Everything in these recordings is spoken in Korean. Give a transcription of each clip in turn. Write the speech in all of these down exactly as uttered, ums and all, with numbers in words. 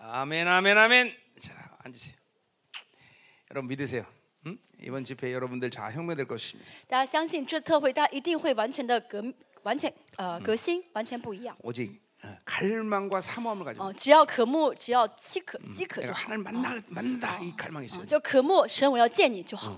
아멘, 아멘, 아멘. 자, 앉으세요. 여러분 믿으세요. 음? 이번 집회 여러분들 자 혁명될 것입니다. 大家相信这特会，大家一定会完全的革，完全呃革新，完全不一样。 오직 갈망과 사모함을 가지고. 哦，只要渴慕，只要饥渴，饥渴就 내가 好。 하나님 만나 만나 이 갈망이 있어요. 就渴慕神，我要见你就好。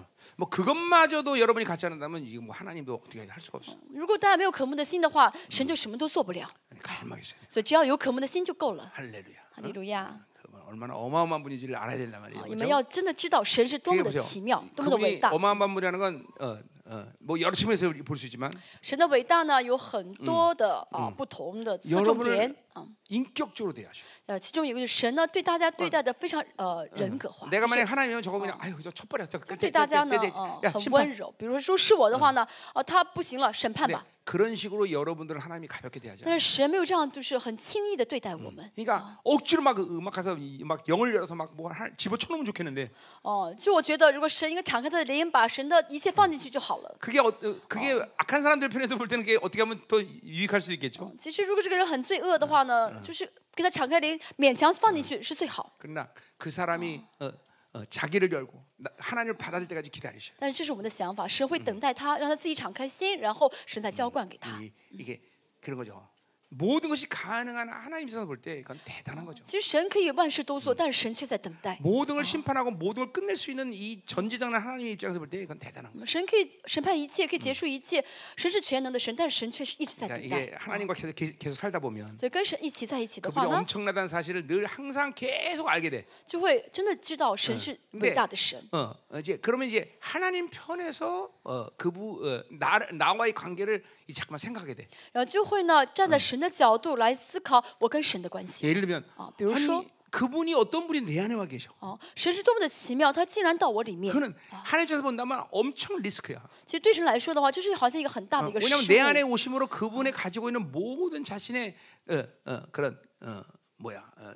뭐 그것마저도 여러분이 같지 않는다면 이게 뭐 하나님도 어떻게 할 수가 없어. 如果大家没有渴慕的心的话，神就什么都做不了。 갈망이 있어요. 所以只要有渴慕的心就够了。 할렐루야. 哈利路亚！ 얼마나 어마어마한 분인지를 알아야 된단 말이에요. 你们要真的知道神是多么的奇妙，多么的伟 그분이 大。 어마어마한 분이라는 건 어, 어, 뭐 여러 측면에서 볼 수 있지만 神的伟大呢，有很多的啊不同的侧重点 여러분을 啊。 인격적으로 대하셔. 呃，其中有一个就是神呢，对大家对待的非常呃人格化。 내가 就是 만약 하나님이면 저거 그냥 아유 저 촛불이야. 저 对大家呢，呃， 야 很 심판. 温柔。比如说是我的话呢，哦，他不行了，审判 네, 吧。 그런 식으로 여러분들을 하나님이 가볍게 대하지. 但是神没有这样，就是很轻易的对待我们。 그러니까 억지로 막 음악 가서 막 영을 열어서 막 뭐 집어 쳐놓으면 좋겠는데. 哦，就我觉得，如果神应该敞开他的灵，把神的一切放进去就好了。 그게 어, 그게 악한 사람들 편에서 볼 때는 그게 어떻게 하면 더 유익할 수 있겠죠. 其实如果这个人很罪恶的话呢，就是给他敞开灵，勉强放进去是最好。 그러나 그 사람이 어, 어, 자기를 열고 하나님을 받아들 때까지 기다리셔. 但是这是我们的想法，神会等待他，让他自己敞开心，然后神再浇灌给他。 이, 이게 그런 거죠. 모든 것이 가능한 하나님 입장에서 볼 때 그건 대단한 거죠. 其实神可以万事都做，但是神却在等待。 모든 걸 심판하고 모든 걸 끝낼 수 있는 이 전지전능한 하나님 입장에서 볼 때 그건 대단한 거예요. 神可以审判一切，可以结束一切。神是全能的神，但是神却是一直在 그러니까 等待。 이게 하나님과 계속, 계속 살다 보면 所以跟神一起在一起的话 그분이 呢， 엄청나다는 사실을 늘 항상 계속 알게 돼. 就会真的知道神是伟大的神。 어, 이제 그러면 이제 하나님 편에서 어, 그부 어, 나 나와의 관계를 이제 잠깐만 생각하게 돼. 然后就会呢站在神的角度来思考我跟神的关系。 예를 들면 아, 比如说 아니, 그분이 어떤 분이 내 안에 와 계셔. 哦，神是多么的奇妙，他竟然到我里面。 그는 하나님 입장에서 본다면 엄청 리스크야. 其实对神来说的话，这是好像一个很大的一个失 왜냐하면 내 안에 误。 오심으로 그분이 가지고 있는 모든 자신의 어, 어, 그런 어, 뭐야 어,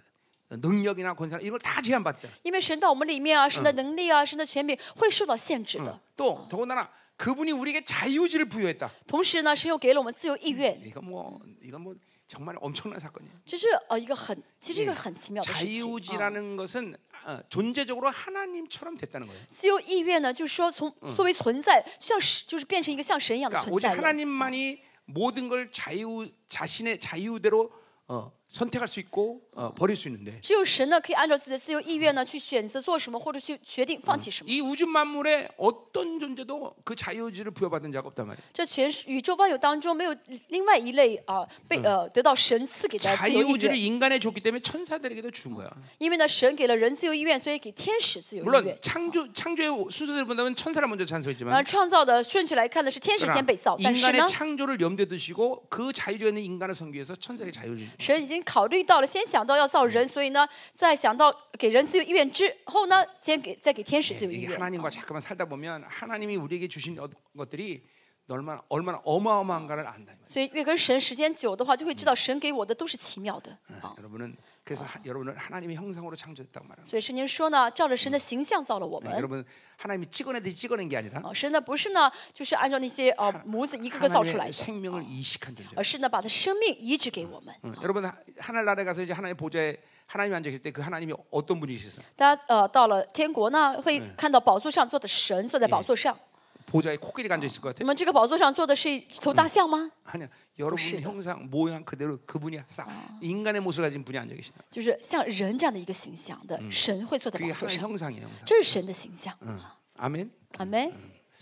능력이나 권세나 이걸 다 제한받잖아. 因为神到我们里面啊，神的能力啊，神的权柄会受到限制的。 또 더군다나 그분이 우리에게 자유의지를 부여했다. 同时呢，神又给了我们自由意愿， 이거 뭐 이건 뭐 정말 엄청난 사건이에요. 这是呃一个很，其实一个很奇妙的事情。啊 자유의지라는 것은 어, 존재적으로 하나님처럼 됐다는 거예요. 自由意愿呢，就是说从作为存在，像神，就是变成一个像神一样的 그러니까 存 오직 在了。 하나님만이 모든 걸 자유 자신의 자유대로 어, 선택할 수 있고 어, 버릴 수 있는데 只有神呢，可以按照自己的自由意愿呢，去选择做什么，或者去决定放弃什么。 이 우주 만물에 어떤 존재도 그 자유의지를 부여받은 자가 없단 말이에요. 这全是宇宙万有当中没有另外一类啊、被呃得到神赐给的自由意 자유의지를 愿， 인간에 줬기 때문에 천사들에게도 준 거야. 因为呢，神给了人自由意愿，所以给天使自由意 물론 愿。 창조 창조의 순서대로 본다면 천사를 먼저 当然， 찬송했지만 创造的顺序来看呢，是天使先被造，但是 인간의 呢， 창조를 염두에 두시고 그 자유에 있는 인간을 섬기기 위해서 천사에게 자유를 神已经考虑到了，先想到要造人，所以呢，在想到给人自由意愿之后呢，先给再给天使自由意 이게 愿。 하나님과 잠깐만 살다 보면 하나님이 우리에게 주신 어- 것들이 얼마나 얼마나 어마어마한가를 안다. 所以越跟神时间久的话，就会知道神给我的都是奇妙的。 어, 여러분은 그래서 하, 여러분을 하나님의 형상으로 창조했다고 말합니다. 所以圣经说呢，照着神的形象造了我 네, 们。 여러분 하나님이 찍어내듯이 찍어낸 게 아니라 哦，神呢不是呢，就是按照那些呃模子一个个造出来 하나님의 的， 생명을 이식한 존재. 而是呢把他生命移植给我们。 응, 여러분 하- 하늘나라에 가서 이제 하나님의 보좌에 하나님이 앉아 계실 때 그 하나님이 어떤 분이셨어요? 大家呃到了天国呢，会看到宝座上坐的神坐在宝座上。 보좌에 코끼리가 앉아 있을 것 那 같아요? 么这个宝座上坐的是一头大象吗？ 아니야. 여러분 형상 모양 그대로 그분이 싹 인간의 모습을 가진 분이 앉아 계신다. 就是像人这样的一个形象的神会坐在 그게 宝座 하나님 上， 형상이에요. 형상. 这是神的形象。 응. 아멘. 阿门，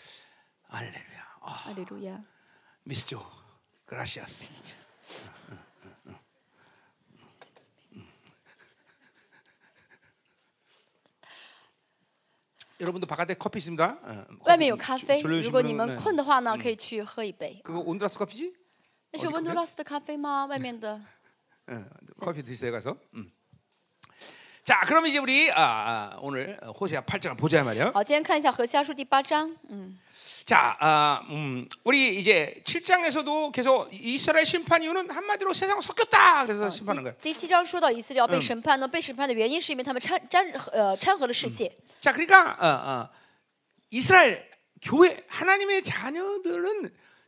할렐루야. 아, 哈利路亚。 미스죠. 그라시아스. 여러분도 바깥에 커피 있습니다. 어, 外面有 커피 咖啡， 졸려오신 如果你 분은, 们 네. 困的话呢，可以去喝一杯。 그거 온두라스 커피지? 那是温都拉斯的咖啡吗？外面的。 어, 커피 드세요 가서. 음. 자, 그러면 이제 우리 아, 아, 오늘 호세아 팔 장을 보자 말이요. 好，今天看一下何西阿书第八章。嗯， 자, 아, 음, 우리 이제 칠 장에서도 계속 이스라엘 심판 이유는 한마디로 세상 섞였다. 그래서 심판하는 거예요. 第七章说到以色列要被审判呢，被审判的原因是因为他们掺沾呃掺和了世界。 자, 그러니까 어, 어, 이스라엘 교회 하나님의 자녀들은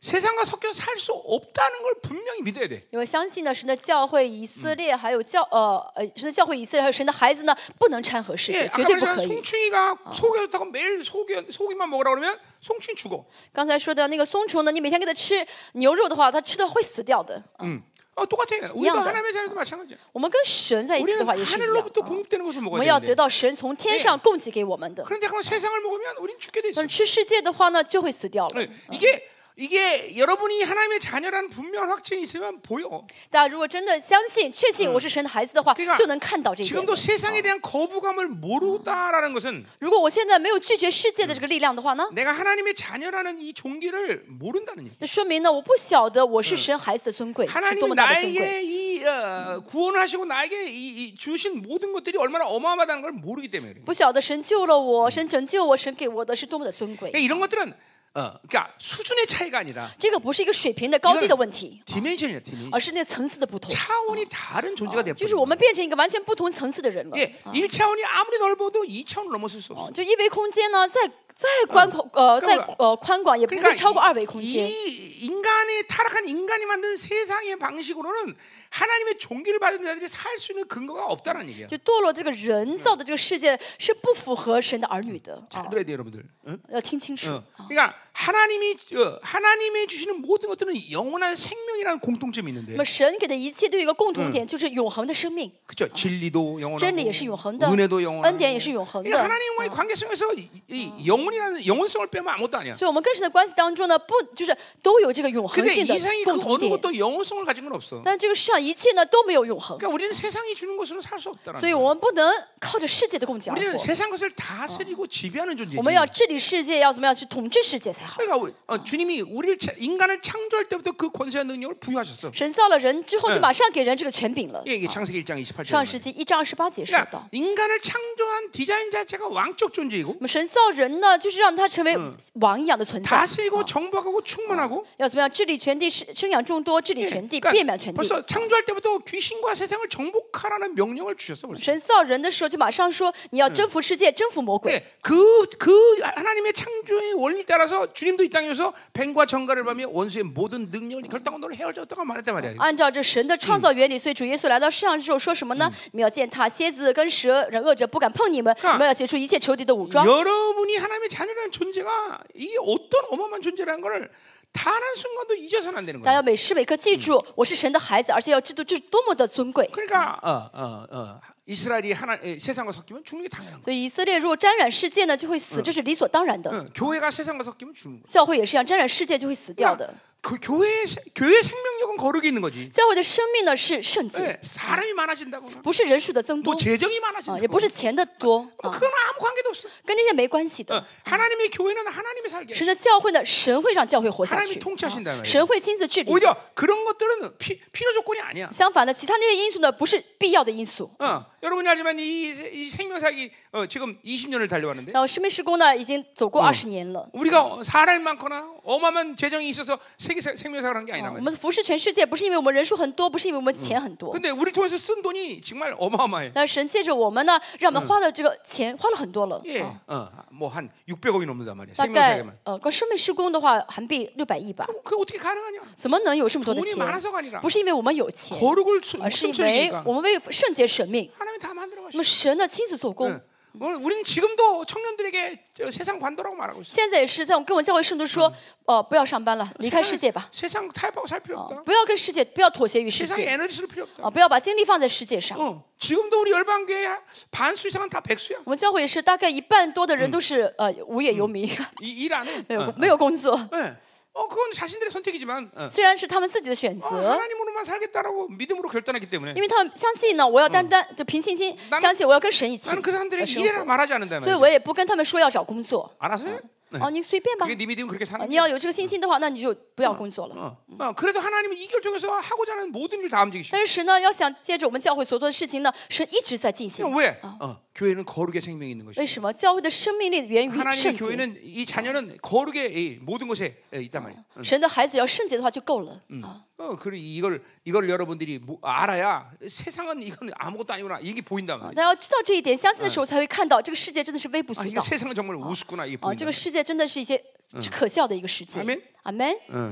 세상과 섞여서 살 수 없다는 걸 분명히 믿어야 돼. 因为相信呢，神的教会以色列，还有教呃呃神的教会以色列，还有神的孩子呢，不能掺和世 예, 界， 아까 绝对不可 말했지만 以。 송충이가 속에 좋다고 매일 속이, 속이만 먹으라 그러면 송충이 죽어. 刚才说的那个松虫呢，你每天给它吃牛肉的话，它吃的会死掉的。 음. 어, 똑같아. 우리도 이양다. 하나님의 자녀도 마찬가지야. 我们跟神在一起的 우리는 话也是一样。 하늘로부터 啊 공급되는 것을 我 먹어야 们要得 되는데. 到神从天上供给给我们的。 그런데 그건 세상을 먹으면 우린 죽게 돼 있어. 但是吃世界的话呢，就会死掉了。 네, 이게 이게 여러분이 하나님의 자녀라는 분명한 확증이 있으면 보여. 大家如果真的相信、确信我是神的孩子的话， 그러니까 就能看到这一点。 지금도 세상에 대한 거부감을 모르다라는 것은 如果我现在没有拒绝世界的这个力量的话呢， 내가 하나님의 자녀라는 이 종기를 모른다는 얘기. 那说明呢，我不晓得我是神孩子的尊贵，是多 하나님이 么大的尊贵。 나에게 이 어, 구원을 하시고 나에게 이, 이 주신 모든 것들이 얼마나 어마어마하다는 걸 모르기 때문에 그래. 不晓得神救了我，神拯救我，神给我的是多么的尊贵。 그러니까 이런 것들은 어, 그러니까 수준의 차이가 아니라 这个不是一个水平的高低的问题， 디멘션이야, 디멘션. 而是那层次的不同。 차원이 다른 존재가 되어 就是我们变成一个完全不同层次的人了。 예, 일 차원이 아무리 넓어도 이 차원을 넘어설 수 없어. 就一维空间呢，再再宽广呃再呃宽广，也不会超过二维空间。 이 인간의 타락한 인간이 만든 세상의 방식으로는 하나님의 종기를 받은 자들이 살 수 있는 근거가 없다는 얘기야. 就堕落这个人造的这个世界是不符合神的儿女的。 잘 들어야 돼, 여러분들. 응? 要听清楚。 어. 그러니까 하나님이 어, 하나님이 주시는 모든 것들은 영원한 생명이라는 공통점이 있는데. 那么神给的一切都有一个共同点，就是永恒的生命。 그렇죠. 진리도 영원하고 真理也是永恒的， 은혜도 영원하고 恩典也是永恒的。 그러니까 하나님과의 관계성에서 이, 이 영혼이라는 영혼성을 빼면 아무것도 아니야. 所以我们跟神的关系当中呢，不就是都有这个永恒 근데 性的 이 세상이 共 그 同 어느 点？ 것도 영혼성을 가진 건 없어. 但这个世上一切呢都没有永恒， 그러니까 우리는 세상이 주는 것으로 살 수 없다는 所以 거야. 我们不能靠着世界的供给而 우리는 活。 세상 것을 다스리고 지배하는 我 존재지. 们要治理世界，要怎么样去统治世界才好。 그러니까 어, 주님이 우리를 차- 인간을 창조할 때부터 그 권세와 능력을 부여하셨어. 神造了人之后，就马上给人这个权柄了。 예, 이게 창세기 일 장 이십팔 절. 上世纪一章二十八节说 그러니까 到， 인간을 창조한 디자인 자체가 왕적 존재이고 那么神造人呢，就是让他成为王一样的存在， 다스리고 정복하고 충만하고 要怎么样治理全地，生生养众多，治理 예, 全地， 그러니까 遍满全地。 벌써 창조할 때부터 귀신과 세상을 정복하라는 명령을 주셨어 벌써. 神造人的时候就马上说，你要征服世界，征服魔鬼。 예, 그, 그 하나님의 창조의 원리 따라서 주님도 이 땅에서 뱀과 정갈을 밤에 원수의 모든 능력을 결단하고 너를 헤어졌다고 말했단 말이야. 按照这神的创造原理，所以主耶稣来到世上之后说什么呢？你们要践踏蝎子跟蛇，人恶者不敢碰你们。你们要结出一切仇敌的武装。 여러분이 하나님의 자녀라는 존재가 이게 어떤 어마어마한 존재라는 것을 단 한 순간도 잊어서는 안 되는 大 거야. 家每时每刻记住，我是神的孩子，而且要知道这是多么的尊贵。 그러니까 어, 어, 어, 이스라엘이 하나 에, 세상과 섞이면 죽는 게 당연한 거야. 所以以色列如果沾染世界呢，就会死，这是理所当然的。 응, 교회가 세상과 섞이면 죽는 거야. 教会也是一样，沾染世界就会死掉的。 그 교회 교회 생명력은 거룩이 있는 거지. 教会的生命呢是圣洁， 네, 사람이 많아진다거나 不是人数的增 뭐 多 재정이 啊， 많아진다거나 也不是钱的多 뭐 啊， 그건 아무 관계도 없어. 跟那些没关系的。 어, 하나님의 교회는 하나님이 살게. 神的教会呢，神会让教会活下 하나님이 去， 통치하신다는 啊 말이에요. 神会亲自治理。 오히려 그런 것들은 피, 필요 조건이 아니야. 相反的，其他那些因素呢，不是必要的因素。 어, 여러분이 알지만 이, 이 생명사기 어, 지금 이십 년을 달려왔는데 然后生命施工呢，已经走过二十年了。 우리가 사람이 많거나 어마어마한 재정이 있어서 세계 세- 생명사를 한 게 아니란 我 말이야. 们服侍全世界，不是因为我们人数很多，不是因为我们钱很多， 근데 우리를 통해서 쓴 돈이 정말 어마어마해. 但是神借着我们呢，让我们花的这个钱花了很多了。 예, 啊 어, 뭐 한 육백억이 넘는단 말이야. 大概 생명사기만. 呃，光生命施工的话，韩币六百亿吧。 그게 어떻게 가능하냐? 怎么能有这么多的 돈이 钱？ 많아서가 아니라 不是因为我们有钱， 거룩을 수- 而是因 목숨 为 처리니까 我们为圣洁舍命。 하나님이 다 만들어 那 가시고. 么神呢，亲自做工。 우리는 지금도 청년들에게 저 세상 관도라고 말하고 있어. 现在也是在我跟我教会圣徒说，呃，不要上班了，离开世界吧， 세상 타협하고 살 필요 없다. 不要跟世界，不要妥协于世 세상에 界， 에너지 쓸 필요 없다. 啊，不要把精力放在世界上。 어, 지금도 우리 열방교회 반수 이상은 다 백수야. 我们教会也是，大概一半多的人都是呃无业游民， 일 안 해. 没有没有工作。 네. 어, 그건 자신들의 선택이지만 어. 虽然是他们自己的选 어, 择， 하나님으로만 살겠다라고 믿음으로 결단했기 때문에 因为他们相信呢，我要单单就凭信心 나는 相信我要跟神一起 나는 그 呃 사람들에게 生 이래라 活， 말하지 않는다 所以 말이야. 我也不跟他们说要找工作。 알아서요? 哦，你随便吧 그게 ，네 믿음이 그렇게 啊 사는 你 거야. 要有这个信心的话，那你就不要工作了。 어, 어, 그래도 하나님은 이 결정에서 하고자 하는 모든 일 다 움직이시고. 但是神呢，要想接着我们教会所做的事情呢，神一直在进行。 왜? 어, 교회는 거룩의 생명이 있는 为 것이. 什么？教会的生命力源于 하나님의 圣洁。 교회는 이 자녀는 거룩의 이 모든 것에 있단 말이야. 神的孩子要圣洁的话就够了。啊， 어, 그리고 이걸 이걸 여러분들이 뭐 알아야 세상은 이건 아무것도 아니구나 이게 보인단 말이야. 大家要知道这一点，相信的时候才会看到这个世界真的是微不 아, 足 이게 道。 세상은 정말 우습구나 이게 啊， 보인다. 这个世界真的是一些可笑的一个世界。 아멘. 阿门。 어.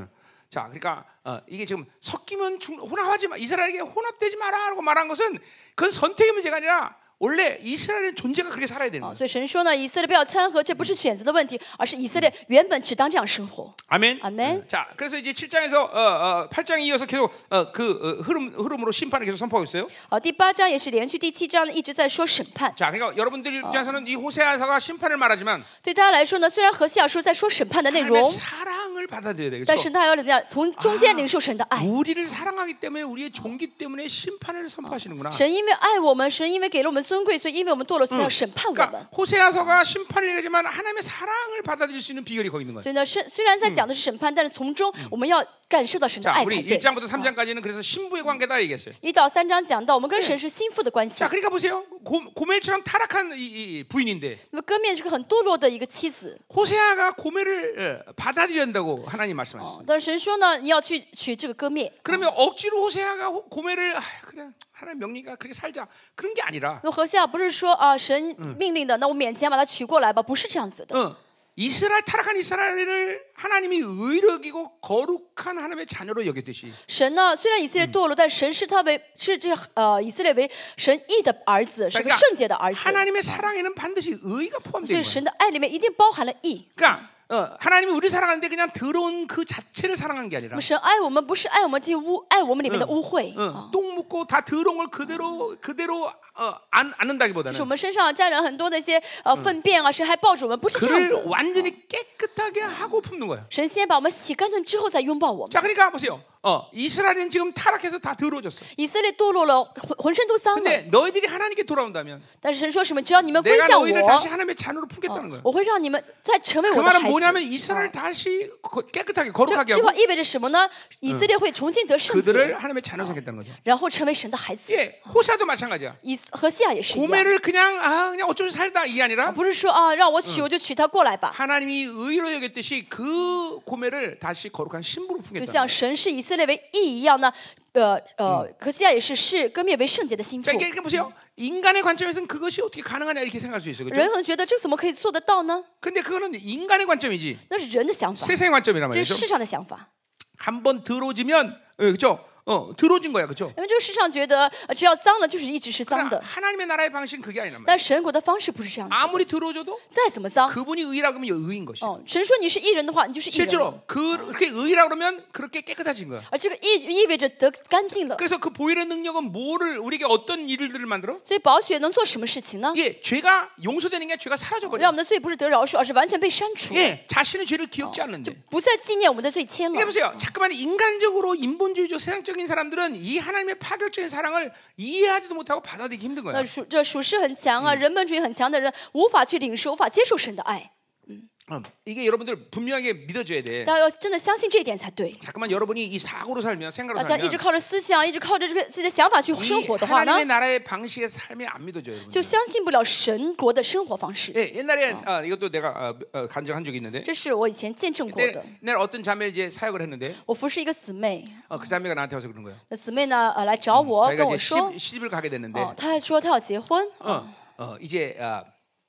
자, 그러니까 어, 이게 지금 섞이면 중, 혼합하지 마. 이스라엘에게 혼합되지 마라라고 말한 것은 그건 선택의 문제가 아니라 원래 이스라엘의 존재가 그렇게 살아야 되는 거예요. 所以神说呢，以色列不要掺和，这不是选择的问题，而是以色列原本只当这样生活。 아멘. 아멘. 자, 그래서 이제 칠 장에서 어, 어, 팔 장에 이어서 계속 어, 그 어, 흐름 흐름으로 심판을 계속 선포하고 있어요. 好，第八章也是连续第七章呢一直在说审判。 자, 그러니까 여러분들 입장에서는 이 호세아서가 심판을 말하지만 对大家来说呢，虽然何西阿书在说审判的内 하나님의 容， 사랑을 받아들여야 되겠죠. 但是他要怎么样从中间领受神的爱。 우리를 사랑하기 때문에 우리의 종기 때문에 심판을 선포하시는구나. 神因为爱我们，神因为给了我们尊贵，所以因为我们堕落，所以要审判我们。 그러니까 호세아서가 심판을 얘기하지만 하나님의 사랑을 받아들일 수 있는 비결이 거기 있는 거예요. 所以呢，是虽然在讲的是审判，但是从中我们要感受到神的 자, 爱 우리 才对。 일 장부터 삼 장까지는 그래서 신부의 관계다 얘기했어요. 一到三章讲到我们跟神是心腹的关系 자, 。 그러니까 보세요. 고, 고멜처럼 타락한 이, 이 부인인데 那么歌面是个很堕落的一个妻子， 호세아가 고멜을 어, 받아들여야 한다고 하나님 말씀하셨어요. 但是神说呢，你要去娶这个歌面。 그러면 억지로 호세아가 호- 고멜을 아, 그냥 하나님 명령이니까 그렇게 살자 그런 게 아니라 那么何西阿不是说啊，神命令的，那我勉强把他娶过来吧，不是这样子的。 어, 이스라엘 타락한 이스라엘을 하나님이 의롭게 여기고 거룩한 하나님의 자녀로 여겼듯이 神呢，虽然以色列堕落，但神视他为是这呃以色列为神义的儿子，是个 그러니까 圣洁的儿子。 하나님의 사랑에는 반드시 의가 所 포함되어 以 있는 거예요. 神的爱里面一定包含了义。 그러니까 어, 하나님이 우리 사랑하는데 그냥 더러운 그 자체를 사랑한 게 那 아니라 么神爱我们，不是爱我们这些污，爱我们里面的污秽， 어, 똥 묻고 다 더러운 걸 그대로 그대로 어, 안 안는다기보다는 是我们身上沾染了很多那些呃粪便啊，神还抱着我们，不是这样 그를 子。 완전히 깨끗하게 하고 품는 거예요. 神先把我们洗干净之后再拥抱我们。 자, 그러니까 보세요. 어, 이스라엘은 지금 타락해서 다 더러워졌어. 以色列堕落了，浑浑身都脏了。 근데 너희들이 하나님께 돌아온다면 但是神说什么？只要你们归 내가 向 너희를 다시 我， 하나님의 자녀로 품겠다는 거예요. 我会让你们再成为 그 我的 말은 孩 뭐냐면 子。 이스라엘 다시 거- 깨끗하게 这 거룩하게 这句 하고 话意味着什么呢？以色列会重新得圣洁， 그들을 하나님의 자녀로 삼겠다는 거죠. 然后成为神的孩子。 예, 호사도 마찬가지야. 以何西亚也是一样， 고멜을 그냥 아 그냥 어쩌면 살다 이게 아니라 不是说啊让我娶我就娶她过来吧， 하나님이 의로 여겼듯이 그 고멜을 다시 거룩한 신부로 就 품겠다는 像 거예요. 神视以色列为义一样呢。呃呃，何西亚也是视割灭为圣洁的心腹 자, 。 이게, 이게 보세요. 인간의 관점에서는 그것이 어떻게 가능하냐 이렇게 생각할 수 있어요. 人 그렇죠? 可能觉得这怎么可以做得到呢？ 근데 그거는 인간의 관점이지. 那是人的想法， 세상의 관점이란 这是 말이죠. 世上的想法。 한번 들어오지면 그렇죠? 어, 들어진 거야. 그렇죠? 因为这个世上觉得呃只要脏了就是一直是脏 그러니까 的， 하나님의 나라의 방식은 그게 아니란 말이야. 但神国的方式不是这样子的。 아무리 들어오줘도 再怎么脏， 그분이 의라고 하면 의인 것이. 哦，神说你是义人的话，你就是义人了。 실제로 그렇게 의라고 그러면 그렇게 깨끗해진 거야. 而这个意意味着得干净了。 그래서 그 보혈의 능력은 뭐를 우리에게 어떤 일들을 만들어? 所以宝血能做什么事情呢？ 예, 죄가 용서되는 게 죄가 사라져 让 버려. 我们的罪不是得饶恕，而是完全被删除， 예, 자신의 죄를 기억지 않는데. 不再纪念我们的罪愆 이게 了。 보세요. 잠깐만 인간적으로 인본주의적 세상적인 사람들은 이 하나님의 파격적인 사랑을 이해하지도 못하고 받아들이기 힘든 거야. 那属这属世很强啊，人本主义很强的人无法去领受，无法接受神的爱。 음, 이게 여러분들 분명하게 믿어줘야 돼. 大家要真的相信这一点才对。 잠깐만 여러분이 이 사고로 살면 생각으로 大家一直 살면 靠着思想，一直靠着这个自己的想法去生 이 活的话呢 하나님의 ， 나라의 방식의 삶이 안 믿어져요. 여러분. 就相信不了神国的生活方式。 예, 옛날에 아, 이것도 내가 어, 어, 간증한 적이 있는데 这是我以前见证过 내, 的。 내 어떤 자매 이제 사역을 했는데 我服侍一个姊妹， 어, 그 자매가 나한테 와서 그런 거예요. 那姊妹呢，呃，来找我，跟 자기가 我 이제 说， 시집, 시집을 가게 됐는데 哦，她还说她要结婚， 어, 어, 이제 어,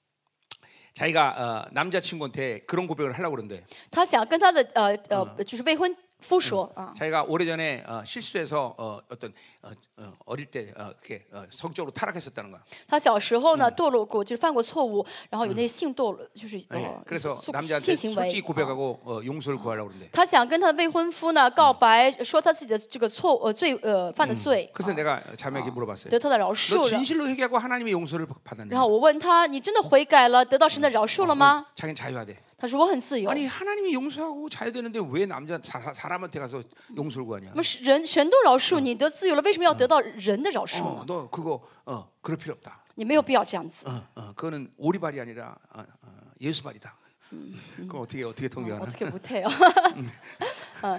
자기가 어, 남자친구한테 그런 고백을 하려고 그러는데 她想跟她的呃呃，就是未婚夫说啊， 자기가 오래전에 어, 실수해서 어, 어떤 어, 어, 어릴 때 어, 이렇게 어, 성적으로 타락했었다는 거야. 她小时候呢堕落过，就是犯过错误，然后有那些性堕落，就是 예, 呃 그래서 性 남자한테 行 솔직히 为。 고백하고 어, 용서를 구하려고 그러는데 她想跟她的未婚夫呢告白，说她自己的这个错呃罪呃犯的罪， 그래서 내가 자매에게 물어봤어요. 得她的饶 너 恕了。 진실로 회개하고 하나님의 용서를 받았느냐? 然后我问她，你真的悔改了，得到神的饶恕了吗？ 자기는 자유하대. 她说我很自由。 아니 하나님이 용서하고 자유되는데 왜 남자 사, 사람한테 가서 용서를 구하냐? 那么人神都饶恕你，得自由了，为什么要得到人的饶恕 어, 呢？ 너 그거 어, 그럴 필요 없다. 你没有必要这样子。 어, 어, 그거는 오리발이 아니라 어, 어, 예수발이다. 그럼 어떻게 어떻게 통역하나? 어떻게 못해요? 嗯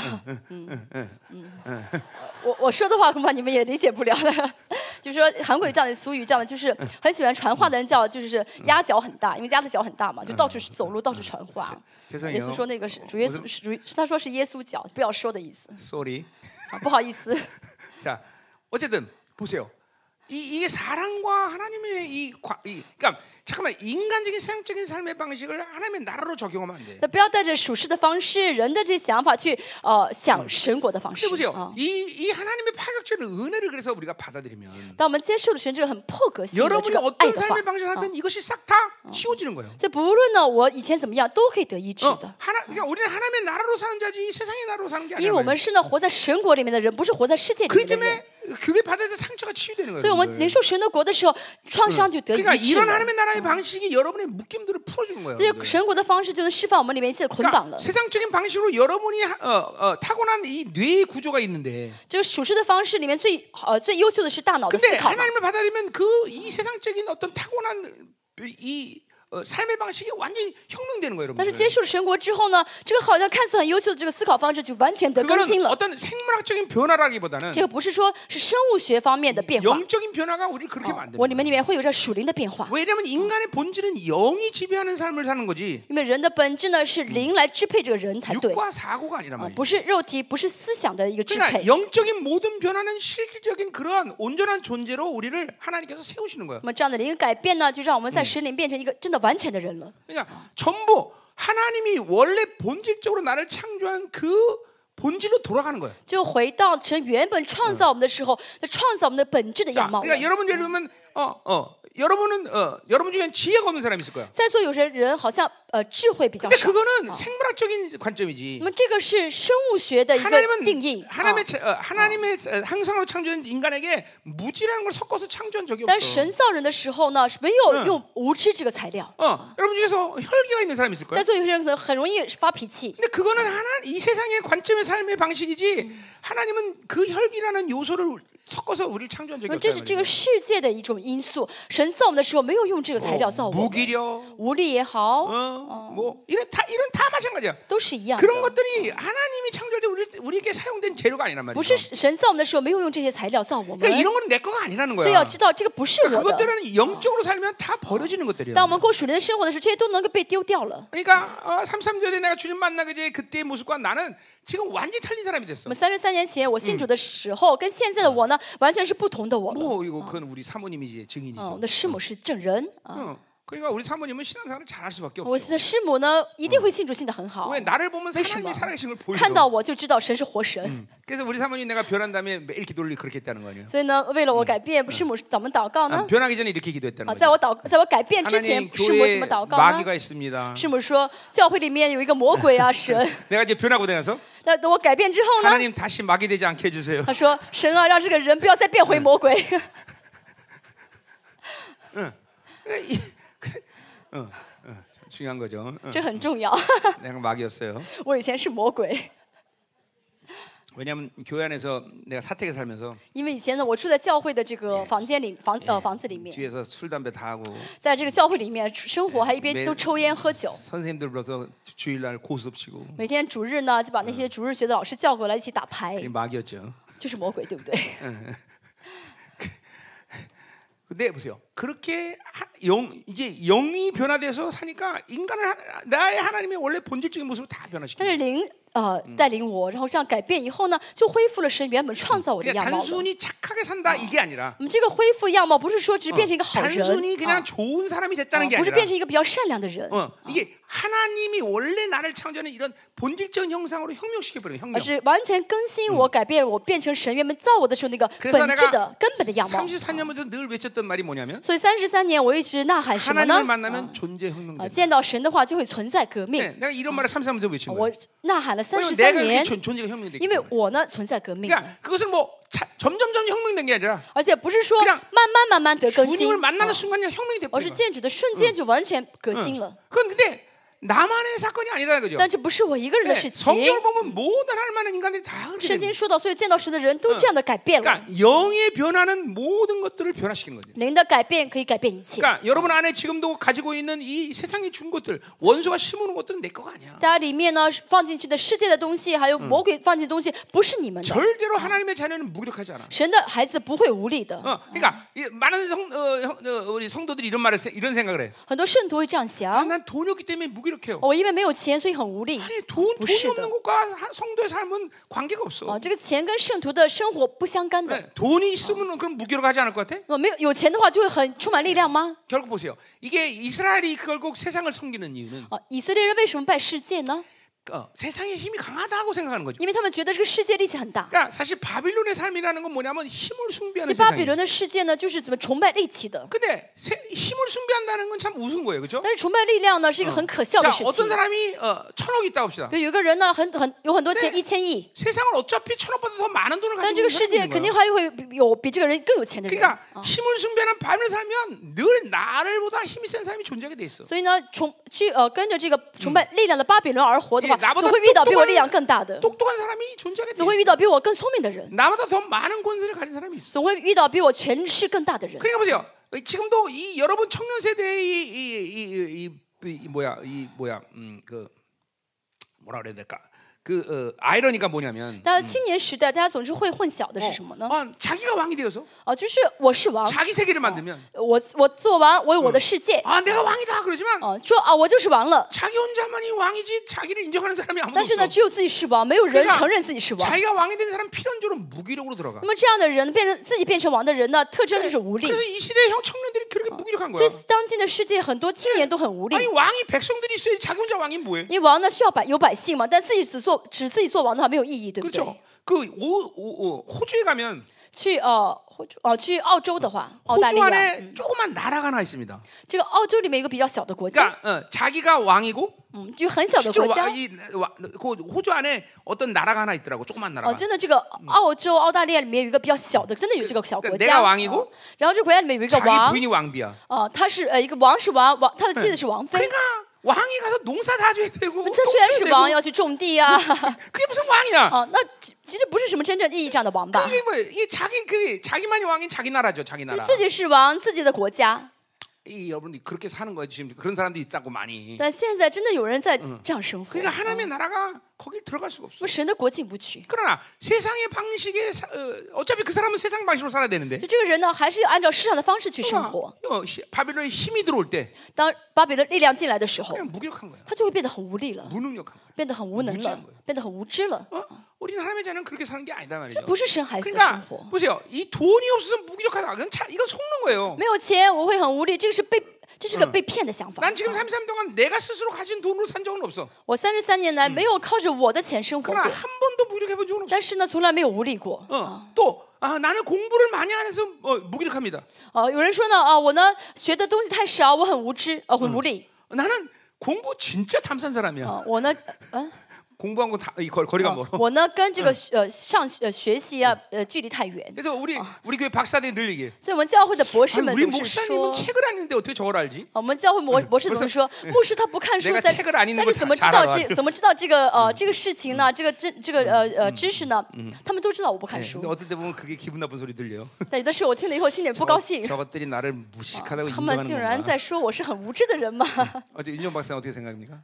嗯，我我说的话恐怕你们也理解不了的。就是说韩国有这样的俗语，这样的就是很喜欢传话的人叫就是鸭脚很大，因为鸭的脚很大嘛，就到处走路，到处传话。耶稣说那个是主耶稣是主，是他说是耶稣脚，不要说的意思。 Sorry. 啊，不好意思。 자, 어쨌든 보세요. 이, 이게 사랑과 하나님의 이, 과, 이 그러니까 잠깐만 인간적인 세상적인 삶의 방식을 하나님의 나라로 적용하면 안 돼. 那不要带着属世的方式、人的这些想法去呃想神国的方式。 근데 보세요. 이, 이 하나님의 파격적인 은혜를 그래서 우리가 받아들이면 当我们接受的神这个很破格性的这 여러분이 个爱 어떤 的话， 삶의 방식을 하든 이것이 싹 다 치워지는 거예요. 所以不论呢我以前怎么样，都可以得医治 어, 的。 하나, 그러니까 우리는 하나님의 나라로 사는 자지 세상의 나라로 사는 게 因为 아니야. 我们是呢活在神国里面的人，不是活在世界里 그렇기 面的人。 때문에 그게 받아서 상처가 치유되는 거예요. 所以我们领受神的国的时候，创伤就得医 그러니까 治 이런 了。 하나님의 나라의 방식이 여러분의 묶임들을 풀어주는 거예요. 这个神国的方式就能释放我们里面一切的捆绑 그러니까 了。 세상적인 방식으로 여러분이 하- 어, 어, 타고난 이 뇌의 구조가 있는데, 这个属世的方式里面最呃最优秀的是大脑的思 근데 考嘛。 하나님을 받아들이면 그 이 세상적인 어떤 타고난 이 어, 삶의 방식이 완전히 혁명되는 거예요, 但是 여러분. 接受了神国之后呢，这个好像看似很优秀的这个思考方式就完全得更新 그거는 了。 어떤 생물학적인 변화라기보다는 这个不是说是生物学方面的变化， 영적인 변화가 우리를 그렇게 我 만드는 里面里面会有这属灵的变化。 왜냐하면 인간의 본질은 영이 지배하는 삶을 사는 거지 因为人的本质呢是灵来支配这个人才对， 육과 사고가 아니란 啊， 말이에요. 不是肉体，不是思想的一个支 그러니까 配。 영적인 모든 변화는 실질적인 그러한 온전한 존재로 우리를 하나님께서 세우시는 거예요. 那么这样的灵改变呢，就让我们在神里变成一个真的完全的人了。 그러니까 전부 하나님이 원래 본질적으로 나를 창조한 그 본질로 돌아가는 거예요. 就回到神原本创造我们的时候，那创造我们的本质的 자, 样貌了。 그러니까 여러분 예를 들면 어, 어, 여러분은 어, 여러분 중에 지혜가 없는 사람이 있을 거야. 在座有些人好像呃智慧比较 근데 少， 그거는 생물학적인 관점이지. 那么这个是生物学的一个定义 하나님은 啊。 하나님의 체- 어, 하나님의 어, 항상으로 창조한 인간에게 무지라는 걸 섞어서 창조한 적이 但 없어. 神造人的时候呢，是没有用无知这个材料。 어, 여러분 중에서 혈기가 있는 사람이 있을 在 거야. 座有些人可能很容易发脾气， 근데 그거는 하나 이 세상의 관점의 삶의 방식이지. 하나님은 그 혈기라는 요소를 섞어서 우리를 창조한 적이 那这是 없어요. 这个世界的一种因素。神造我们的时候没有用这个材料造我们， 무기력, 无力也好， 어, 뭐 이런 다 이런 다 마찬가지야. 都是一样 그런 的。 것들이 하나님이 창조할 때 우리 우리에게 사용된 재료가 아니란 不是 말이야. 神造我们的时候没有用这些材料造我们， 그러니까 이런 건 내 거가 아니라는 所以要 거야. 知道这个不是我的。 그것들은 영적으로 살면 다 버려지는 것들이야. 当我们过属灵的生活的时候，这些都能够被丢掉了。 그러니까 어, 삼십삼 년에 내가 주님 만나게 돼 그때의 모습과 나는 지금 완전히 틀린 사람이 我 됐어. 们三十三年前我信主的时候，跟现在的我呢，完全是不同的我了。 뭐 이거 그건 우리 사모님이 이제 嗯，我 증인이죠. 的师母是证人啊， 어, 그러니까 우리 사모님은 신앙생활을 잘할 수밖에 我 없죠. 的师母呢一定会信主信的很好 왜 ， 나를 보면 为什么 하나님이 살아계신 걸 看到 보이죠. 我就知道神是活神。 그래서 우리 사모님 내가 변한 다음에 매일 기도를 그렇게 했다는 거 아니에요? 所以呢，为了我改变，师母怎么祷告 아, 呢？ 변하기 전에 이렇게 기도했다는 啊，在 거죠. 我祷，在我改变之前， 하나님 师母怎 교회에 么祷告呢？ 마귀가 있습니다. 师母说，教会里面有一个魔鬼啊，神。 내가 이제 변하고 나서 那等我改变之后呢？ 하나님 다시 마귀 되지 않게 해주세요. 他说，神啊，让这个人不要再变回魔鬼。 응. 이- 어, 어, 중요한 거죠. 어. 这很重要。 내가 마귀였어요. 我以前是魔鬼， 왜냐하면 교회 안에서 내가 사택에 살면서 因为以前呢，我住在教会的这个房间里，房呃房子里面， 뒤에서 술 담배 다 하고 在这个教会里面生活，还一边都抽烟喝酒。 선생님들 불러서 주일날 고수업 치고 每天主日呢，就把那些主日学的老师叫回来一起打牌， 그게 마귀였죠. 就是魔鬼，对不对？ 근데 보세요. 그렇게 하, 영 이제 영이 변화돼서 사니까 인간을 하, 나의 하나님의 원래 본질적인 모습을 다 但 변화시키는 是灵呃带领我，然后这样改变以后呢，就恢复了神原本创造我的 그러니까 样貌了。 단순히 착하게 산다 이게 아니라 我们这个恢复样貌不是说只是变成一个好人， 단순히 啊 그냥 좋은 사람이 됐다는 게 不是 아니라 变成一个比较善良的人， 어, 이게 하나님이 원래 나를 창조하는 이런 본질적인 형상으로 혁명시켜버려요. 而 혁명. 是完全更新我、改变我，变成神原本造我的时候那个 그래서 本质的 내가 根本的样貌。 삼십사 년부터 늘 외쳤던 말이 뭐냐면 所以三十三年我一直呐喊什么 하나님을 呢？ 만나면 존재 啊， 혁명된다. 见到神的话就会存在革命。 네, 내가 이런 말을 삼십삼 년부터 외친 我 거예요. 呐喊了三 왜냐면 十三 내가 그렇게 年， 존, 존재가 혁명되기 因为 때문에. 我呢存在革命， 그러니까 그것은 뭐 차, 점점점 혁명된 게 아니라 而且不是说 그냥 慢慢慢慢得更 주님을 新， 만나는 啊 순간 그냥 혁명이 而是 돼버린 거야. 见主的瞬间就完全革新了。 그런데 나만의 사건이 아니라는 거죠. 但这不是我一个人的 네, 事情。 성경을 보면 모든 할 만한 인간들이 다 그렇게 圣 됩니다. 经说到，所以见到神的人都这样的改变了。 그러니까 영의 변화는 모든 것들을 변화시키는 거죠. 灵的改变可以改变一切。 그러니까 여러분 안에 지금도 가지고 있는 이 세상에 준 것들, 원수가 심어놓은 것들은 내 거가 아니야. 大家里面呢放进去的世界的东西，还有魔鬼放进的东西，不是你们的。 절대로 하나님의 자녀는 무기력하지 않아. 神的孩子不会无力的。 어, 그러니까 이 많은 성, 어, 형, 어, 우리 성도들이 이런 말을 세- 이런 생각을 해. 很多圣徒会这样 아, 想： 난 돈이 없기 때문에 무기력해요. 我因为没有钱，所以很无力。 아니 돈, 돈이 없는 것과 성도의 삶은 관계가 없어. 哦，这个钱跟圣徒的生活不相干的。 네, 돈이 있으면 그럼 무기력하지 않을 것 같아? 我没有有钱的话，就会很充满力量吗？ 결국 보세요. 이게 이스라엘이 결국 세상을 섬기는 이유는 啊，以色列人为什么拜世界呢？ 어, 세상의 힘이 강하다고 생각하는 거죠. 因为他们觉得这个世界力气很大。 그러니까 사실 바빌론의 삶이라는 건 뭐냐면 힘을 숭배하는 这巴比 세상이에요. 伦的世界呢，就是怎么崇拜力气的。 근데 세, 힘을 숭배한다는 건 참 우스운 거예요, 그렇죠? 但是崇拜力量呢，是一个很可笑的 자, 事 어떤 情。 사람이 어, 천억 있다 봅시다. 比如有一个人呢，很很有很多钱， 네 一千亿， 세상을 어차피 천억보다 더 많은 돈을 但 가지고 这个 있는 世界 사람이 肯 있는 定 거예요. 还会有比这个人更有钱的人。 그러니까 힘을 숭배하는 바빌론 살면 늘 나를보다 힘이 센 사람이 존재하게 돼 있어. 所以呢，崇去呃跟着这个崇拜力量的巴比伦而活的话， 예, 나보다 总会遇到比我力量 똑똑한, 更大的， 똑똑한 사람이 존재하게 돼 总会 있어. 遇到比我更聪明的人， 나보다 더 많은 권세를 가진 사람이 있어. 总会遇到比我权势更大的人。 그러니까 보세요. 지금도 이 여러분 청년 세대의 이, 이, 이, 이, 이, 이 뭐야 이 뭐야 음그 뭐라 그래야 될까? 그 어, 아이러니가 뭐냐면 大家青年时代，大家总是会混淆的是什么呢？ 어, 자기가 왕이 되어서 哦，就是我是王， 자기 세계를 만들면 我我做王，我有我的世界。 아 내가 왕이다 그러지만 哦，说啊，我就是王了。 자기 혼자만이 왕이지 자기를 인정하는 사람이 아무도 但是呢， 없어. 只有自己是王，没有人 그러니까 承认自己是王。 자기가 왕이 된 사람 필연적으로 무기력으로 들어가. 那么这样的人变成自己变成王的人呢，特征就是无力。 그래서 이 시대의 형 청년들이 그렇게 무기력한 所以 거야. 当今的世界很多青年都很无力。 아니 왕이 백성들이 있어야지 자기 혼자 왕이 뭐해? 因为王呢需要百有百姓嘛，但自己只做只自己做王的话没有意义，对不对？ 그렇죠. 그 오, 오, 오, 호주에 가면 去呃호주呃去澳洲的话，澳大利 호주 亚， 안에 조그만 나라가 하나 있습니다. 这个澳洲里面有一个比较小的国家， 그러니까 어, 자기가 왕이고 嗯，就很小的 실제로 国家 와, 。 이, 와, 그 호주 안에 어떤 나라가 하나 있더라고. 조그만 哦， 나라가. 真的，这个澳洲、澳大利亚里面有一个比较小的，真的有这个小国 그러니까 家。 내가 왕이고 哦然后这个国家里面有一个 자기 王， 부인이 왕비야. 哦，他是呃一个王是王王，他的妻子是王妃。 그러니까 왕이 가서 농사 다 줘야 되고 这虽然 똥 是 쳐야 王， 되고 要去种地啊， 그게 무슨 왕이야? 哦，那其其实不是什么真正意义上的王吧？ 이게 뭐 이게 자기 그 자기만이 왕인 자기 나라죠, 자기 就 나라. 自己是王，自己的国家。 이 여러분들이 그렇게 사는 거예요. 지금 그런 사람들이 있다고 많이. 但现在真的有人在这样生活。 그러니까 하나님의 나라가 거길 들어갈 수가 我 없어. 们神的国进不去。 그러나 세상의 방식에 사, 어, 어차피 그 사람은 세상 방식으로 살아야 되는데. 就这个人呢，还是要按照世上的方式去生活。 어, 시- 바빌론의 힘이 들어올 때 当巴比伦力量进来的时候， 그냥 무기력한 거야. 他就会变得很无力了， 무능력한 거야. 变得很无能了，变得很无知了。 어? 우리는 하나님의 자녀는 그렇게 사는 게 아니다 말이죠. 不是神孩子的生 그러니까 活。 보세요. 이 돈이 없어서 무기력하다. 그건 차, 이거 속는 거예요. 没有钱，我会很无力，这个是被，这是个被骗的想法。 난 지금 삼십삼 년 동안 내가 스스로 가진 돈으로 산 적은 없어. 我三十三年来没有靠着我的钱生活 그러나 过， 한 번도 무기력해 본 적은 없어. 但是呢，从来没有无力过。 어, 또 아, 나는 공부를 많이 안 해서 어, 무기력합니다. 哦，有人说呢，啊，我呢学的东西太少，我很无知，呃，很无力。 나는 공부 진짜 탐산 사람이야. 啊，我呢，嗯。 공부하고 다, 이 거, 거리가 멀어. 我呢跟这个呃上呃学习啊呃距离太远， 그래서 우리 우리 교회 박사들이 늘 얘기해. 所以我们教会的博士 아니, 们 우리 总是 목사님은 说， 책을 안 읽는데 어떻게 저걸 알지? 我们教会博博士总是说，牧师他不看书， 내가 但 책을 안 읽는 但 걸 是怎么知 잘 道 알아. 这怎么知道这个呃这个事情呢？这个知这个呃呃知识呢？他们都知道我不看 네, 书 근데 ， 어떨 때 보면 그게 기분 나쁜 소리 들려요. 但有的时候我听了以后心里不高兴， 저것들이 나를 무식하다고 他们 인정하는 竟然 건가? 在说我是很无知的人吗？ 어제 윤정 박사 어떻게 생각합니까?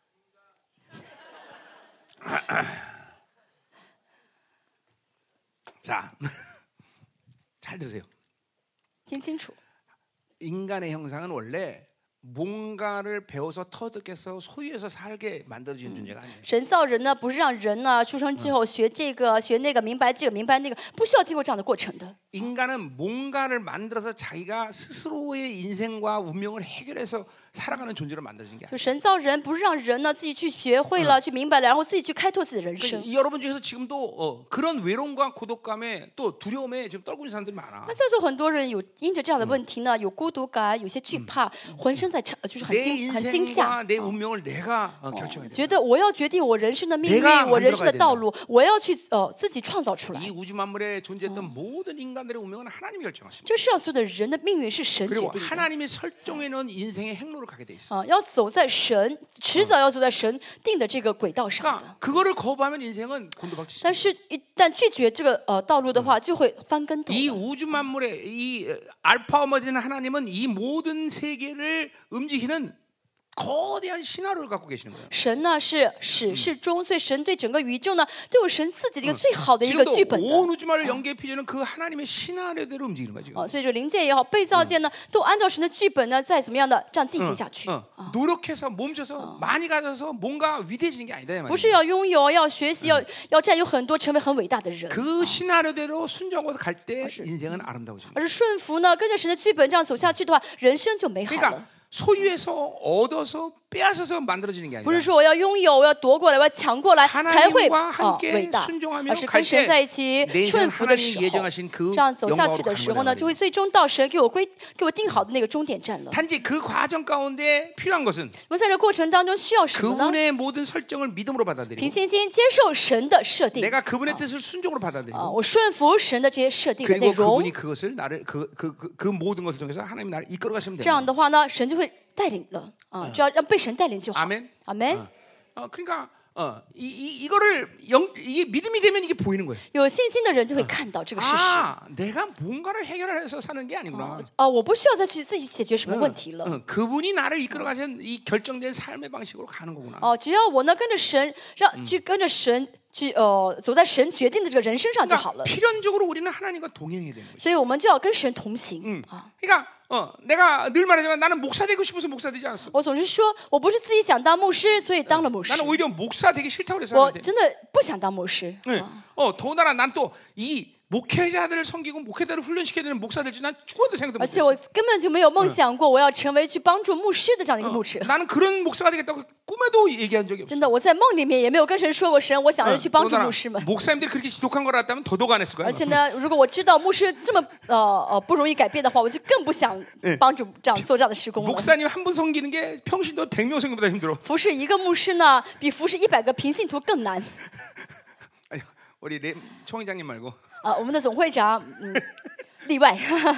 자, 잘 들으세요. 听清楚， 인간의 형상은 원래 뭔가를 배워서 터득해서 소유해서 살게 만들어진 존재가 아니에요. 神造人呢，不是让人呢出生之后学这个学那个，明白这个明白那个，不需要经过这样的过程的。 인간은 뭔가를 만들어서 자기가 스스로의 인생과 운명을 해결해서 살아가는 존재로 만들어진 게 아니에요. 就神造人，不是让人呢自己去学会了、去明白了，然后自己去开拓自己的人生。 그러니까 여러분 중에서 지금도 어, 그런 외로움과 고독감에 또 두려움에 지금 떨고 있는 사람들이 많아. 那在座很多人有因着这样的问题呢，有孤独感，有些惧怕，浑身在呃就是很 내 惊很惊吓 인생과 ，내 운명을 내가 어, 결정해야 돼. 觉得我要决定我人生的命运 내가 ， 我人生的 만들어가야 道路，我要去呃自己创造出来 이 。 우주 만물에 존재했던 모든 인간들의 운명은 하나님이 결정하십니다. 这世上所有的人的命运是神决 그리고 定的 하나님이 설정해 놓은 인생의 행로를 가게 돼 있어. 啊，要走在神迟早要走在神定的这个轨道上的。 그러니까 그거를 거부하면 인생은 곤두박질. 但是，一旦拒绝这个呃道路的话，就会翻跟头。 이 우주 만물의 이 알파 오메가인 하나님은 이 모든 세계를 움직이는 거대한 신화를 갖고 계시는 거예요. 神呢是始是终，所以神对整个宇宙呢都有神自己的一个最好的一个 지금도 剧本的。 온 우주만을 연계해 피조는 그 하나님의 신화대로 움직이는 거죠. 哦，所以这灵界也好，被造界呢，都按照神的剧本呢，再怎么样的这样进行下去。 어, 노력해서 몸져서 많이 가져서 뭔가 위대해지는 게 아니다 이 不是 말이에요. 要拥有，要学习，要要占有很多，成为很伟大的人， 그 신화대로 순종하고 갈 때 인생은 아름다워집니다. 而是顺服呢，跟着神的剧本这样走下去的话，人生就美好了。 그러니까 소유해서 얻어서 빼앗아서 만들어지는 게 不是 아니라 说我要拥有，我要夺过来，我要抢过来才会 하나님과 啊 함께 伟大， 순종하며 而是 갈 跟神 때 在一起 내 顺 인생 服的 하나님이 时候， 예정하신 그 这样走下去 영광으로 的 가는 时候 거다 呢，就会 말이에요. 最终到神给我归给我定好的那个终点站了。 단지 그 과정 가운데 필요한 것은 那么在这过程当中需要什么呢？ 그분의 모든 설정을 믿음으로 凭 받아들이고 信心接受神的设定， 내가 그분의 뜻을 순종으로 啊， 받아들이고 我顺服神的这些设定的内 그리고 容。 그분이 그것을 나를 그, 그, 그, 그 모든 것을 통해서 하나님이 나를 이끌어 가시면 这 됩니다. 样的话呢，神就会带领了啊，只要让被神带领就好。 아멘. 阿门。 어, 그러니까 어, 이, 이, 이거를 영, 이게 믿음이 되면 이게 보이는 거예요. 有信心的人就会看到这个事实。 아, 내가 뭔가를 해결해서 사는 게 아니구나. 啊，我不需要再去自己解决什么问题了。 어, 그분이 나를 이끌어 가신 이 결정된 삶의 방식으로 가는 거구나. 哦，只要我呢跟着神，让去跟着神去呃走在神决定的这个人身上就好 그러니까 了。 필연적으로 우리는 하나님과 동행해야 되는 거죠. 所以我们就要跟神同行啊。 그러니까 어, 내가 늘 말하지만 나는 목사 되고 싶어서 목사 되지 않았어. 我总是说我不是自己想当牧师，所以当了牧师。 나는 오히려 목사 되기 싫다고 그래서 我 하는데. 真的不想当牧师。 네. 어, 더군다나 난 또 이 목회자들을 섬기고 목회자를 훈련시켜야 되는 목사 될 줄 난 죽어도 생각도 而 못 且 했어. 我根本就没有梦想过我要成为去帮助牧师的这样的一个牧者。 나는 그런 목사가 되겠다고 꿈에도 얘기한 적이 없어. 真的，我在梦里面也没有跟神说过神，我想要去帮助 더군다나 牧师们。 목사님들이 그렇게 지독한 걸 알았다면 더더욱 안 했을 거야. 而且呢，如果我知道牧师这么呃呃不容易改变的话，我就更不想帮助这样做这样的施工了。 목사님 한 분 섬기는 게 평신도 백 명 섬기보다 힘들어. 服侍一个牧师呢，比服侍一百个平信徒更难。 아니, 우리 레, 총회장님 말고 啊，我们的总会长，嗯，例外。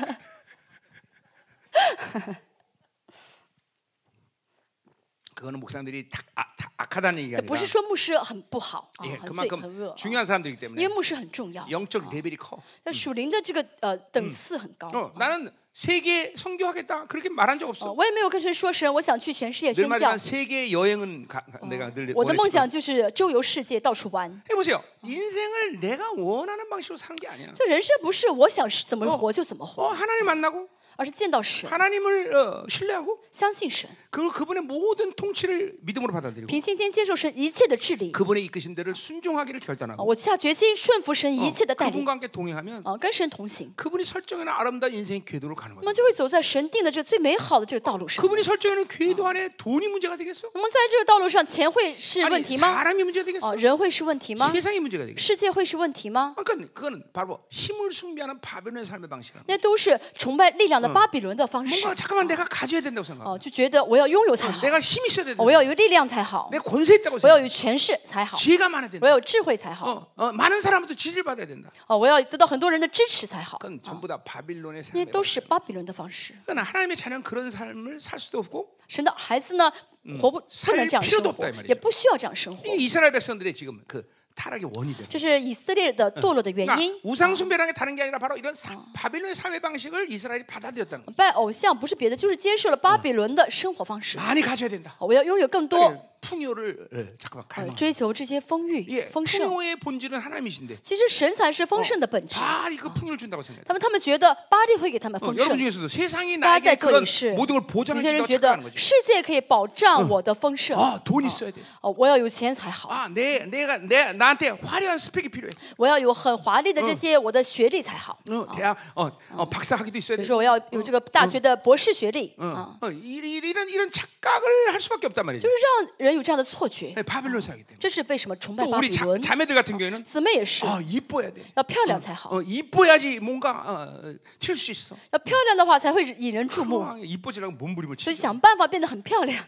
그거는 목사님들이 다, 아, 다 악하다는 얘기가 不 아니라 是说牧师很不好啊， 예, 很罪很 그만큼 恶， 중요한 사람들이기 因 때문에 为牧师很重要。 영적 레벨이 커. 那属灵的这个呃等次很高。 어, 나는 세계 선교하겠다 그렇게 말한 적 哦 없어. 我也没有跟神说神，我想去全世界 늘 宣教 말하지만 。 세계 여행은 가, 가, 내가 늘 我的梦 원했지만 想就是周游世界，到处玩。 해보세요. 인생을 내가 원하는 방식으로 사는 게 아니야. 这人生不是我想怎么活就怎么 어, 活， 하나님 만나고 而是见到神， 하나님을 어, 신뢰하고 相信神， 그 그분의 모든 통치를 믿음으로 받아들이고 凭信心接受神一切的治理。 그분의 이끄신 대를 순종하기를 啊 결단하고 我下决心顺服神一切的带领， 그분과 함께 동행하면 啊，跟神同行， 그분이 설정하는 아름다운 인생의 궤도로 가는 那 거예요. 么就会走在神定的这最美好的这个道路上。 그분이 설정하는 궤도 안에 돈이 문제가 되겠어? 那么在这个道路上，钱会是问 아니 题吗？ 사람이 문제가 되겠어? 哦，人会是问题吗？ 세상이 문제가 되겠어? 世界会是问题吗？ 그러니까 그거는 바로 힘을 숭배하는 바벨론의 삶의 방식이야. 那都是崇拜力量的巴比伦的方式。 뭔가 잠깐만 내가 가져야 된다고 생각해. 哦，就觉得我要拥有才好， 내가 힘이 있어야 된다. 我要有力量才好， 내가 권세 있다고 我要 생각해. 有权势才好， 지혜가 많아야 我 된다. 要有智慧才好， 어, 어, 많은 사람부터 지지를 받아야 된다. 哦，我要得到很多人的支持才好。 그건 전부 다 바빌론의 那 삶이에요. 都是巴比伦的方式。 그러나 하나님의 자녀는 그런 삶을 살 수도 없고 神的孩子呢，活不不能这样生活，也不需要这样生活。 이 이스라엘 백성들의 지금 그 타락의 원이 되는. 这是以色列的堕落的原 그러니까 因。 우상 숭배라는 게 다른 게 아니라 바로 이런 사, 바빌론의 삶의 방식을 이스라엘이 받아들였다는 거예요. 拜偶像不是别的，就是接受了巴比伦的生活方式。 많이 가져야 된다. 我要拥有更多， 풍요를 예, 잠깐만 呃 갈망. 追求这些丰裕、 예, 丰盛。 풍요의 본질은 하나님이신데 其实神才是丰盛的本质。 바알이 그 풍요를 준다고 생각해요. 他们他们觉得巴利会给他们 어, 丰 여러분 盛。 중에서도 세상이 大家在 나에게 这 그런 里是， 모든 걸 有 보장해 些人 준다고 觉得 착각하는 거지. 世界可以保障我的丰盛。 아, 돈 있어야 돼. 哦，我要有钱才好， 아, 내 내가 내 나한테 화려한 스펙이 필요해. 我要有很华丽的这些我的学历才好。 어, 대학 어, 어 박사 학위도 있어야 比 돼. 如说，我要有这个大学的博士学历， 어, 啊， 어, 이- 이- 이런 이런 착각을 할 수밖에 없단 말이죠. 就是让人有这样的错觉。 네, 바빌론 사기 때문에. 这是为什么崇拜 또 巴 우리 比 자, 伦？ 자매들 같은 경우에는 姊妹也是， 아, 이뻐야 돼. 要漂亮才好， 어, 이뻐야지 뭔가 어, 튈 수 있어. 要漂亮的话才会引人注目， 아, 이뻐지려고 몸부림을 所以 치죠. 想办法变得很漂亮。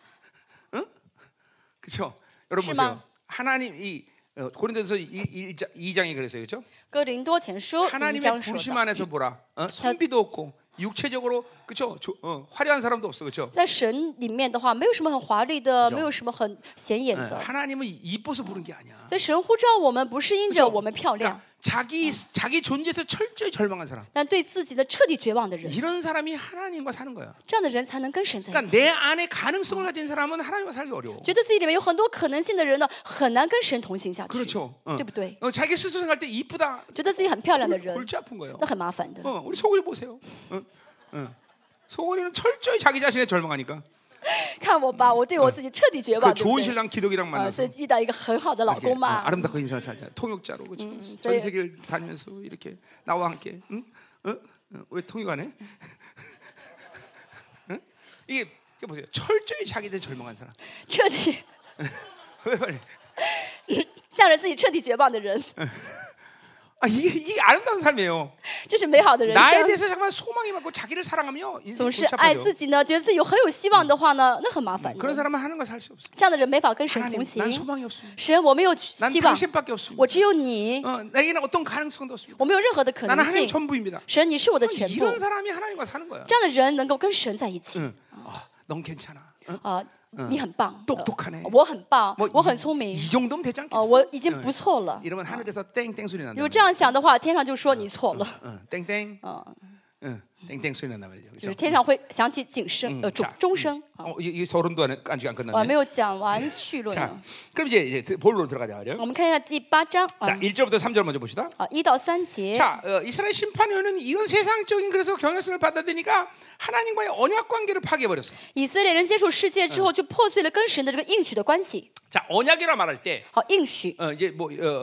그렇죠? 여러분 심한. 보세요. 하나님 이 어, 고린도서 이 장이 그랬어요, 그렇죠? 哥林多前书第一 하나님의 章说 부르심 的， 안에서 보라. 어? 선비도 없고 육체적으로 그 그렇죠? 어, 화려한 사람도 없어, 그렇죠? 在神里面的话，没有什么很华丽的，没有什么很显眼的。 하나님은 이뻐서 부른 게 아니야. 所以神呼召我们不是因着我们漂亮， 자기 자기 존재에서 철저히 절망한 사람. 但对自己的彻底绝望的人， 이런 사람이 하나님과 사는 거야. 这样的人才能跟神在一 그러니까 起。 내 안에 가능성을 가진 사람은 하나님과 살기 어려워. 觉得自己里面有很多可能性的人呢，很难跟神同行下去， 그렇죠. 어. 对不对？ 어, 자기 스스로 생각할 때 이쁘다. 觉得自己很漂亮的人， 골치 아픈 거예요. 那很麻烦的。 어, 우리 소골이 보세요. 어, 어. 소골이는 철저히 자기 자신에 절망하니까. 看我吧，我对我自己彻底绝 그 望，对不 좋은 对？ 신랑 기덕이랑 啊， 만나서 所以遇到一个很好的老 이렇게, 公 어, 嘛， 아름답고 인생을 살자. 통역자로 그렇죠. 전 세계를 다니면서 이렇게 나와 함께. 응? 어? 어? 왜 통역 안 해? 응? 이게, 이게 보세요. 철저히 자기에 대해 절망한 사람. 彻底 왜 말해? 向着自己彻底绝望的人， 아, 이게, 이게 아름다운 삶이에요. 这是美好的人 나에 生。 대해서 잠깐 소망이 많고 자기를 사랑하며 인생 总是爱 골치 自己呢，觉得自己有很有希望的话呢，那很麻烦 그런 的。 사람은 하나님과 살 수 없어. 这样的人没法跟神 하나님, 同 난 行。 소망이 없습니다. 神，我没有 난 希望， 당신밖에 없습니다. 我只有你， 어, 내게는 어떤 가능성도 없습니다. 我没有任何的可 나는 能 하나님 性。 전부입니다. 神，你是我的全部。 이런 사람이 하나님과 사는 거야. 这样的人能够跟神在一起。 응. 아, 넌 괜찮아. 응? 啊，你很棒， 똑똑하네. 我很棒， 뭐 我很 이, 聪明， 이 정도면 되지 啊， 않겠어? 我已经不错了。 이러면 하늘에서 땡땡 소리 난다. 如果这样想的话，天上就说你错了， 응, 땡땡. 啊， 응, 땡땡 소리 난단 말이죠. 就是 그렇죠? 天上会响起警声，呃，钟 자 钟声。 어, 이, 이 서른도 안, 아직 안 我还 끝났네. 没有讲完序论 자, 呢。 그럼 이제, 이제 본론으로 들어가자 말이요. 我们看一下第八章 자, 啊， 일 절부터 삼 절 먼저 봅시다. 啊一到三节。 자, 어, 이스라엘 심판위원은 이런 세상적인 그래서 경향성을 받아들이니까 하나님과의 언약 관계를 파괴해 버렸어. 以色列人接触世界之后，就破碎了跟神的这个应许的关系。 자, 언약이라 말할 때 好，应许 어, 이제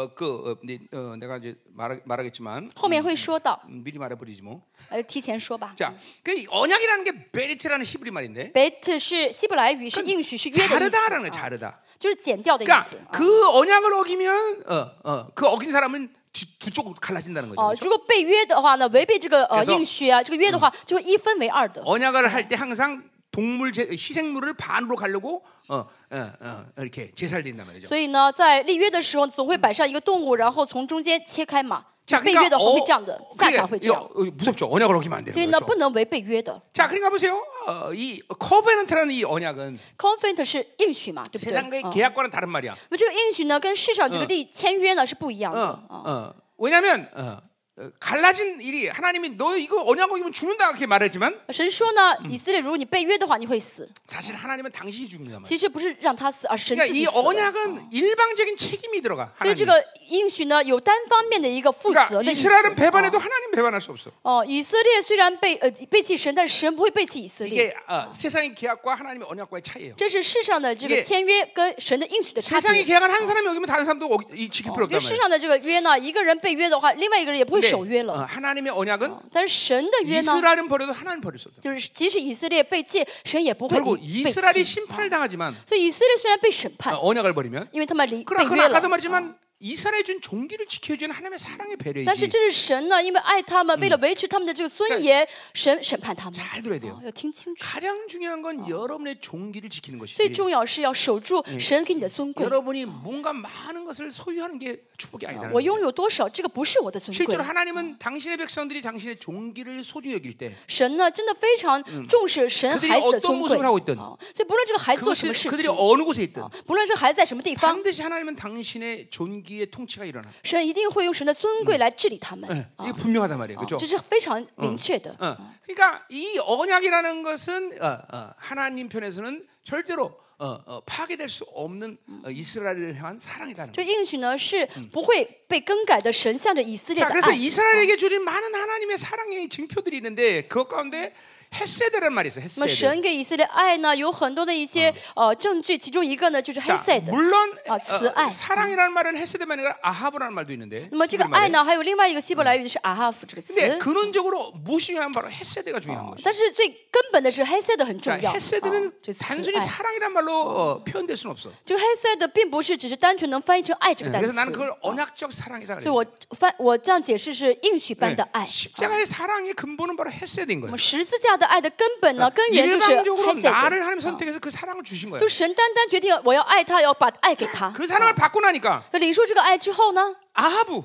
뭐그 어, 네, 어, 내가 이제 말 말하겠지만 后面会说到， 음, 미리 말해버리지 뭐. 呃，提前说吧。 자, 그 언약이라는 게 베리트라는 히브리 말인데 bet 是希伯来语，是应许，是约的意 자르다라는 거야, 思， 자르다. 就是剪掉的意 그러니까 思。 그 언약을 어기면 어, 어, 그 어긴 사람은 두, 두 쪽으로 갈라진다는 거죠. 哦， 그렇죠? 如果被约的话呢，违背这个呃 그래서 应许啊，这个约的话，就会一分为二的。 언약을 할 때 항상 동물 제, 희생물을 반으로 가려고 어, 어, 어, 이렇게 제사를 드린단 말이죠. 所以呢，在立约的时候，总会摆上一个动物，然后从中间切开嘛。 자, 被约的话 어, 会这样的，下场会这样。 이거, 이거 무섭죠. 언약을 어기면 안 所以 되는 呢， 거죠. 不能违背约的。 자, 그러니까 보세요. 어, 이 커베넌트라는 이 언약은 Covenant 是应许嘛，对不对？ 세상의 嗯 계약과는 다른 말이야. 那么这个应许呢，跟世上这个立签约呢是不一样的。 어, 啊 어. 왜냐하면 어, 어, 갈라진 일이 하나님이 너 이거 언약 어기면 죽는다 그렇게 말했지만 神说呢，以色列，如果你被约的话，你会死。 사실 하나님은 당신이 죽는단 말이야. 其实不是让他死，而是神 그러니까 自己 이 死了。 언약은 일방적인 책임이 들어가. 所以这 하나님. 个应许呢，有单方面的一个负责 그러니까 的意思。 이스라엘은 배반해도 하나님 배반할 수 없어. 哦，以色列虽然背呃背弃神，但是神不会背弃以色列。 이게 어, 세상의 계약과 하나님의 언약과의 차이예요. 这是世上的这个 이게 签约跟神的应许的差 세상의 别。 계약은 한 사람이 어기면 다른 사람도 어기, 이, 지킬 필요 就 없단 世 말이에요. 上的这个约呢，一个人被约的话，另外一个人也不会 근데 守约 어, 了。 하나님의 언약은 但是神的约呢， 이스라엘은 버려도 하나님 버릴 수 없다. 就是即使以色列被戒，神也不会 결국 背 이스라엘이 弃。 심판을 당하지만 所以以色列虽然被审判 어, ， 언약을 버리면 因为他们离被 그러나 约 아까도 了， 말했지만 이스라엘 준 종기를 지켜주는 하나님의 사랑의 但是 배려이지. 这是神呢，因为爱他们，为了维持他们的这个尊严，神审判他们。 잘 들어야 돼요. 哦要听清楚， 가장 중요한 건 여러분의 종기를 지키는 最 것이지. 重要是要守住神给你的尊贵。 여러분이 뭔가 많은 것을 소유하는 게 축복이 아니다는 我 거예요. 拥有多少，这个不是我的尊贵 실제로 。 하나님은 당신의 백성들이 당신의 종기를 소중히 여길 때 神呢，真的非常重视神 그들이 孩子的 어떤 尊贵。 모습을 하고 있든 哦所以不论这个孩子做什么 그것이 事 그들이 情， 어느 곳에 있든 不论这个孩子在什么地方， 반드시 하나님은 당신의 존귀의 통치가 일어나. 神一定会用神的尊贵来治理他们。 이게 분명하단 말이에요, 哦 그렇죠? 这是非常明确的。 어. 그러니까 이 언약이라는 것은 어, 어, 하나님 편에서는 절대로 어, 어, 파괴될 수 없는 어, 이스라엘을 향한 사랑이다는 这 거예요. 应许呢是不会被更改的，神向着以色列 자, 的 그래서 爱。 이스라엘에게 주신 많은 하나님의 사랑의 증표들이 있는데 그것 가운데 헤세드라는 말이 있어요. 那么 헤세드. 神给以色列爱呢，有很多的一些呃证据，其中一个呢就是 자, Hesed。 물론 아, 慈爱. 어, 사랑이라는 말은 헤세드만 아니라 아하브라는 말도 있는데. 那么这个 히브리 爱 말에. 呢，还有另外一个希伯来语是阿哈夫这个词。 근데 근원적으로 무엇이 중요한 바로 헤세드가 중요한 것이죠. 但是最根本的是 Hesed 很重 자, 要。 헤세드는 啊这慈 단순히 爱， 사랑이란 말로 어, 표현될 수는 없어. 这个 Hesed 并不是只是单纯能翻译成爱这个单 그래서 词。 나는 그걸 언약적 사랑이다. 所以我翻我这样解释是应许般的爱。 십자가의 사랑의 근본은 바로 헤세드인 我 거예요. 们十字架的爱的根本呢，根源就是 일방적으로 Hesed。 나를 하나님 선택해서 그 사랑을 주신 거예요. 就神单单决定我要爱他，要把爱给他。 그 사랑을 받고 나니까 那领受这个爱之后呢， 아하브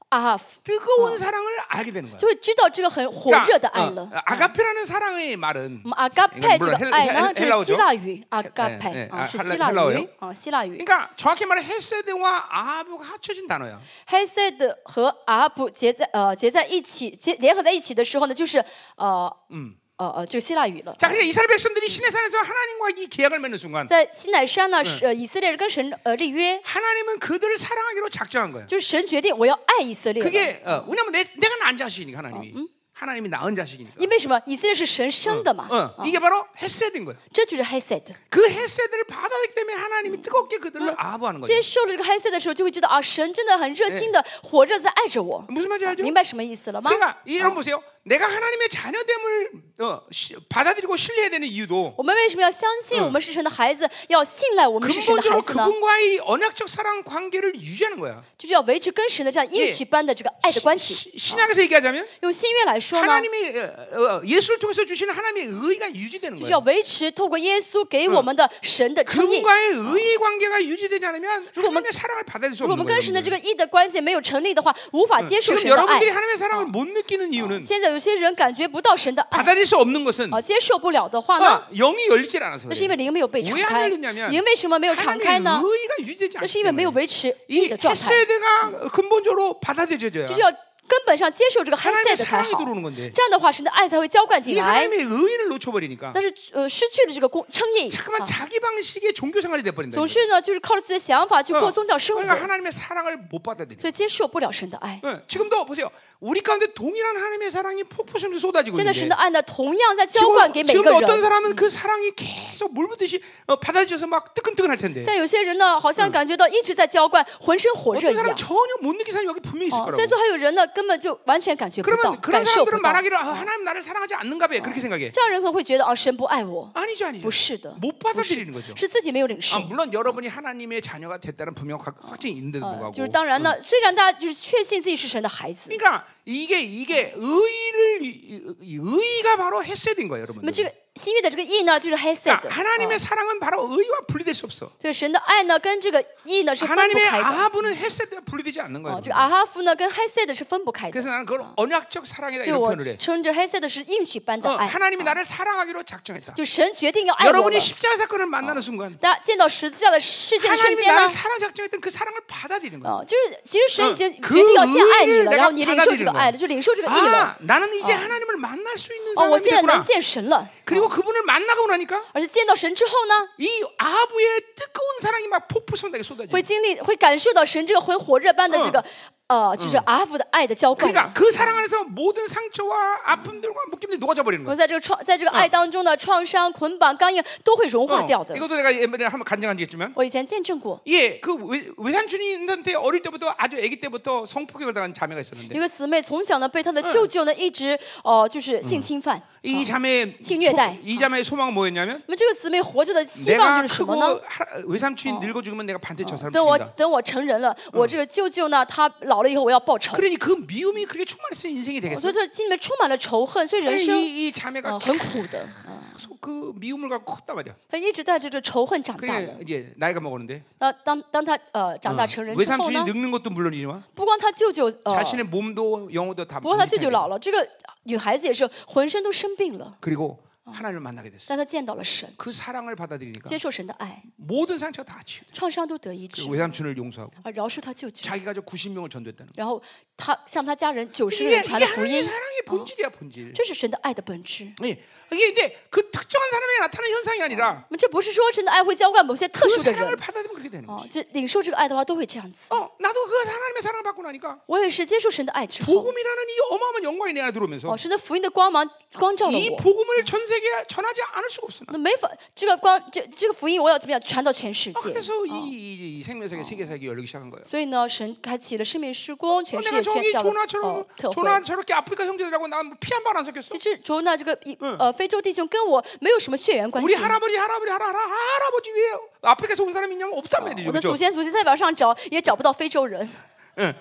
아하프 뜨거운 사랑을 알게 되는 거야. 就会知道这个很火热的爱了。 어, 아가페라는 사랑의 말은 我们阿嘎佩这个爱呢， 헬- 这是 헬라어죠 希腊语，阿嘎 네 佩 네 啊， 아 是 헬라- 希腊 헬라어예요 语啊，希腊语。 그러니까 정확히 말해 헤세드와 아하브가 합쳐진 단어야. 黑塞的和阿哈布结在呃结在一起，结联合在一起的时候呢，就是呃嗯呃呃这个希腊语了。 자, 그러니까 이스라엘 백성들이 시내산에서 하나님과 이 계약을 맺는 순간 在西乃山呢，是呃以色列人跟神呃立约， 하나님은 그들을 사랑하기로 작정한 거야. 就是神决定我要爱以色列了。 그게 어, 왜냐면 내, 내가 낳은 자식이니까 하나님이 하나님이 낳은 자식이니까. 因为什么？以色列是神生的嘛， 어, 이게 바로 헤세드인 거예요. 这就是黑塞的。 그 헤세드를 받아들이기 때문에 하나님이 뜨겁게 그들을 아부하는 거예요. 接受了这个黑塞的时候，就会知道啊，神真的很热心的、火热在爱着我。 무슨 말인지 알죠? 明白什么意思了吗？ 그러니까 이런 보세요. 내가 하나님의 자녀됨을 어, 시, 받아들이고 신뢰해야 되는 이유도 我们为什么要相信我们是神的孩子，要信赖我们是神的孩 근본적으로 子呢？ 그분과의 언약적 사랑 관계를 유지하는 거야. 就是要维持跟神的这样应许般的这个爱的关系。 시- 신약에서 얘기하자면 用新约来说呢， 하나님이 어, 어, 예수를 통해서 주시는 하나님의 의가 유지되는 就是要 거예요. 维持透过耶稣给我们的神的称义。 그분과의 의의 관계가 유지되지 않으면 하나님의 사랑을 받아들일 수 如果我 없는 们跟神的 거예요. 这个义的关系没有成立的话，无法接受 지금 神的爱 여러분들이 。 하나님의 사랑을 못 느끼는 이유는 现在有些人感觉不到神的爱， 받아들일 수 없는 것은 啊，接受不了的话呢， 어, 영이 열리질 않아서 那是因 그래요. 为灵没有被敞 왜 开。 안 열렸냐면 灵为什么没有敞开 하나님의 呢？ 의가 유지되지 那是 않기 因为没有 때문에 维持义 이 的状态， 헤세드가 근본적으로 받아들여져야 就是要根本上接受这个黑塞 하나님의 的才 사랑이 好。 들어오는 건데 这样的话，神的爱才会浇灌 이 进来。 하나님의 의를 놓쳐버리니까 但是呃，失去了这个公称义， 자꾸만 啊 자기 방식의 종교 생활이 돼버린다. 总是呢就是靠着自己的想法去 어, 过宗教生活， 그러니까 하나님의 사랑을 못 받아들여. 所以接受不了神的爱。 어, 지금도 보세요. 우리 가운데 동일한 하나님의 사랑이 폭포처럼 쏟아지고 现在神 있는데 的爱呢，同样在浇灌给 지금, 每个 지금도 어떤 人。 사람은 그 사랑이 계속 물 붓듯이 어, 받아들여서 막 뜨끈뜨끈할 텐데 现在有些人呢，好像感觉到一直在浇灌，浑身火热 어떤 一 사람은 样。 전혀 못 느낀 사람이 여기 분명히 있을 哦， 거라고. 现在还有人呢，根本就完全感觉不到， 그러면 그런 感受不 사람들은 到。 말하기를 아, 하나님 나를 사랑하지 않는가 봐 그렇게 생각해. 这样人可能会觉得啊，神不爱我。 아니죠, 아니죠. 不是的， 못 받아들이는 거죠. 是自己没有领 아, 受。 물론 여러분이 하나님의 자녀가 됐다는 분명 확- 확증이 있는데도 呃 불구하고. 就是当然呢，虽然大家就是确信自己是神的孩子， 그러니까 이게 이게 의를 이- 이- 의가 바로 헤세드인 거예요, 那么 여러분들. 这个新约的这个义呢，就是黑色 그러니까 的。 하나님의 사랑은 바로 의와 분리될 수 없어. 所以神的爱呢，跟这个义呢是分不 하나님의 开的。 아하브는 헤세드가 분리되지 않는 哦 거예요. ， 这个阿哈夫呢跟黑色的是分不开的。 그래서 나는 그걸 언약적 사랑이다 所以 이런 我 표현을 해. 称这黑色的是应许般的 어, 爱。 하나님이 나를 사랑하기로 작정했다. 就神决定要爱我了 여러분이 。 십자가 사건을 만나는 순간 大家见到十字架的事件的瞬 하나님이 间 나를 呢， 사랑 작정했던 그 사랑을 받아들이는 거야. 哦，就是其实神已经嗯决定要先爱你 그 了， 의를 然后你领受这个 내가 爱了，就领受这个义了。 아, 나는 이제 하나님을 만날 수 있는 哦，我 사람이 现在 됐구나. 能见神了。 그리고 그분을 만나고 나니까 而且见到神之后呢， 이 아하브의 뜨거운 사랑이 막 폭포성하게 쏟아져. 会经历，会感受到神这个很火热般的这个呃，就是阿夫的爱的浇灌。 그러니까 그 사랑 안에서 모든 상처와 아픔들과 묶임들이 녹아져 버리는 我 거야. 在这个创，在这个爱当中的创伤、捆绑、刚硬都会融化掉 어, 的。 이것도 내가 옛날에 한번 간증한 적 있지만 我以前见证过， 예, 그 외, 외삼촌이한테 어릴 때부터 아주 아기 때부터 성폭행을 당한 자매가 있었는데 有个姊妹从小呢被她的舅舅呢一直呃就是性侵犯。 이 자매의 性虐待。 소, 이 자매의 소망은 뭐였냐면 那么这个姊妹活着的希望 내가 就是什么 크고 呢？ 하, 외삼촌이 늙어 죽으면 내가 반드시 저 사람 等我 죽인다. 等我成人了，我这个舅舅呢，他老了以后我要报仇。 그러니 그 미움이 그렇게 충만했으니 인생이 我 되겠어. 觉得这心里面充满了仇恨，所以人生 이, 이 자매가 呃很苦的。 계속 그 미움을 갖고 컸단 말이야. 他一直带着这仇恨长大 그래 的。 이제 나이가 먹었는데 那当当他呃长大成人之后 외삼촌이 呢， 늙는 것도 물론이지만 不光他舅舅呃， 자신의 몸도 영혼도 다 不光他舅舅 문제창이야. 老了，这个女孩子也是浑身都生病了， 그리고 하나님을 만나게 됐어. 但她见到了神， 그 사랑을 받아들이니까 接受神的爱， 모든 상처가 다 치유. 创伤都得医治 그 ， 외삼촌을 용서하고 而饶恕他舅舅。 자기 가족 구십 명을 전도했다는 거. 然后他向他家人九十个 이게, 人传 이게 了福 하나님의 音， 사랑의 본질이야 본질. 这是神的爱的本质。 예. 이게 근데 그 특정한 사람에게 나타나는 현상이 아니라 那么这不是说神的爱会浇灌某些特 그 殊的 사랑을 人， 받아들이면 그렇게 되는 哦 거지. ， 这领受这个爱的话都会这样子。 어, 나도 그 하나님의 사랑을 받고 나니까 我也是接受神的爱之后， 복음이라는 이 어마어마한 영광이 내 안에 들어오면서 哦，神的福音的光芒光照了 이 我。 복음을 전 세계에 전하지 않을 수가 없어. 那没法，这个光，这这个福音我要怎么样传到全世 아, 界？ 그래서 이, 이, 이 생명세계 세계사역이 열리기 시작한 거예요. 所以呢，神开启了生命施工，全 어, 世 내가 界宣 저기 教的 조나처럼 呃特 조나 会。 저렇게 아프리카 형제들하고 난 피 한 발 안 섞였어. 其实卓那这个一呃非洲弟兄跟我没有什么血缘关 우리 系。 할아버지 할아버지 할아, 할아, 할아버지 왜 아프리카에서 온 사람이 있냐면 없단 말이죠. 我的 그렇죠? 祖先祖先在网上找也找不到非洲人。 응.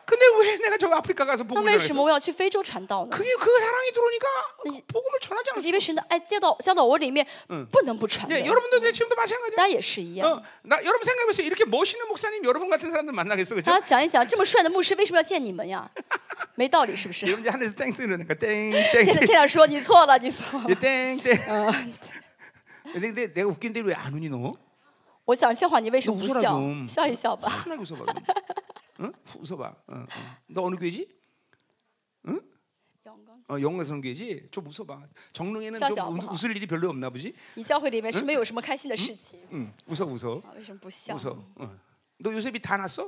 근데 왜 내가 저 아프리카 가서 那 복음을 为什 전했어? 么我要去非洲传道呢？ 그게 그 사랑이 들어오니까 그 복음을 전하지 않았어. 因为神的爱教导教导我里面不能不传的。 예, 여러분도 내 지금도 마찬가지야. 大家也是一样。 어, 나 여러분 생각해보세요. 이렇게 멋있는 목사님 여러분 같은 사람들 만나겠어, 그렇죠? 大家想一想，这么帅的牧师为什么要见你们呀？没道理，是不是？ 여러분 이제 하늘에서 땡 쓰니까 땡 天 땡 天天上说你错了，你错了。 땡 땡. 嗯， 근데 내가 웃긴데 왜 안 웃니 너? 我想笑话你，为什么不 웃어라 笑？ 좀. 笑一笑吧。 하나 웃어봐. 그럼. 응? 웃어봐. 어, 어. 너 어느 교회지? 응? 어, 영광 선교회지. 좀 웃어봐. 정릉에는 좀 웃, 웃을 일이 별로 없나 보지? 你教会里面是没有什么开心的事情。 응. 웃어 웃어. 啊，为什么不笑？ 웃어. 어. 너 요셉이 다 났어?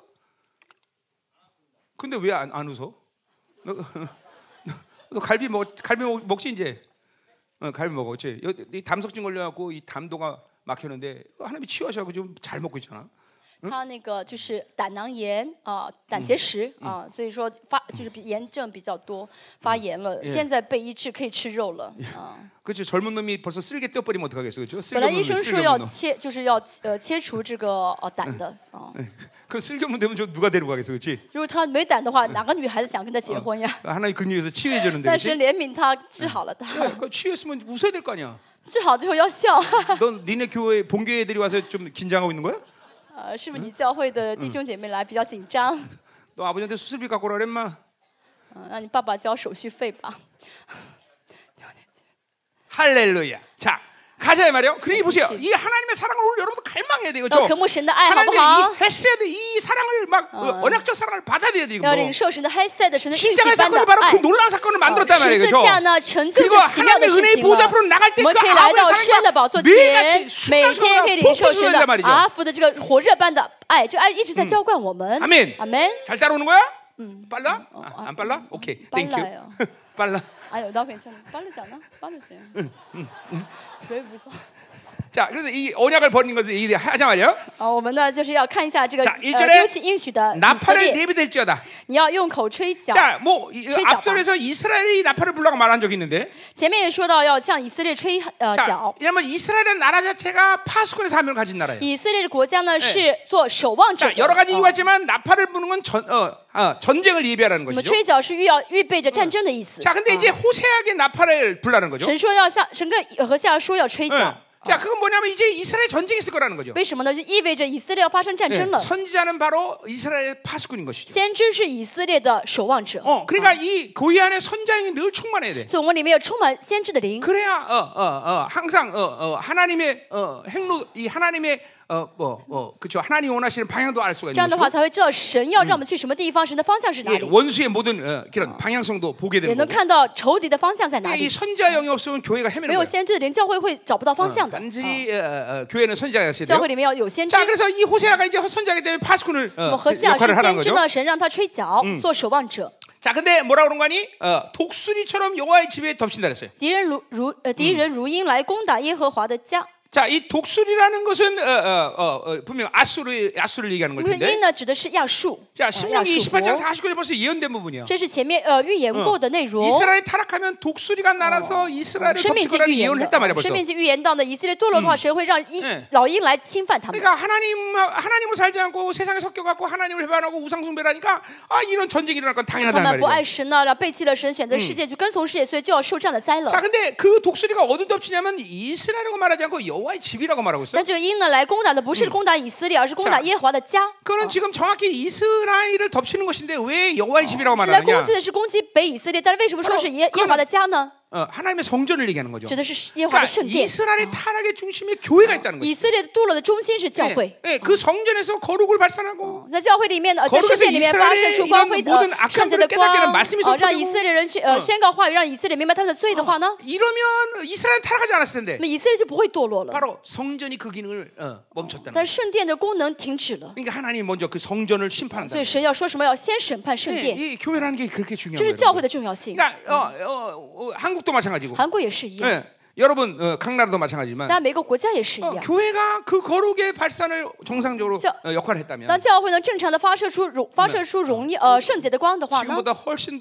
근데 왜 안 안 웃어? 너, 너, 너 갈비 먹 갈비 먹, 먹지 이제? 어, 갈비 먹었지. 이 담석증 걸려갖고 이 담도가 막혔는데 하나님이 치유하셔서 좀 잘 먹고 있잖아. 他那个就是胆囊炎啊、胆结石啊，所以说发就是炎症比较多，发炎了。现在被医治，可以吃肉了啊。 그렇죠. 젊은 놈이 벌써 쓸개 떼어버리면 어떡하겠어, 그렇죠? 本来医生说要切，就是要呃切除这个呃胆的啊。 그 쓸개만 되면 저 누가 데리고 가겠어, 그렇지? 如果他没胆的话，哪个女孩子想跟他结婚呀？ 하나님 근육에서 치유해 주는데. 但神怜悯他，治好了他。 그 치유했으면 웃어야 될 거 아니야. 治好之后要笑。 넌 니네 교회 본교회 애들이 와서 좀 긴장하고 있는 거야? 呃，是不是你教会的弟兄姐妹来比较紧张？ 너 아버지한테 수술비 갖고 오라 그랬마? 嗯，让你爸爸交手续费吧。 할렐루야. 자, 가자 말이요. 그러니 보세요. 이 하나님의 사랑을 오늘 여러분도 갈망해야 돼요. 要 그렇죠? 渴慕神的爱，好不 하나님의 好？ 이 헤세드 이 사랑을 막 어, 언약적 사랑을 받아들여야 돼요. 要 이거. 领受神的黑塞的神的应许 십자가의 般的 사건이 바로 爱 그 。 놀라운 사건을 만들었단 十 말이에요. 字 그렇죠? 架呢，成就 그리고 这奇妙的 하나님의 事 은혜의 情 보좌 了。 앞으로 나갈 때 我 그 们可以来 아버지의 到神的宝 사랑과 座前， 매일같이 每天可以 순간순간 领受神 폭포수준이란 的 말이죠. 阿父的这个火热般的爱，这个爱一直在浇灌我们。 아멘. 阿门。 잘 따라오는 거야? 빨라? 아, 안 빨라? 오케이. 땡큐. 빨라요. 빨라. 아유, 나 괜찮아. 빠르잖아. 빠르지. 왜 무서워? 자, 그래서 이 언약을 버리는 것을 이 하자 말이야. 啊，我们呢就是要看一下这个 자 呃 일 절에 丢弃应许的以色 나팔을 列， 내비댈지어다. 你要用口吹角。 자, 뭐 이, 吹角吧。 앞절에서 이스라엘이 나팔을 불라고 말한 적이 있는데. 前面也说到要向以色列吹呃 자, 角。 왜냐면 이스라엘은 나라 자체가 파수꾼의 사명을 가진 나라예요. 以色列的国家呢是做守望者 자, 的。 여러 가지 哦 이유가 있지만 나팔을 부는 건 전, 어, 어, 전쟁을 예비하라는 我们 것이죠. 吹角是预要预备着战争的意思。 자, 근데 이제 호세아에게 나팔을 불라는 거죠. 神说要向神跟和下说要吹 응. 角。 자, 그건 뭐냐면 이제 이스라엘 전쟁이 있을 거라는 거죠. 为什么呢？就意味着以色列要发生战 네, 争了。 선지자는 바로 이스라엘의 파수꾼인 것이죠. 先知是以色列的守望者， 어, 그러니까 이 고위 안에 선장이 늘 충만해야 돼. 所以我们里面有充满先知的灵。 그래야 어, 어, 어, 항상 어, 어, 하나님의 어, 행로 이 하나님의 어, 뭐, 어, 그렇죠. 하나님이 원하시는 방향도 알 수가 这样 있는 的话 것이고 才会知道神要让我们去什么地方，神的方向是哪 예, 里， 원수의 모든 어, 그런 방향성도 보게 也 되는 能 거고. 看到仇敌的方向在哪 이 里。 선지자 영이 없으면 교회가 没 헤매는 有 거예요. 先知的灵，教会会找不到方向的。 단지 어, 어, 교회는 선지자가 있어야 教 돼요. 会里面要有先知。 자, 그래서 이 호세아가 이제 선지자기 때문에 파수꾼을 那么 어, 何西亚是 역할을 하는 先知 거죠. 呢，神让他吹角，做守望者。 자, 근데 뭐라 그런 거니? 어, 독수리처럼 여호와의 집에 덮친다 그랬어요. 敌人如如呃敌人如鹰来攻打耶和华的家。 자, 이 독수리라는 것은 어, 어, 어, 어, 분명 아수르 아수를 얘기하는 걸 因为 텐데. 鹰呢指的是亚述， 자, 呃亚 신명기 述 이십팔 장 国。 사십구 절 벌써 예언된 부분이야. 这是前面呃预言过的内容。 이스라엘이 타락하면 독수리가 날아서 이스라엘을 生命 덮칠 记 거라는 预言 예언을 했단 말이야 的， 벌써. 生命记预言到呢，以色列堕落的话，神会让鹰 네 老鹰来侵犯他们。 그러니까 하나님 하나님을 살지 않고 세상에 섞여 갖고 하나님을 배반하고 우상 숭배라니까 아 이런 전쟁이 일어날 건 他 당연하단 们不爱 말이죠. 神呢，然后背弃了神，选择世界，就跟从世界，所以就要受这样的灾 자, 了。 근데 그 독수리가 어디 덮치냐면 이스라엘이라고 말하지 않고 여호와의 집이라고 말하고 있어요. 但这个鹰呢，来攻打的不是攻打以色列，而是攻打耶和华的家。 그거는 지금 정확히 이스라엘을 덮치는 것인데 왜 여호와의 집이라고 是来攻 말하느냐? 击的是攻击北以色列，但是为什么说是耶耶和华的家呢？ 어, 하나님의 성전을 얘기하는 거죠. 指的是耶和华 그러니까 的圣殿。 이스라엘의 타락의 중심에 교회가 있다는 以 거죠. 色列堕落的中心是教会。 예, 예, 그 성전에서 거룩을 발산하고 在教会里面呢，在 거룩에서 圣殿里面发射出光辉 이스라엘의 이런 的 모든 圣洁的 악함들을 光 깨닫게 하는 말씀이 呃，让 선포되고 以色列人宣呃宣告话语，让以色列明白他们的罪的话呢， 이러면 이스라엘 타락하지 않았을 텐데 那么以色列就不会堕落了。 바로 성전이 그 기능을 어, 멈췄다는 但 거예요. 是圣殿的功能停止了， 그러니까 하나님 먼저 그 성전을 심판한다. 所以神要说什么？要先审判圣 예, 殿， 이 교회라는 게 그렇게 这 중요한 是 거예요. 教会的重要性。 그러니까 어, 어, 어, 한국도 마찬가지고. 韩国也是一样， 예, 여러분 어, 각 나라도 마찬가지지만 当然每个国家也是一 어, 样。 교회가 그 거룩의 발산을 정상적으로 자, 어, 역할을 했다면 当教会能正常的发射出荣发射出荣耀呃圣洁的光的话呢， 지금보다 훨씬 더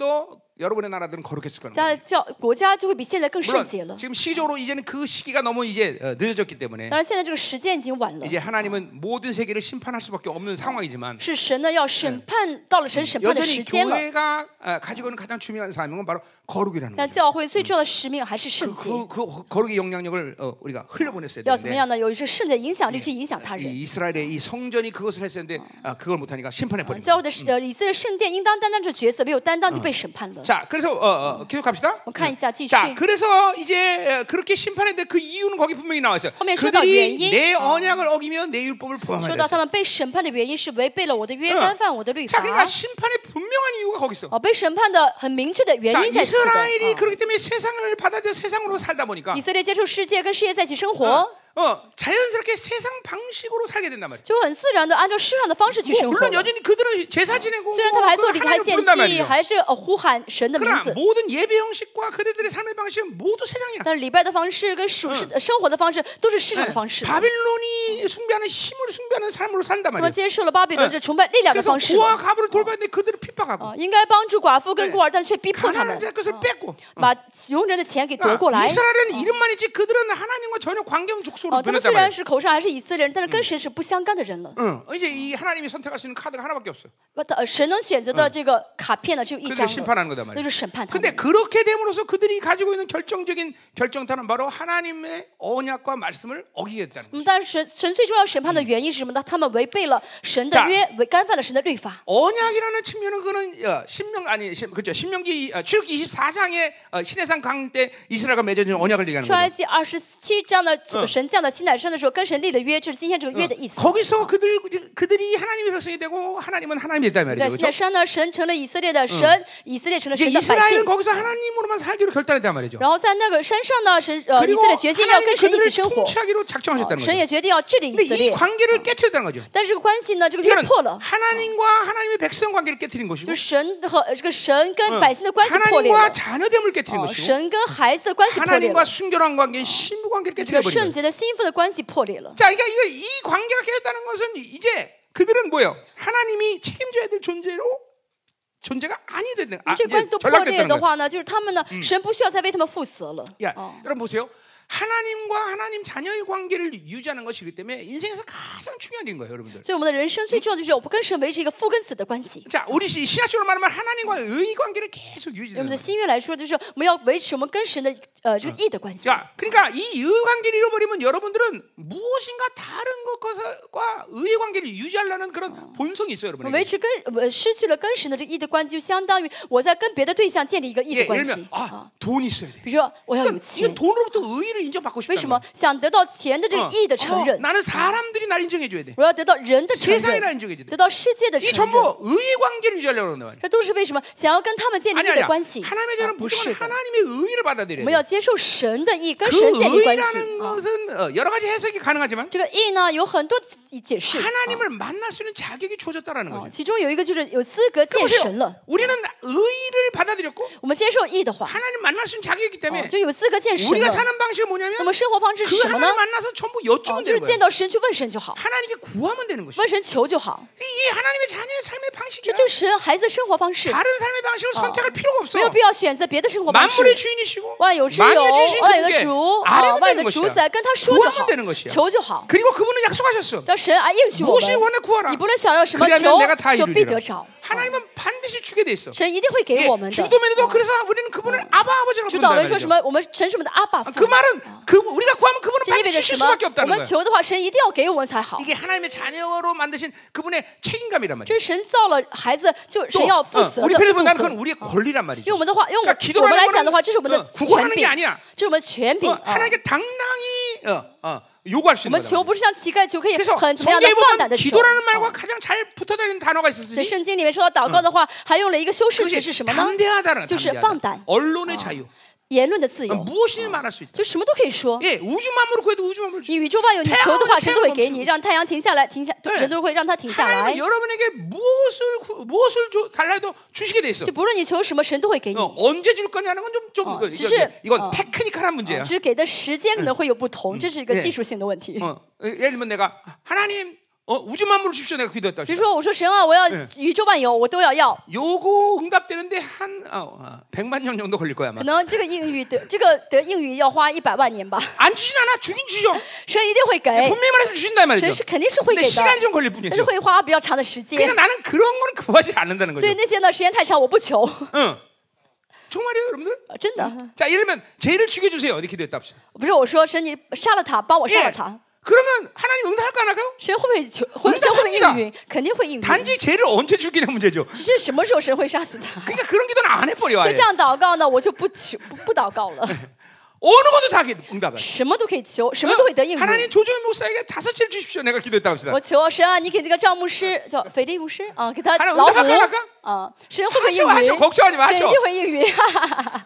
여러분의 나라들은 거룩했을 거라는 大 거예요. 家教国家就会比现在更圣洁 물론 了。 지금 시기적으로 이제는 그 시기가 너무 이제 어, 늦어졌기 때문에 当然，现在这个时间已经晚了， 이제 하나님은 모든 세계를 심판할 수밖에 없는 상황이지만 是神呢要审判，到了神审判的 여전히 时间了。 교회가 어, 가지고 있는 가장 중요한 사명은 바로 거룩이라는 但 거죠. 教会最重要的使命还是圣洁， 그, 그 거룩의 영향력을 어, 우리가 흘려보냈어야 要怎么 되는데 样呢？有一个圣洁的影响力去影响他 이 人。 이스라엘의 이 성전이 그것을 했었는데 아, 그걸 못하니까 심판해 버린 教 거예요. 会的呃以色列圣殿应当担当这角色，没有担当就被审判了。 자, 그래서 어, 어, 계속 갑시다. 我们看一下，继续。 자, 그래서 이제 어, 그렇게 심판했는데 그 이유는 거기 분명히 나와 있어요. 后面说到原 그들이 因， 내 언약을 어기며 내 율법을 说 범하였다. 到他们被审判的原因是违背了我的约，干犯我的律 자, 法。 그러니까 심판의 분명한 이유가 거기 있어. 哦，被审判的很明确的原 자, 因在此的。 이스라엘이 哦 그렇기 때문에 세상을 받아들여 세상으로 살다 보니까 以色列接触世界，跟世界在一起生活， 어, 자연스럽게 세상 방식으로 살게 된단 말이야. 就很自然的按照世上的方式去 뭐, 生活 물론 了。 여전히 그들은 제사 지내고 虽然他们还做 뭐 礼还 하나님을 献 부른단 祭， 말이죠. 还是呃呼喊神的名 그러나 字， 모든 예배 형식과 그들의 삶의 방식은 모두 세상이야. 但是礼拜的方式跟属世的生活的方式都是世上的方式。 바빌론이 숭배하는 힘을 숭배하는 삶으로 산단 他们 말이야. 接受了巴比伦这崇拜力量的 그래서 方式 고아 了。 가부를 돌봤는데 그들을 핍박하고 啊，应该帮助寡妇跟孤儿，但是却逼迫他 가난한 们， 자 것을 뺏고 把穷人的钱给夺过 그러니까 来。 이스라엘은 이름만 있지 그들은 하나님과 전혀 관계없는 족속으로 哦，他们虽 변했단 然 말이야. 是口上还是以色列人，但是跟神是不相干的人了。 응, 이제 이 하나님이 선택할 수 있는 카드가 하나밖에 없어. 呃，神能选择的这个卡片呢，只有一 그들을 张 심판하는 了， 거단 那 말이야. 就是审判他 근데 们。 그렇게 됨으로써 그들이 가지고 있는 결정적인 결정타는 바로 하나님의 언약과 말씀을 어기게 됐다는 那 거죠. 么，但是神神最重要审判的原因是什么呢？他们违背了神的 자 约，违干犯了神的律法。 언약이라는 측면은 그는 어, 신명 아니 신, 그렇죠. 신명기 어, 출애굽기 이십사 장의 어, 시내산 강 때 이스라엘과 맺어진 언약을 얘기하는 出埃 거죠. 及二十七章的这个神降到西乃山的时候，跟神立了约，就是今天这个约的意思。 거기서 그들 그들이 하나님의 백성이 되고 하나님은 하나님의 자이 在 말이죠. 西乃 그렇죠? 山呢，神成了以色列的神，以色列成了 이제 神的百姓 이스라엘은 。 거기서 하나님으로만 살기로 결단했단 말이죠. 然后在那个山上呢，神呃以 그리고 色列决心要 하나님이 跟神一起 그들을 生活， 통치하기로 작정하셨다는 神 거죠. 也决定要治理以 근데 色 이 列。 관계를 깨뜨렸다는 거죠. 但是这个关系呢，这个约 이거는 破了， 하나님과 하나님의 백성 관계를 깨뜨린 就 것이고 是神和呃这个神跟百姓的关系破裂 하나님과 了， 자녀됨을 깨뜨린 哦 것이고 神跟孩子的关系破裂 하나님과 了， 순결한 관계, 신부 관계를 这 깨뜨려 个 버린 圣 거예요. 洁的心腹的关系破裂了。 자, 그러니까 이거 이 관계가 깨졌다는 것은 이제 그들은 뭐예요? 하나님이 책임져야 될 존재로 존재가 아니 되는 아, 这个关系 이제 都破裂 전락됐다는 的 거예요. 话呢，就是他们呢，神不需要再为他们负责了。 야, 哦 여러분 보세요. 하나님과 하나님 자녀의 관계를 유지하는 것이기 때문에 인생에서 가장 중요한 일인 거예요, 여러분들. 所以我们的人生最重要的就是我们跟神维持一个父跟子的关系。 자, 우리 시- 신학적으로 말하면 하나님과 의 관계를 계속 用我 유지하는 们的 거예요. 新约来说，就是我们要维持我们跟神的呃这个义的关系。 자, 그러니까 이 의 관계를 잃어버리면 여러분들은 무엇인가 다른 것과 의의 관계를 유지하려는 그런 본성이 있어요, 我们维 여러분에게. 持跟呃失去了跟神的这个义的关系，就相当于我在跟别的对象建立一个义 예, 的关 예를 系 들면 啊。 아, 돈이 있어야 돼. 比如说我要有 그러니까 钱 이건 ， 돈으로부터 의의를 인정받고 为 싶다는 什 거야. 么想得到钱的这个 어, 义的承 어, 认？ 나는 사람들이 날 인정해줘야 돼. 我要得到人的承 세상이라 认， 인정해줘야 돼. 得到世界的 이게 承认。 전부 의의 관계를 유지하려고 그런단 말이야. 这都是为什么想要跟他们建立 아니 义 아니야. 的关系？ 하나님의 啊 자는 不是 무조건 的， 하나님의 의의를 我 받아들여야 们 돼. 要接受神的义，跟 그 神建立关系。 의의라는 啊 것은 어, 여러 가지 해석이 가능하지만 这个义呢有很多解释， 하나님을 만날 수 있는 자격이 주어졌다라는 啊 거죠. 其中有一个就是有资格见神 보세요. 了。 우리는 의의를 받아들였고 我们接受义的话， 하나님 만날 수 있는 자격이 있기 哦 때문에 就有资格见神 우리가 了。 사는 방식이 那 뭐냐면 么生活方式是 그 什么呢？ 하나님 만나서 전부 哦， 여쭈면 就是 되는 见 거예요. 到神去问神就好， 하나님께 구하면 되는 것이죠. 问神求就好。 이게 하나님의 자녀의 삶의 这 방식이야. 就是神孩子的生活方式， 다른 삶의 방식을 선택할 필요가 없어. 没有必要选择别的生活方式。 만물의 주인이시고 万有之有， 만유의 주신 万有的 그분께 主，啊， 아뢰면 万有 되는 的主 것이야. 宰，跟他说就 구하면 好 되는 ， 것이야. 求就好。 그리고 그분은 약속하셨어. 叫神啊应许我 무엇이 们， 원해 구하라. 你不论想要什么 그리하면 求 내가 다 就必 이루리라. 得着。 하나님은 반드시 주게 돼 있어. 神一定会给 예, 我们的。 주도면에도 그래서 우리는 그분을 아바 아버지라고 主导 부른다 文说什 말이죠. 么？我们神是我们的阿爸父 그 。 말은 그 우리가 구하면 그분은 这意味 반드시 着 주실 什么 수밖에 ？ 我 없다는 们 거야. 求的话，神一定要给我们才好。 이게 하나님의 자녀로 만드신 그분의 책임감이란 말이야. 这是神造了孩子，就神 또 要负 어, 责 우리 的 편에서 部 나는 그건 分。 우리의 권리란 말이죠. 用我们的话，用我 그러니까 我 기도라는 们来讲的 거는 话，这是我们的 어, 权 구하는 게 柄， 아니야. 这是我们的权柄 어, 啊。 하나님께 당당히 어, 어, 요구할 수 我 있는 们求 거다. 不是像乞丐求，可以 그래서 很怎么样的 성경에 放胆 보면 的求。 기도라는 말과 哦 가장 잘 붙어다니는 단어가 在 있었으니 圣经里面说到祷告的话，还用了一个修饰词 그것이 是什么呢？ 담대하다는 就是 담대하다. 放胆， 언론의 자유. 言论的自 어, 由， 무엇이든 말할 수 있다. 就什么都可以说。 예, 우주 만물을 구해도 우주 만물을 주. 你宇宙万有，你求的话，神都会给你， 태양을 让太阳停下来，停下， 对神都会让它停下来 하나님은 。 여러분에게 무엇을 구- 무엇을 줘, 달라 해도 주시게 돼 있어. 就不论你求什么，神都会给你。 어, 언제 줄 거냐는 건 좀 좀 어, 이거, 이거, 지시- 이건 어. 테크니컬한 문제야. 只是给的时间可能会有不同，这是一个 네 技术性的问题。 어, 예를 들면 내가 하나님 어, 우주 만물을 주십시오. 내가 기도했다. 比如说我说神啊，我要宇宙万有，我都要要。 요거 응답되는데 한 어, 어, 백만 년 정도 걸릴 거야 아마. 可能这个应允得这个得应允要花一百万年吧。 안 주진 않아. 주긴 주죠. 神一定会给， 분명히 말해서 주신다 이 말이죠. 神是肯定是会 근데 给 시간이 的， 좀 걸릴 但是 뿐이죠. 会花比较长的时间。 그러니까 나는 그런 거는 구하지 않는다는 所 거죠. 以那些呢时间太长，我不求。 응. 정말이에요, 여러분들? 真的， 자, 예를 들면 죄를 죽여주세요. 어디 기도했다 합시다. 不是我说神你杀了他，帮我杀了他， 그러면 하나님 응답할까 안 할까요? 神会不会求？会神会不会应允？肯定会应允。 단지 죄를 언제 죽이냐 문제죠. 只是什么时候神会杀死他？ 그러니까 그런 기도는 안 해버려. 所以 아예. 这样祷告呢，我就不求不不祷告了。 어느 것도 다 응답해. 什么都可以求，什么都会得应 하나님 允。 조정현 목사에게 다섯 채를 주십시오. 내가 기도했다 합시다. 我求神啊，你给这个赵牧师叫腓力牧师啊，给他 하나님 老虎 응답할까 안 할까? 啊，神会不会应 하셔 允？ 하셔 걱정하지 神一 마셔. 定会应允。哈哈哈。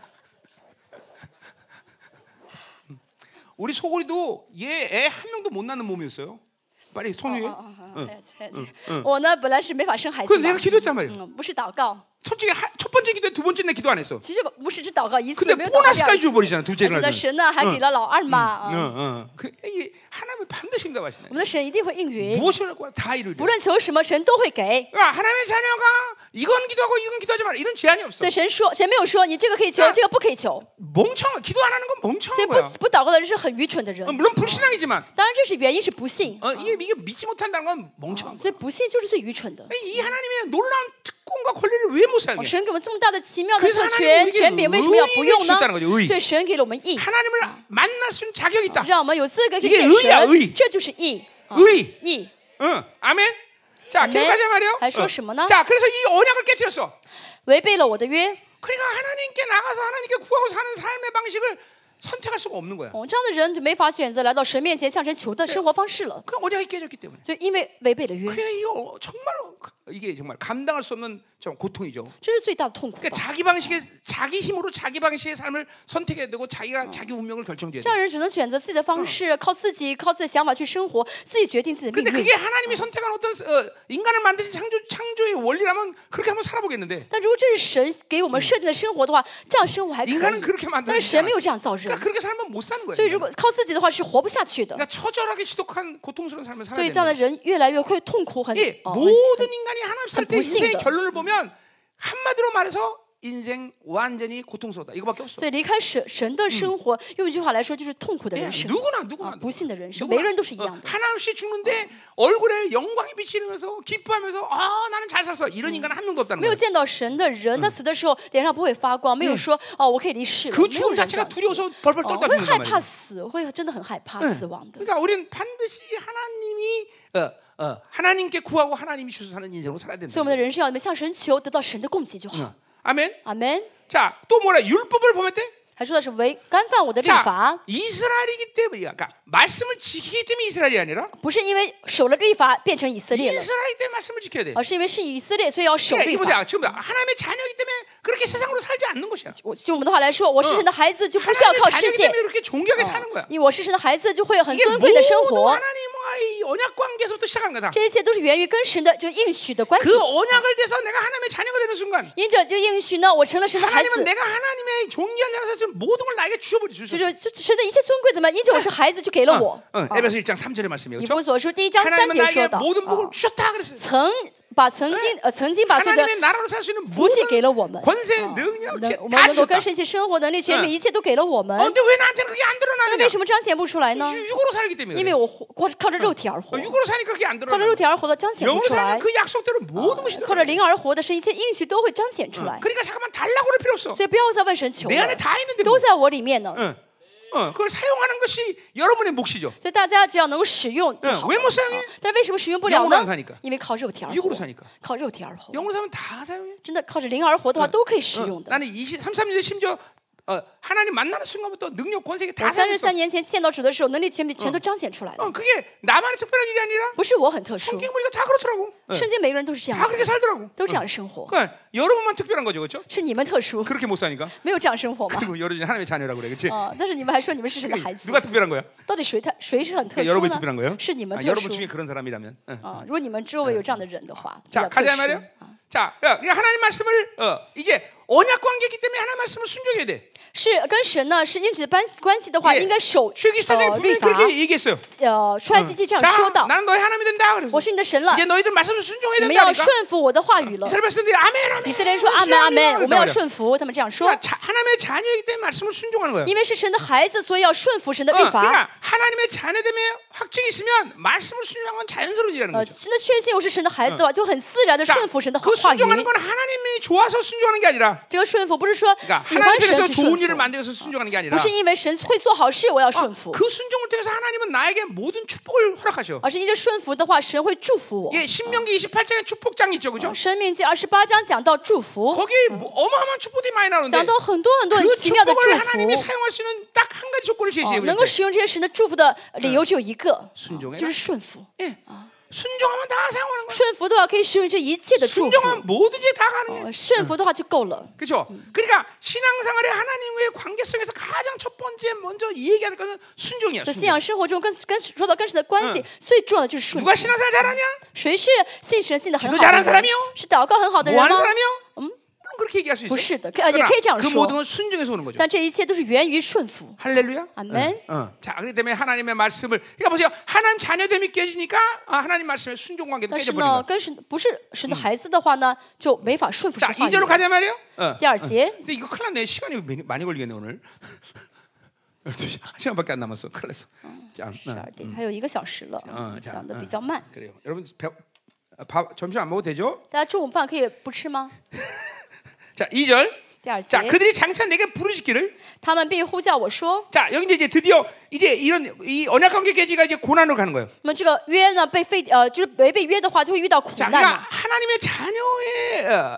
우리 소골이도 얘 애 한 명도 못 낳는 몸이었어요. 빨리 손 위에. 我呢本来是没法生孩子 그 嘛， 내가 기도했단 말이야. 嗯，不是祷告， 솔직히 하, 첫 번째 기도, 두 번째 내 기도 안 했어. 其实不是只祷告一次， 근데 没有祷告第二 보너스까지 次。 줘버리잖아. 而 둘째를 且呢， 하면. 神呢还给了老二嘛， 응, 啊 응. 그, 이게 하나님은 반드시 응답하시네. 我们的神一定会应允， 무엇을 할거다 이루려. 不论求什么，神都会给。 그러니까 하나님의 자녀가 이건 기도하고 이건 기도하지 마라. 이런 제한이 없어. 所以神说，神没有说你这个可以求，这个不可以求。 멍청. 기도 안 하는 건 所以 멍청한 不 거야. 不祷告的人是很愚蠢的人 어, 。 물론 불신앙이지만 当然，这是原因是不信， 어, 이게 이게 믿지 못한다는 건 멍청한 所以不信就是最愚蠢的。 거야. 이 하나님의 놀라운 특권과 권리를 왜 못 哦 살게? 神给我们这么大的奇妙的 그래서 特 하나님은 权 우리에게 权柄，为什么要不用呢 의의를 주셨다는 거죠, 의의. 所以神给了我们义， 하나님을 만날 수 있는 자격이 있다. 让我们有资格可以 이게 见 의야, 神 의 ， 这就是义。啊 의의. 义， 응, 아멘. 자, 아멘. 계속하자 말이요. 还说什么呢？ 자, 그래서 이 언약을 깨뜨렸어. 违背了我的约。 그러니까 하나님께 나가서 하나님께 구하고 사는 삶의 방식을 선택할 수가 없는 거야. 哦，这样的人就没法选择来到神面前向神求的生活方式了。 그 언약이 깨졌기 때문에. 所以因为违背了约， 그래 이거 정말로 이게 정말 감당할 수 없는 좀 고통이죠. 这是最大的痛苦吧。 그러니까 자기 방식의 자기 힘으로 자기 방식의 삶을 선택해야 되고 자기가 자기 운명을 결정해야 这样 돼. 人只能选择自己的方式，靠自己，靠自己的想法去生活，自己决定自己的 근데 命 그게 运。 하나님이 선택한 어떤 어, 인간을 만드신 창조 창조의 원리라면 그렇게 한번 살아보겠는데. 但如果这是神给我们设定的生活的话，这样生活还可以 인간은 그렇게 。 但 만드는 是神没有这样造人， 그러니까 그렇게 살면 못 사는 거예요. 所以如果靠自己的话是活不下去的。 그러니까 처절하게 지독한 고통스러운 삶을 所 살아야 以这样的 되는 人越来越会痛苦，很 예, 哦很 모든 인간이 하나님 살 때 한 불幸 인생의 더. 결론을 보면 한마디로 말해서 인생 완전히 고통스럽다. 이거밖에 없어. 所以离开神神的生活，用一句话来说就是痛苦的 예, 人生， 누구나 啊 누구나 ， 不幸的人生， 누구나. 每个人都是一样 어, 的。 하나 없이 죽는데 얼굴에 영광이 비치면서 기뻐하면서 아 나는 잘 살았어 이런 인간은 한 명도 없다는 没有 거예요. 见到神的人，他死的时候脸上不会发光，没有说哦我可以离世了， 그 没有 죽음 人这 자체가 样死 두려워서 벌벌 哦 떨다 会 죽는 害 거 怕 말이에요. 死，会真的很害怕死亡的。 그러니까 우리는 반드시 하나님이 어, 어, 하나님께 구하고 하나님이 주셔서 사는 인생으로 살아야 所以 된다. 我们的人生要向神求，得到神的供给就好。 어. 아멘. 阿门。 자, 또 뭐라 율법을 범했대? 还说的是违干犯我的律 자, 法， 이스라엘이기 때문이야. 그러니까 말씀을 지키기 때문에 이스라엘이 아니라 不是因为守了律法变成以色列了， 이스라엘 때문에 말씀을 지켜야 돼. 而是因为是以色列，所以要守 그러니까 律 이거 法。 보자. 지금 하나님의 자녀이기 때문에 그렇게 세상으로 살지 않는 것이야. 我就我们的话来说，我是神的孩子，就不需要 하나님의 靠世 자녀이기 界， 때문에 그렇게 존귀하게 사는 거야. 因为我是神的孩子，就会有很 이게 尊贵的生 모두 活。 하나님과의 언약 관계에서부터 시작한 거다. 这一切都是源于跟神的这个应许的关系 그 。 언약을 대해서 내가 하나님의 자녀가 되는 순간 因着这个应许呢，我成了神的孩 하나님은 子。 내가 하나님의 존귀한 자라서 모든 걸 나에게 주어버리 就 주셨어. 是就神的一切尊贵的嘛，因着我是孩子，就给了我。 어, 啊 에베소 일 장 삼 절의 말씀이에요. 以 그렇죠? 弗所书第一章三 하나님은 节 나에게 说到， 모든 복을 啊 주셨다 그랬어요. 曾把曾经呃曾经把所有的 하나님의 나라로 살 수 있는 福气给了 모든 我们， 권세, 啊 능력, 能 다 我们能够 주셨다. 跟神一起生活能力、权柄，一切都给了我们 어, 。 근데 왜 나한테는 그게 안 那 드러나느냐? 为什么彰显不出来呢？ 유- 육으로 살기 때문에. 因为 그래. 我活靠着肉体而活 어, ， 육으로 사니까 그게 안 靠着 드러나. 肉体而活的彰显不 영으로 出来 살면 ，그 약속대로 모든 것이 靠着 드러나. 灵而活的是一切应许都会彰显出来。 그러니까 잠깐만 달라고 그럴 필요 없어. 所以不要再问神求 내 了 안에 ，다 있는데 都 뭐. 在我里面呢。 어, 어, 그걸 사용하는 것이 여러분의 몫이죠. 所以大家只要能够使用就好了。 왜 못 사용해? 但是为什么使用不了 영으로 안 呢 사니까 ？ 因为靠肉体而 육으로 活 사니까. ， 靠肉体而活， 영으로 사면 다 사용해. 真的靠着灵而活的话都可以使 어, 用的。 나는 이십삼 년에 심지어 어, 하나님 만나는 순간부터 능력 권세가 다 我三十 사용했어. 三年前见到主的时候，能力权柄全都彰显出来了， 어, 그게 나만의 특별한 일이 아니라 不是我很特殊， 성경 보니까 다 그렇더라고. 圣经每个人都是这样 다 子 그렇게 살더라고. 都这样生活 그러니까 여러분만 특별한 거죠, 그렇죠? 是你们特殊 그렇게 못 사니까. 没有这样生活吗 그리고 여러분이 하나님의 자녀라고 그래, 그렇지? 啊但是你们还说你们是神的孩子 누가 특별한 거야? 到底谁特谁是很特 그러니까 殊 여러분이 특별한 거예요? 呢是你们 아, 特 여러분 殊 중에 그런 사람이라면. 응. 啊如果你们周围有这样的人的话比 자, 较特 가자 殊 말이야. 자, 야, 그러니까 하나님 말씀을 어, 이제 언약 관계이기 때문에 하나님 말씀을 순종해야 돼. 是跟神呢是应许的关关系的话 예 应该守 출애굽기사장이 呃律 분명히 法 그렇게 얘기했어요. 呃出埃及记这样 자, 说到 나는 너의 하나님이 된다. 그래서 我是你的神了 이제 너희들 말씀을 순종해야 你们要 된다니까. 顺服我的话语了 이스라엘 백성들이 아멘, 아멘. 以色列人说阿门阿门 메시아니라 我们要 그랬단 顺服他们这样说 말이야. 자, 하나님의 자녀이기 때문에 말씀을 순종하는 거야. 因为是神的孩子所以要顺服神的律 어, 法 그러니까 하나님의 자녀됨의 확증이 있으면 말씀을 순종하는 건 자연스러운 일이라는 呃 거죠. 真的确信我是神的孩子的话就很自然的 자, 顺服神的 그 话语 순종하는 건 하나님이 좋아서 순종하는 게 아니라 这个顺服不是说 그러니까 喜欢 하나님께서 神去顺 좋은 일을 服 만들어서 순종하는 게 不 아니라 是因为神会做好事我要 아, 顺服 그 순종을 통해서 하나님은 나에게 모든 축복을 허락하셔. 而是因着顺服的话神会祝福我 예, 신명기 이십팔 장에 축복장이 있죠, 그죠? 生命记二十八章讲到祝福 거기에 뭐 어마어마한 축복들이 많이 나오는데 讲到很多很多很 그 奇妙的祝 축복을 福 하나님이 사용할 수 있는 딱 한 가지 조건을 哦 제시해요. 能够使用这些神的祝福的理由只有一个 순종해라. 就是顺服 예. 순종하면 다 사용하는 거야. 顺服的话可以使用这一切的祝福 순종하면 뭐든지 다 가능해. 呃顺服的话就够了 그렇죠? 그러니까 신앙생활에 하나님과의 관계성에서 가장 첫 번째 먼저 이 얘기하는 것은 순종이야. 在信 순종. 仰生活中跟跟说到跟神的关系最重要的就是顺服 누가 신앙생활 잘하냐? 谁是信神信的很 기도 好 잘하는 的人 사람이요? 是祷告很好的人 뭐 하는 吗 사람이요? 음? 물론 그렇게 얘기할 수 있어. 不是的可呃也可以这样 그 说 모든 건 순종에서 오는 거죠. 但这一切都是源于顺服 할렐루야. 아멘. 어, 어. 자, 그렇기 때문에 하나님의 말씀을 그러니까 보세요. 하나님 자녀됨이 깨지니까 아, 하나님 말씀의 순종 관계도 但是 깨져버린 呢 거야. 跟神不是神的孩子的话呢就没法顺服神 자, 的话 이 절로 语 가자 말이에요. 어. 第二节 근데 이거 큰일 났네. 시간이 많이, 많이 걸리겠네 오늘. 열두 시, 한 시간밖에 안 남았어. 큰일 났어. 자, 十 어, 二点还有一个小时了 어, 자, 讲的 어. 比较慢 그래요. 여러분 배, 아, 밥 점심 안 먹어도 되죠? 大家中午饭可以不吃吗 자, 이 절. 第二节 자, 그들이 장차 내게 부르짖기를. 他们必呼叫我说 자, 여기 이제 드디어 이제 이런 이 언약 관계 깨지가 이제 고난으로 가는 거예요. 那么这个约呢被废呃就是违背约的话就会遇到苦 자, 难 그러니까 嘛 하나님의 자녀의 어,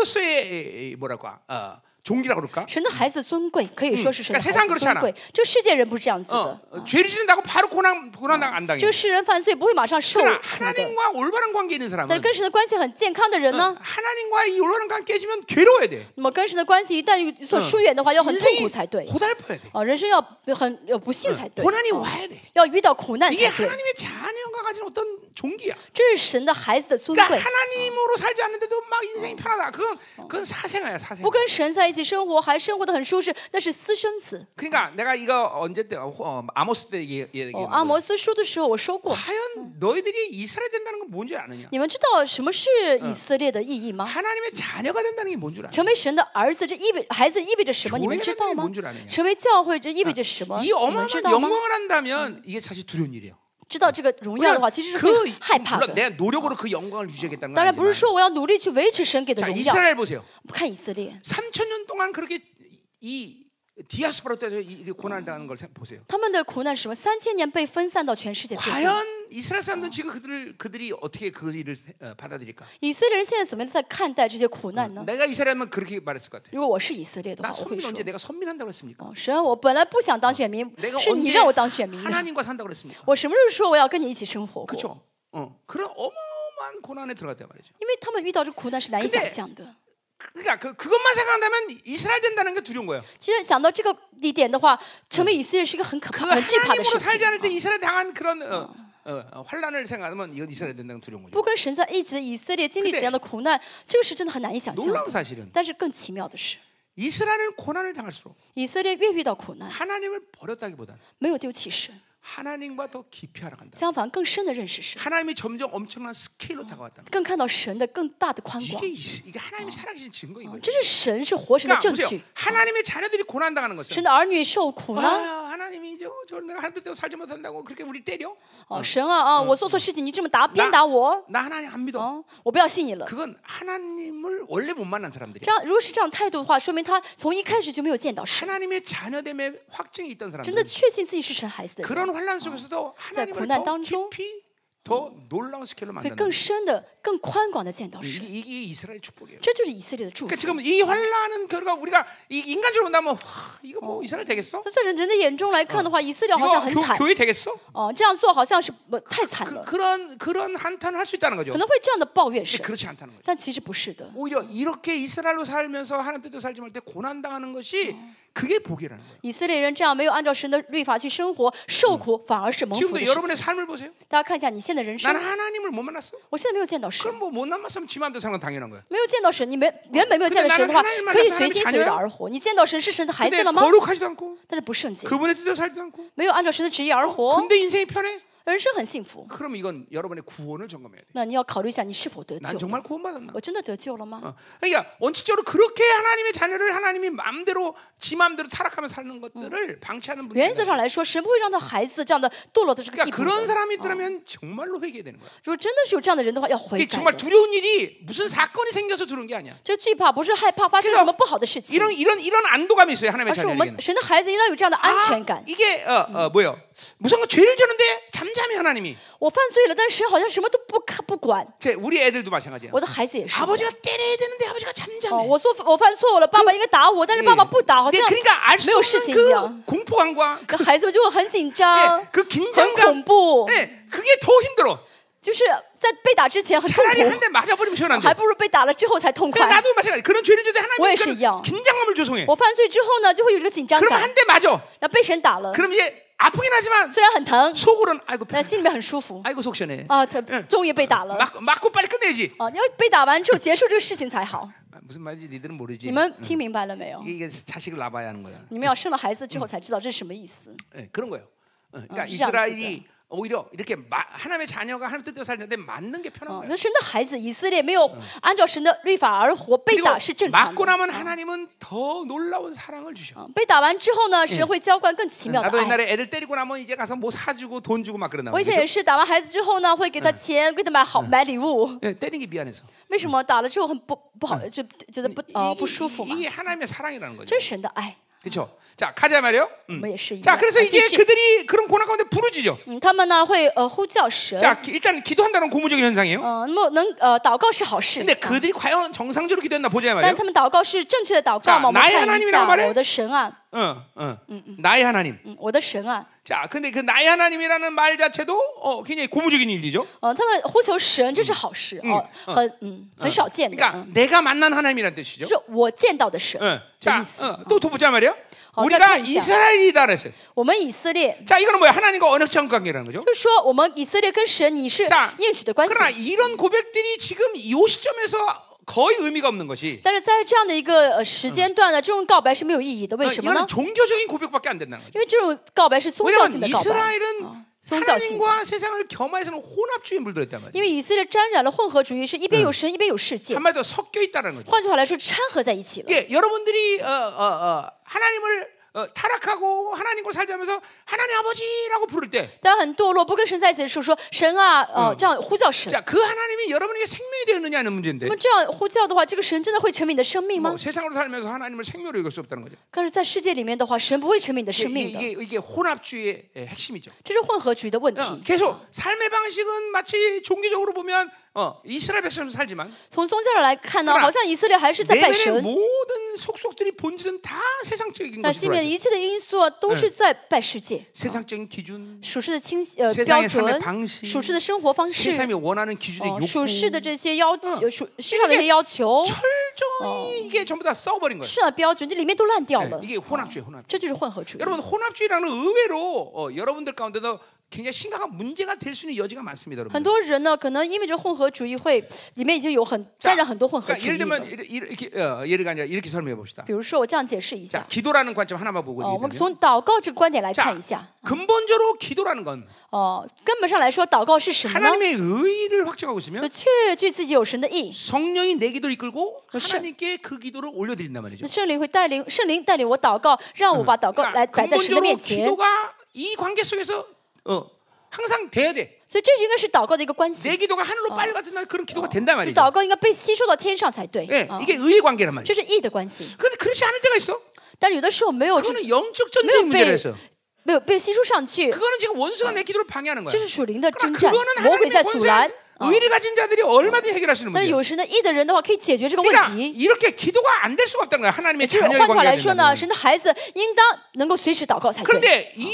자녀로서의 뭐랄까 어, 종기라고 그럴까? 神的孩子尊贵可以说是神的 그러니까 세상 孩子 그렇지 尊 않아 贵这个世界人不是这样子 어, 的 어, 죄를 짓는다고 바로 고난 고난 안 당해. 这个世人犯罪不会马上受 그러나 苦的 하나님과 올바른 관계 있는 但是 사람은 跟神的关系很健康的人呢 하나님과 이 올바른 관계 깨지면 괴로워야 돼. 那么跟神的关系一旦有所疏远的话要很痛苦 인생이 才对 고달퍼야 돼. 啊人生要很有不幸才对 고난이 啊 와야 돼. 要遇到苦难 이게 才对 하나님의 자녀가 가진 어떤 종기야. 这是神的孩子的尊 그러니까 贵 하나님으로 살지 않는데도 막 인생이 편하다. 그건 그건 사생아야, 사생아. 不跟神在一起生活还生活得很舒适那是私生子 그러니까 내가 이거 언제 때 어, 아모스 때 얘기, 哦 얘기했는데 阿摩斯书的时候我说过 과연 너희들이 이스라엘 된다는 건 뭔지 아느냐? 你们知道什么是以色列的意义吗 하나님의 자녀가 된다는 게 뭔 줄 아냐? 成为神的儿子，这意味孩子意味着什么？你们知道吗 교회라는게뭔줄아느냐 ？ 成为教会这意味着什么？ 이 你们 어마어마한 知道吗？ 영광을 한다면 이게 사실 두려운 일이에요. 知道这个荣耀的话，其实是会 그 害怕 물론 的。 내가 노력으로 그 영광을 유지하겠다는 건 当然不是 아니지만 说我要努力去维持神给的 자 荣耀。 이스라엘 보세요. 看以色列， 삼천 년 동안 그렇게 이 디아스포라 때서 이 고난을 당하는 걸 보세요. 他们的苦难是什么？三千年被分散到全世界各地。 과연 이스라엘 사람들은 지금 그들을 그들이 어떻게 그 일을 어, 받아들일까? 以色列人现在怎么样在看待这些苦难呢？ 내가 이스라엘면 그렇게 말했을 것 같아. 如果我是以色列的 나 话，我会 선민 说 언제 ： 내가 선민한다고 했습니까? 哦，神啊，我本来不想当选民， 내가 是你 언제 让我当选民的。 하나님과 산다고 그랬습니까? 我什么时候说我要跟你一起生活过？ 그렇죠. 어, 그런 어마어마한 고난에 들어갔단 말이죠. 因为他们遇到这苦难是难以 근데 想象的。 그러니까 그 그것만 생각한다면 이스라엘 된다는 게 두려운 거예요. 其实想到这个一点的话，成为以色列是一个很可 그 怕、很惧怕的 하나님으로 事 살지 情。 않을 때 이스라엘 당한 그런 어, 어, 어, 환란을 생각하면 이건 이스라엘 된다는 건 두려운 거죠. 不跟神在一起的以色列经历怎样的苦难，这个是真的很难以想象 놀라운 的。 사실은 但是更奇妙的是， 이스라엘은 고난을 당할수록 以色列越遇到苦难， 하나님을 버렸다기보다는 没有丢弃神， 하나님과 더 깊이 알아간다. 相反更深的认识神， 하나님이 점점 엄청난 스케일로 다가왔다. 更看到神的更大的宽广 이게 。 이- 이게 하나님이 살아계신 증거인 거예요. 这是神是活神的 그러니까 证 보세요. 据。 하나님의 자녀들이 고난 당하는 神 것은 的儿女受苦呢？ 아, 하나님이 저, 저 내가 하나님 뜻대로 살지 못한다고 그렇게 우리 때려? 哦，神啊啊，我做错事情，你这么打鞭打我， 나 하나님 안 믿어. 哦，我不要信你了。 그건 하나님을 원래 못 만난 这 사람들이야. 样，如果是这样态度的话，说明他从一开始就没有见到神， 하나님의 자녀됨의 확증이 있던 真的 사람들. 确信自己是神孩子的人。 그런 환란 속에서도 하나님을 고난 더 当中 깊이 더 놀라운 스케일로 会 만든다. 更深的、更宽广的见到 이게, 神。 이게 이스라엘 축복이에요. 这就是以色列的祝福 그러니까 。 지금 이 환란은 결과 우리가 이 인간적으로 본다면 와, 이거 뭐 이스라엘 되겠어? 那在人人的眼中来看的话，以色列好 이거 像很 교, 惨 교회 되겠어? 哦，这样做好像是不太惨 그, 了， 그런 그런 한탄을 할 수 있다는 거죠. 可能会这样的抱怨 근데 神， 그렇지 않다는 거죠. 但其实不是的。 오히려 이렇게 이스라엘로 살면서 하나님 뜻대로 살지 못할 때 고난 당하는 것이 그게 복이라는 거예요. 以色列人这样没有按照神的律法去生活，受苦反而是蒙福 지금도 的事 여러분의 情。 삶을 보세요. 大家看一下你现在的人生 나는 ， 하나님을 못 만났어. 我现在没有见到神， 그럼 뭐 못 만났으면 지 마음대로 사는 건 당연한 거야. 没有见到神，你没原本没有见到神的话，可以随心随意的而活。你见到神是神的孩子 근데 了吗？ 거룩하지도 않고 但是不圣洁， 그분의 뜻대로 살지도 않고 没有按照神的旨意而活， 근데 인생이 편해. 人生很幸福。 그럼 이건 여러분의 구원을 점검해야 돼. 那你要考虑一下，你是否得 난 救？ 정말 구원받았나? 我真的得救了吗？ 어. 그러니까 원칙적으로 그렇게 하나님의 자녀를 하나님이 마음대로 지 마음대로 타락하며 사는 것들을 방치하는 분이 原则上来说，神不会让他孩子这样的堕落的这个地 그러니까 步 그런 的。 사람이 있더라면 정말로 회개해야 되는 거야. 如果真的是有这样的人的话，要悔 그게 改 정말 的。 두려운 일이 무슨 사건이 생겨서 두려운 게 아니야. 这惧怕不是害怕发生什么不好的事情， 이런 이런 이런 안도감이 있어요. 하나님의 而是我 자녀에게는. 们神的孩子应当有这样的安 아, 全感。 이게 어, 어, 뭐요? 무슨 죄를 졌는데 잠잠히 하나님이. 我犯罪了，但是神好像什么都不看不管。 제 우리 애들도 마찬가지야. 我的孩子也是。 아버지가 때려야 되는데 아버지가 哦， 잠잠해. 我做我犯错了，爸爸应该打我，但是爸爸不打，好 네, 像 그러니까 알 수 没有事 없는 情一样。 그 공포감과 这孩子们就会很紧张 네, ，그 很 긴장감, 恐怖， 네, 그게 더 힘들어. 就是在被打之前很痛 차라리 苦 한 ，대 맞아버리면 시원한데. 还不如被打了之后才痛 그래, 快。 나도 마찬가지. 그런 죄를 져도 我也 하나님은 是一样。 긴장감을 조성해. 我犯罪之后呢，就会有这个紧张 그러면 感， 한 대 맞아. 然后被神打了， 그럼 이제 아프긴 하지만 虽然很疼， 속으로는 아이고 但心里面很舒服 아이고 속 시원해. 啊，他终于被打了 맞, 맞고 빨리 끝내지. 啊！你要被打完之后结束这个事情才好。 아, 무슨 말인지 니들은 모르지. 你们听明白了没有？ 이게, 이게 자식을 낳아야 하는 거야. 你们要生了孩子之后才知道这是什么意思。 네, 그런 거예요. 어, 그러니까 어, 이스라엘이 오히려 이렇게 마, 하나님의 자녀가 하나님 뜻대로 살는데 맞는 게 편한 哦， 거예요. 那神的孩子以色列没有按照神的律法而活，被 그리고 打是正常 맞고 的。 나면 하나님은 더 놀라운 사랑을 주셔. 啊被打完之后呢，神会浇灌更奇妙的 나도 爱。 옛날에 애들 때리고 나면 이제 가서 뭐 사주고 돈 주고 막 그러나. 我以前也是打完孩子之后呢，会给他钱，给他买好买礼物。 네, 때리는 게 미안해서. 为什么打了之后很不不好，就觉得不呃不舒服嘛？ 이게 하나님의 사랑이라는 거죠. 这是神的爱， 그렇죠. 자 가자 말이요. 我们也是一 자 样。 그래서 啊 이제 继续， 그들이 그런 고난 가운데 부르짖죠. 嗯，他们呢会呃呼叫神。 자 기- 일단 기도한다는 고무적인 현상이에요. 嗯，那么能呃祷告是好事。 근데 啊 그들이 과연 정상적으로 기도했나 보자 但 말이에요. 他们祷告是正确的祷告吗？我们 나의 看一 하나님이란 下 말에 我的神啊， 어, 어. 나의 하나님. 嗯，我的神啊， 자, 근데 그 나의 하나님이라는 말 자체도 어, 굉장히 고무적인 일이죠. 嗯，他们呼求神，这是好事哦，很嗯很少见的， 그러니까 嗯 내가 만난 하나님이란 뜻이죠. 就是我见到的神 어, 这 자, 意思。 어, 또 더 보자 말이에요. 어, 우리가 자, 자. 이스라엘이다 그랬어요. 我们以色列 자, 이거는 뭐야? 하나님과 언약적 관계라는 거죠. 就是说，我们以色列跟神你是 자, 应许的关系。 그러나 이런 고백들이 지금 이 시점에서 거의 의미가 없는 것이 但是在这样的一个呃时间段呢，这种告白是没有意义的。为 어, 什么呢 이거는 ？ 종교적인 고백밖에 안 된다는 거죠. 因为这种告白是宗教性 왜냐하면 的告白， 이스라엘은 宗教性的。 하나님과 세상을 겸하여서는 혼합주의에 물들었단 말이에요. 因为以色列沾染了混合主义，是一边有神，一边有世界。 한마디로 섞여 있다는 거죠. 换句话来说，掺和在一起了。 예, 여러분들이 어, 어, 어, 하나님을 어, 타락하고 하나님과 살자면서 하나님 아버지라고 부를 때, 当很堕落，不跟神在一起的时候，说神啊，呃，这样呼叫神。 자, 그 하나님이 여러분에게 생명이 되었느냐는 문제인데, 那么这样呼叫的话，这个神真的会成为你的生命吗 뭐 ？ 세상으로 살면서 하나님을 생명으로 여길 수 없다는 거죠. 但是在世界里面的话，神不会成为你的 이게, 生命的， 이게, 이게 혼합주의의 핵심이죠. 这是混合主义的问 어, 题。 계속 삶의 방식은 마치 종교적으로 보면 어, 이스라엘 백성으로 살지만 从宗教上来看呢， 그러나 好像以色列还是在拜 내면의 神， 모든 속속들이 본질은 다 세상적인 但 것이 里面 들어와 있어요. 一切的因素啊都是在拜世界。 세상적인 기준, 属世的清呃 세상의 标 삶의 准， 방식 属世的生活方式， 세상이 원하는 기준의 哦， 욕구, 属世的这些要求，属世上的一些要求， 철저히 이게 전부 다 썩어버린 거예요. 世上的标准，这里面都烂掉 네, 了。 이게 혼합주의, 혼합주의. 这就是混合主义。 여러분 혼합주의라는 의외로 어, 여러분들 가운데도 굉장히 심각한 문제가 될 수 있는 여지가 많습니다, 很 여러분. 多人呢，可能因为这混合主义会里面已经有很沾染很多混合 그러니까 主 예를 义了。 들면 이렇게, 이렇게 어, 예를 아니라 이렇게 설명해 봅시다. 比如说，我这样解释一 자, 下， 기도라는 관점 하나만 보고 哦，我们 얘기하면 从祷告这个观点来 자, 看一下。 근본적으로 기도라는 건 哦，根本上来说，祷告是什么呢？ 하나님의 의의를 확정하고 就 있으면 确据自己有神的意， 성령이 내 기도를 이끌고 그렇죠. 하나님께 그 기도를 올려드린단 말이죠. 那圣灵会带领圣灵带领我祷告，让我把祷告来 그러니까 摆在神的 근본적으로 面前。 기도가 이 관계 속에서 어, 항상 돼야 돼. 所以这应该是祷告的一个关系。 내 기도가 하늘로 빨리 같은 날 그런 기도가 된단 就 말이죠. 祷告应该被吸收到天上才对。 예, 啊 이게 의의 관계란 말이죠. 这是义的关系。 그런데 그렇지 않을 때가 있어. 但有的时候没有这 그거는 영적 没有 전쟁 문제라 被 했어요. 没有被吸收上去， 그거는 지금 원수가 내 기도를 방해하는 这 거야. 是属灵的征 그러나 战， 그거는 魔鬼在 하나님의 阻拦。 권세한 의를 가진 자들이 얼마든지 해결할 수 있는 但是 문제야. 有神的义的人的话，可以解决这个问 그러니까 题。 이렇게 기도가 안 될 수가 없다는 거야. 하나님의 就是 자녀의 换句话 관계가 来说呢， 된다면. 神的孩子应当能够随时祷告才对。 그런데 이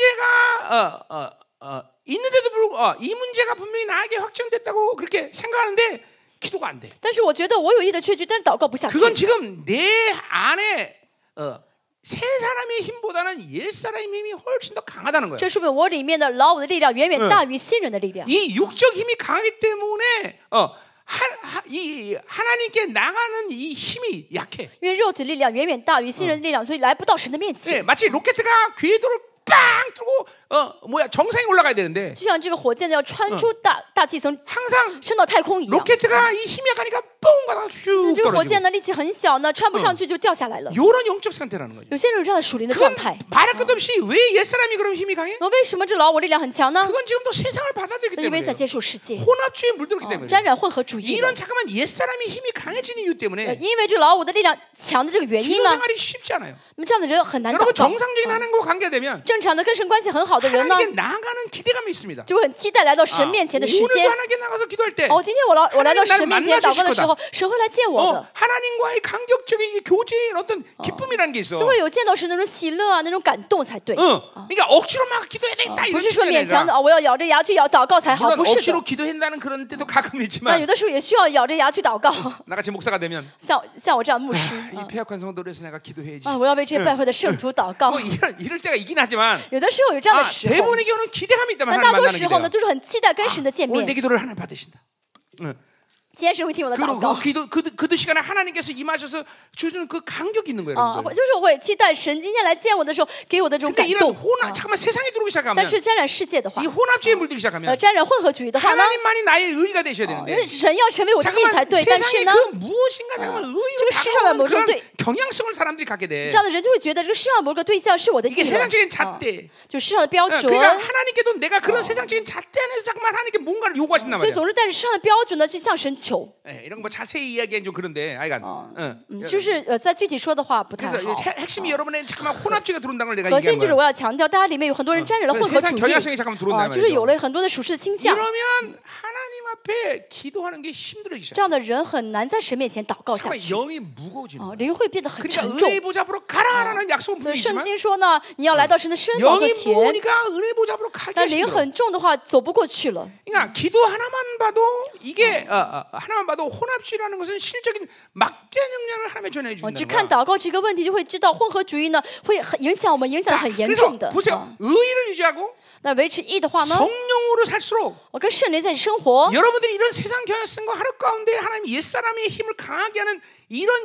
문제가 어, 어, 어, 있는데도 불구하고 어, 이 문제가 분명히 나에게 확정됐다고 그렇게 생각하는데 기도가 안 돼. 但是我觉得我有义的确据，但是祷告不下去。 그건 지금 내 안에 어, 새 사람의 힘보다는 옛 사람의 힘이 훨씬 더 강하다는 거예요. 这说明我里面的老我的力量远远大于新人的力量。 이 육적 힘이 강하기 때문에 어, 하, 하, 이 하나님께 나가는 이 힘이 약해. 因为肉体力量远远大于新人的力量，所以来不到神的面 네, 前。 마치 로켓가 궤도를 빵 뚫고 어 뭐야 정상에 올라가야 되는데 就像这个火箭呢，要穿出大大气层， 항상 升到太空一样。 로켓가 이 힘이 약하니까 뽕 가다가 슉 这个火箭 떨어지고 呢，力气很小呢，穿不上去就掉下来了。 이런 영적 상태라는 거죠. 有些人有这样的属灵的状 그건 态。 말할 것도 없이 왜 옛사람이 그럼 힘이 강해? 那为什么这老我力量很强呢？ 그건 지금도 세상을 받아들이기 因为 때문에 在接受世界， 혼합주의에 물들었기 哦 때문에 沾染混合主义了。 이런 잠깐만 옛사람이 힘이 강해지는 이유 呃 때문에 因为这老我的力量强的这个原 기도 因呢， 생활이 쉽지 않아요. 那么这样的人很难祷 여러분 告。 정상적인 하나님과 관계되면 正常的跟神关系很好的人呢， 하나님께 나아가는 기대감이 있습니다. 就会很期待来到神 아, 面前的时 오늘도 间。 하나님께 나가서 기도할 때 哦，今天我来我来到 하나님 神 나를 面前祷告的 만나주실 时候，神会来见我 어, 的， 하나님과의 간격적인 이 교제의 어떤 기쁨이라는 게 있어. 就会有见到神那种喜乐啊，那种感动才对。 응. 그러니까 억지로 막 기도해야 되겠다 不 이런 是说 측면이 勉强的 아니라 啊，我要咬着牙去咬祷告才好， 물론 不是 억지로 的。 기도한다는 그런 때도 가끔 那 있지만 有的时候也需要咬着牙去祷告， 나같이 목사가 되면 像像我这样的牧师 이 폐역한 성도를 위해서 내가 기도해야지. 啊，我要为这些败坏的圣徒祷告 뭐 。 이럴, 이럴 때가 있긴 하지만 有的时候有这样 아, 的时候， 대부분의 경우는 기대감이 있다면 但大 하나님 多 만나는 时候呢， 기대가. 都是很期待跟神的见 오늘 내 面。 기도를 하나님 받으신다. 응. 今天神会听我的祷 그리고 告 그 기도 그, 그 시간에 하나님께서 임하셔서 주시는 그 간격이 있는 거예요. 啊， 여러분들. 就是我会期待神今天来见我的时候给我的这种 근데 感 이런 动。 혼합 잠깐만 세상에 들어오기 但 시작하면 是沾染世界的话 이 ， 혼합주의에 물들기 呃， 시작하면 沾染混合主义的话呢， 하나님만이 나의 의가 되셔야 因 되는데 为神要成为我的义才 잠깐만 对。但是 세상에 呢， 그 무엇인가 잠깐만 의로 这个世上的某 다가오는 种 그런 对 경향성을 사람들이 갖게 돼. 这样的人就会觉得这个世上某个对象是我的义 이게 人， 세상적인 啊 잣대. 就世上的标 어, 准。 그러니까 하나님께도 내가 그런 세상적인 잣대 안에서 잠깐만 하나님께 뭔가를 요구하신단 所以 말이야. 总是带着世上的标准呢去向神求。 예, 이런 거 뭐 자세히 이야기하기는 좀 그런데, 아이간. 응. 嗯，就是呃，在具体说的话不太 그래서 好。 핵- 핵심이 여러분의 잠깐만 혼합주의가 들어온다는 걸 내가 核心 얘기한 就是 거야. 我要强调，大家里面有很多人沾染了混合 세상 主义 경향성이 잠깐 들어온단 啊，就是 말이죠. 有了很多的属世的倾向。 이러면 하나님 앞에 기도하는 게 힘들어지기 这 시작. 样的人很难在神面前祷告下 정말 去， 영이 무거워지는 啊， 거야. 灵会变得很 그러니까 沉重。 은혜 보좌 앞으로 가라라는 약속은 所以 분명히 圣 있지만 经说呢，你要来到神的圣宝座 영이 前， 무거우니까 은혜 보좌 앞으로 가기 但灵 힘들어. 很重的话走不过去了。 그러니까 기도 하나만 봐도 이게 어, 어, 하나만 봐도 혼합주의라는 것은 실적인 막대한 영향을 하나님의 전해 我只 주신다는 看 거야. 祷告这个问题，就会知道混合主义呢会很影响我们，影响 자, 很严 그래서 重的。 보세요. 啊 의의를 유지하고 那维持义的话呢， 성령으로 살수록 我跟圣灵在一起生活， 여러분들이 이런 세상 경향성과 하루 가운데 하나님 옛사람의 힘을 강하게 하는 이런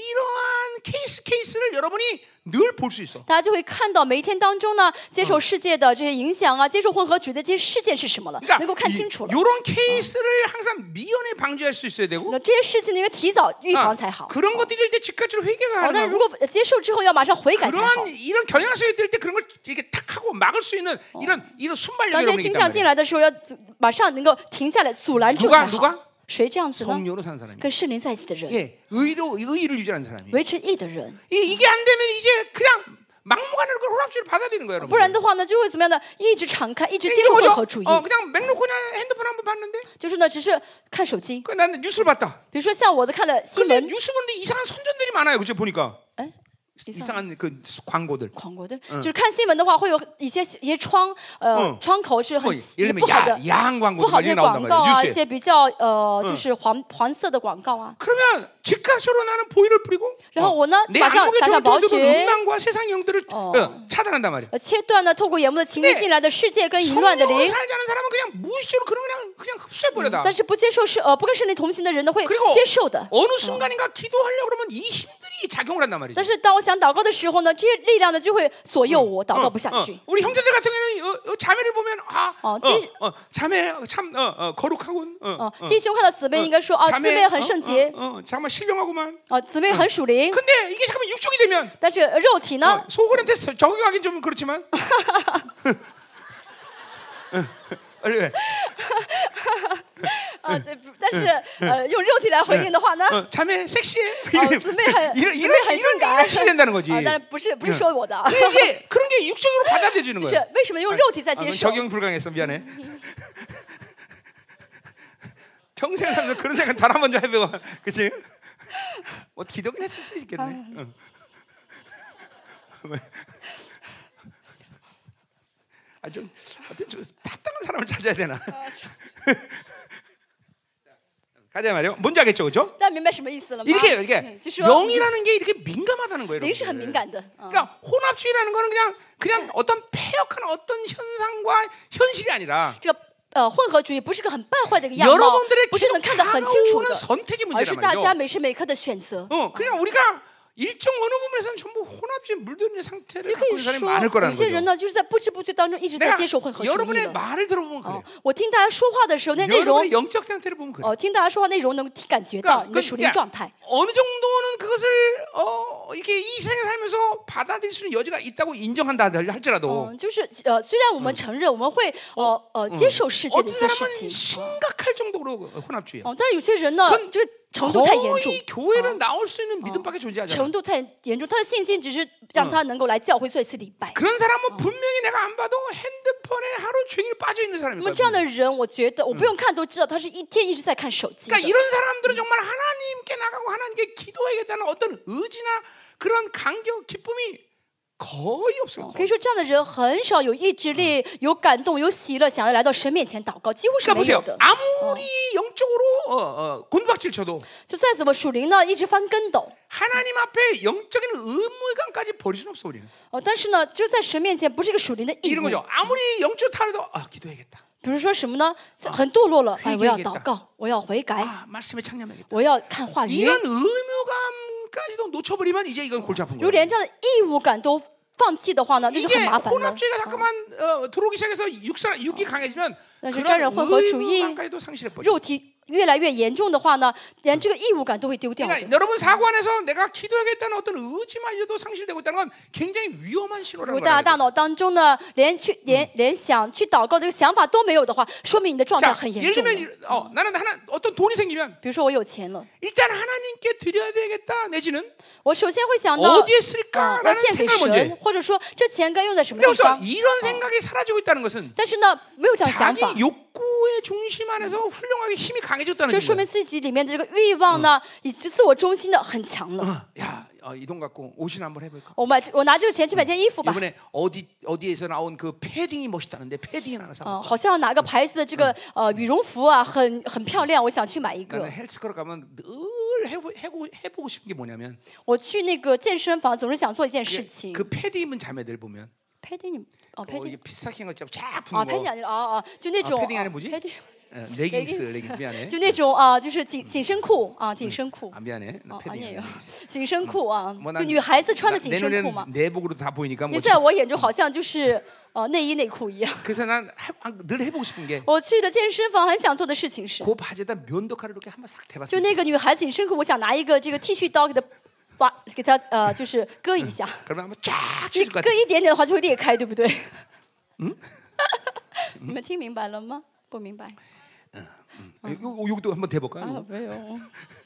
이러한 케이스 케이스를 여러분이 늘 볼 수 있어. 大家就会看到每一天当中呢，接受世界的这些影响啊，接受混合主义的这些事件是什么了， 그러니까 能够看清楚了。 이런 케이스를 항상 미연에 방지할 수 있어야 되고 那这些事情呢，应该提早预 아, 防才好。 그런 것들이 일 때 즉각적으로 회개가 哦，但是如 하는 果接受之后要马上悔改才好 그러한 。 이런 경향성이 들 때 그런 걸 이렇게 탁 하고 막을 수 있는 이런 이런 当 순발력이 这些 여러분이 倾 있단 向进 말이에요. 来的时候，要马上能够停下来阻拦住 누가 才 누가 好。谁这样子呢？ 성령으로 사는 사람이. 跟圣灵在一起的人， 예, 의로 의의를 유지하는 사람이. 维持义的人。 이, 이게 안 되면 이제 그냥 막무가내로 그 혼합주의를 받아들이는 거예요, 不然 여러분. 的话呢，就会怎么样呢？一直敞开，一直接 이게 受混 뭐죠? 合主义， 어, 그냥 맹놓고 그냥 핸드폰 한번 봤는데 就是呢，只是看手机。 그 나는 뉴스를 봤다. 比如说像我的看了新 근데 闻， 뉴스 보는데 이상한 선전들이 많아요, 그죠? 보니까 哎， 이상한 그 광고들. 狂国的，就是看新闻的话，会有一些一些窗呃嗯窗口是 뭐 很 예를 不 들면 好的 야, 야한 광고 不好的一些 많이 나온단 广告 말이에요, 啊，一 뉴스에. 些比较呃就是黄黄色的广告啊。 그러면 즉각적으로 나는 보이를 뿌리고 然后我呢， 내 马上 안목에 撒上宝 정통되고 血， 음란과 세상 영들을 어. 어, 차단한단 말이야. 呃，切断呢透过眼目的情欲 네 进来的世界跟淫乱的 성령으로 灵。 살지 않은 사람은 그냥 무의식적으로 그런 그냥 그냥 흡수해버려다. 但是不接受是呃不跟圣灵同行的人呢，会 그리고 接受的。 어느 순간인가 기도하려고 그러면 이 힘들이 작용을 한단 말이죠. 但是当我想祷告的时候呢，这些力量呢就会左右我，祷告不下 어, 去。 우리 형제들 같은 경우는 어, 어, 자매를 보면 아, 어, 어, 띠- 어, 자매 참 어, 어, 거룩하군. 어, 哦 어, ， 弟兄看到姊妹应该说啊，姊 자매 妹很圣洁， 어, 어, 정말 신령하구만. 啊，姊妹很属灵。 근데 이게 잠깐만 육종이 되면 但是肉体呢 어, ， 속으로한테 적용하긴 좀 그렇지만. 왜? 啊，对，不但是呃用肉体来回应的话呢， 어, 자매 섹시해. 哦，姊妹很 이런 姊 이런 妹很 이런 性感 이런 식이 된다는 거지. 啊，但是不是不是说我的啊， 이게 그런 게 이게 육적으로 받아들여지는 是 거예요. 为什么用肉体在 아, 接 그건 受？ 적용 불가능했어. 미안해. 평생 살면서 그런 생각 단 한 번도 해보고, 그치? 뭐 기도는 했을 수 있겠네. 응. 아, 좀, 좀 타당한 사람을 찾아야 되나? 가자 말이요. 뭔지 알겠죠, 그렇죠? 大家明白什么意思了吗？ 이렇게 이렇게 嗯就说 영이라는 게 이렇게 민감하다는 거예요. 灵是很敏 여러분들. 感的。嗯 그러니까 혼합주의라는 거는 그냥 그냥 어떤 폐역한 어떤 현상과 현실이 아니라 这个呃混合主义不是个很败坏的一个样貌， 여러분들의 不是能看得很清楚 기독 的， 선택의 而是 문제란 大家 말이죠. 每时每刻的选择。 어, 그냥 우리가 일정 어느 부분에서는 전부 혼합주의에 물들는 其 상태를 实可 갖고 以 있는 사람이 说， 많을 有 거라는 些人 거죠. 呢，就是在不知不觉当中一直在 내가 接受混合主义 여러분의 了。 말을 들어보면 哦 그래. ， 我听大家说话的时候，那内容 여러분의 영적 상태를 보면 그래. 哦，听大家说话内容能感觉到 그러니까 你的属灵状态。 어느 정도는 그것을 어, 이렇게 이 세상에 살면서 받아들일 수 있는 여지가 있다고 인정한다 할지라도 嗯，就是呃，虽然我们承认我们会呃呃接受世界的 어떤 一些事 사람은 情， 심각할 정도로 혼합주의야. 哦，但是有些人呢， 그건 这个程度太严重， 거의 교회를 나올 수 있는 믿음밖에 존재하지 않아. 程度太严重，他的信心只是让他能够来教会做一次礼拜。 그런 사람은 분명히 내가 안 봐도 핸드폰에 하루 종일 빠져 있는 那 사람일 么 거야. 这样的人，我觉得我不用看都知道，他是一天一直在看手机的。 그러니까 이런 사람들은 정말 하나님께 나가고 하나님께 기도해야겠다는 어떤 의지나 그런 간격, 기쁨이 거의 없어요. 可以说，这样的人很少有意志力、有感动、有喜乐，想要来到神面前祷告，几乎是 그러니까 没有 보세요. 的。 아무리 영적으로 어, 어, 곤박질 쳐도 就再怎么属灵呢，一直翻跟斗。 하나님 앞에 영적인 의무감까지 버릴 수는 없어 우리는. 哦，但是呢，就在神面前不是一个属灵的义 이런 务。 거죠. 아무리 영적 타려도 아 기도해야겠다. 比如说什么呢？很堕落了，哎，我要 회개하겠다 祷告，我要悔改， 아 말씀에 창념해야겠다. 我要看话语。 이런 의무감까지도 놓쳐버리면 이제 이건 골치 아픈 如 거예요. 连这样的义务感都放弃的话呢，那就 이게 很麻烦了。 혼합주의가 자꾸만 어, 들어오기 시작해서 육사, 육이 강해지면 但是 그런 沾染混合主义 의무감까지도 상실해버려. 肉体越来越严重的话呢，连这个义务感都会丢掉的。 그러니까 여러분 사고 안에서 내가 기도하겠다는 어떤 의지마저도 상실되고 있다는 건 굉장히 위험한 如 신호라는 果大家大 거예요. 脑当中呢，连去连连想去祷告这个想法都没有的话，说明你的状态 자, 很严 예를 重了。 들면 어, 나는 하나 어떤 돈이 생기면 比如说我有钱了， 일단 하나님께 드려야 되겠다 내지는 我首先会想到 어디에 啊，要 쓸까라는 献给 생각을 먼저 神 해. ， 或者说这钱该用在什么 근데 地 여기서 方。 이런 생각이 사라지고 있다는 것은 但是呢，没有这样想 자기 法， 욕구의 중심 안에서 훌륭하게 힘이 강해졌다는 这说 거예요. 明自己里面的这个欲望呢，以及自我中心的很强了。 야, 어, 이 돈 갖고 옷이나 한번 해볼까? 我买我拿这个钱去买件衣服吧。 이번에 어디 어디에서 나온 그 패딩이 멋있다는데 패딩 하나 사. 嗯，好像哪个牌子的这个呃羽绒服啊，很很漂亮，我想去买一个 나는 。 헬스클럽 가면 늘 해보, 해보, 해보고 싶은 게 뭐냐면 我去那个健身房，总是想做一件事 그, 情。 그 패딩 입은 자매들 보면 佩蒂你哦，佩 어, 蒂 이게 비싸게 한 것처럼 쫙 啊， 붙는 佩蒂 거. 아니라啊啊，就那种 패딩 안에 뭐지? 佩蒂 어, 레깅스, 레깅스 미안해. 就那种啊，就是紧紧身裤啊，紧身裤 아 미안해. 나 哦， 패딩 啊也有 아니야. 紧身裤啊， 뭐 就 난 女孩子穿的 나- 紧 내 身裤嘛。 눈에는 내복으로 다 보이니까 你 뭐. 在我眼中好像就是呃内衣内裤一样。 그래서 난 늘 해보고 싶은 게 我去的健身房很想做的事情是， 그 바지에다 면도칼을 이렇게 한번 싹 就 대봤어요. 那个女孩子紧身裤，我想拿一个这个剃须刀给她挖，给她呃就是割一下。 그러면 한번 쫙 你 찢을 것 割 같아. 一点点的话就会裂开，对不对？嗯，你们听明白了吗？不明白 요, 요, 요것도 한번 대볼까요? 啊？没有。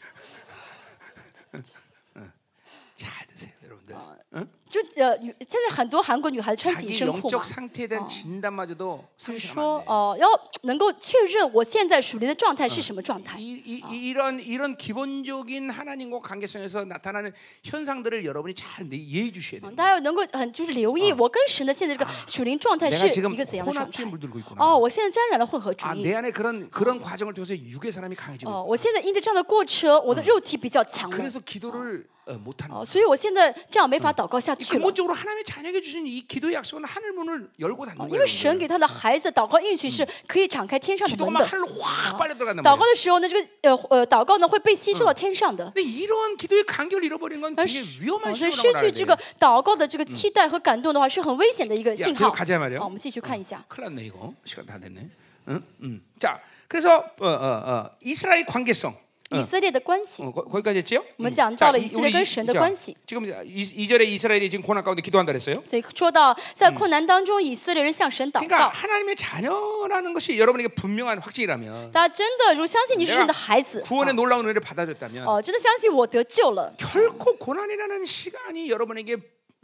잘 드세요, 여러분들. 응? 就呃，女现在很多韩国女孩子穿紧 자기 身裤嘛 영적 ， 상태에 대한 진단마저도 就是 상실하면 说 안 돼. 哦、要能够确认我现在属灵的状态是什么状态。 이, 이, 이런 이런 기본적인 하나님과 관계성에서 나타나는 현상들을 여러분이 잘 이해해 주셔야 돼요. 大家要能够很就是留意我跟神的现在这个属灵状态 내가 是 지금 一个怎样的状 혼합주의에 态。 물들고 있구나. 哦，我现在沾染了混合主 아, 义。 내 안에 그런 그런 과정을 통해서 육의 사람이 강해지고 哦，我现在因着这样的过程，我的肉体比较强了。 그래서 기도를 어, 못하는 哦， 거예요. 所以我现在这样没法祷告下去了。 근본적으로 하나님의 자녀에게 주신 이 기도의 약속은 하늘 문을 열고 닫는 因 거예요. 为神给他的孩子祷告应许是可以敞开天上的 기도가 门 막 的。 하늘로 확 빨려 들어간단 祷告 말이에요. 的时候呢，这个呃呃祷告呢会被吸收到天上的。 근데 이런 기도의 간격을 잃어버린 건 但 굉장히 是， 위험한 哦所以 신호라고 失 알아야 去这 돼요. 个祷告的这个期待和感动的话，是很危险的一个 야, 信 계속 号。 가자 말이에요. 好，我们继续看一下。 큰일 났네 이거. 시간 다 됐네. 응? 응. 자, 그래서 어, 어, 어, 이스라엘 관계성. 以色列的关系， 어, 거, 거기까지 했지요? 我们讲到了以色列跟神的关系。 지금 이 절에 이스라엘이 지금 고난 가운데 기도한다 그랬어요. 所以说到在困难当中，以色列人向神祷 그러니까 告。 하나님의 자녀라는 것이 여러분에게 분명한 확증이라면 大家真的如果相信你是神的孩子， 구원의 놀라운 은혜를 받아줬다면 哦，真的相信我得救了， 결코 고난이라는 시간이 여러분에게 어,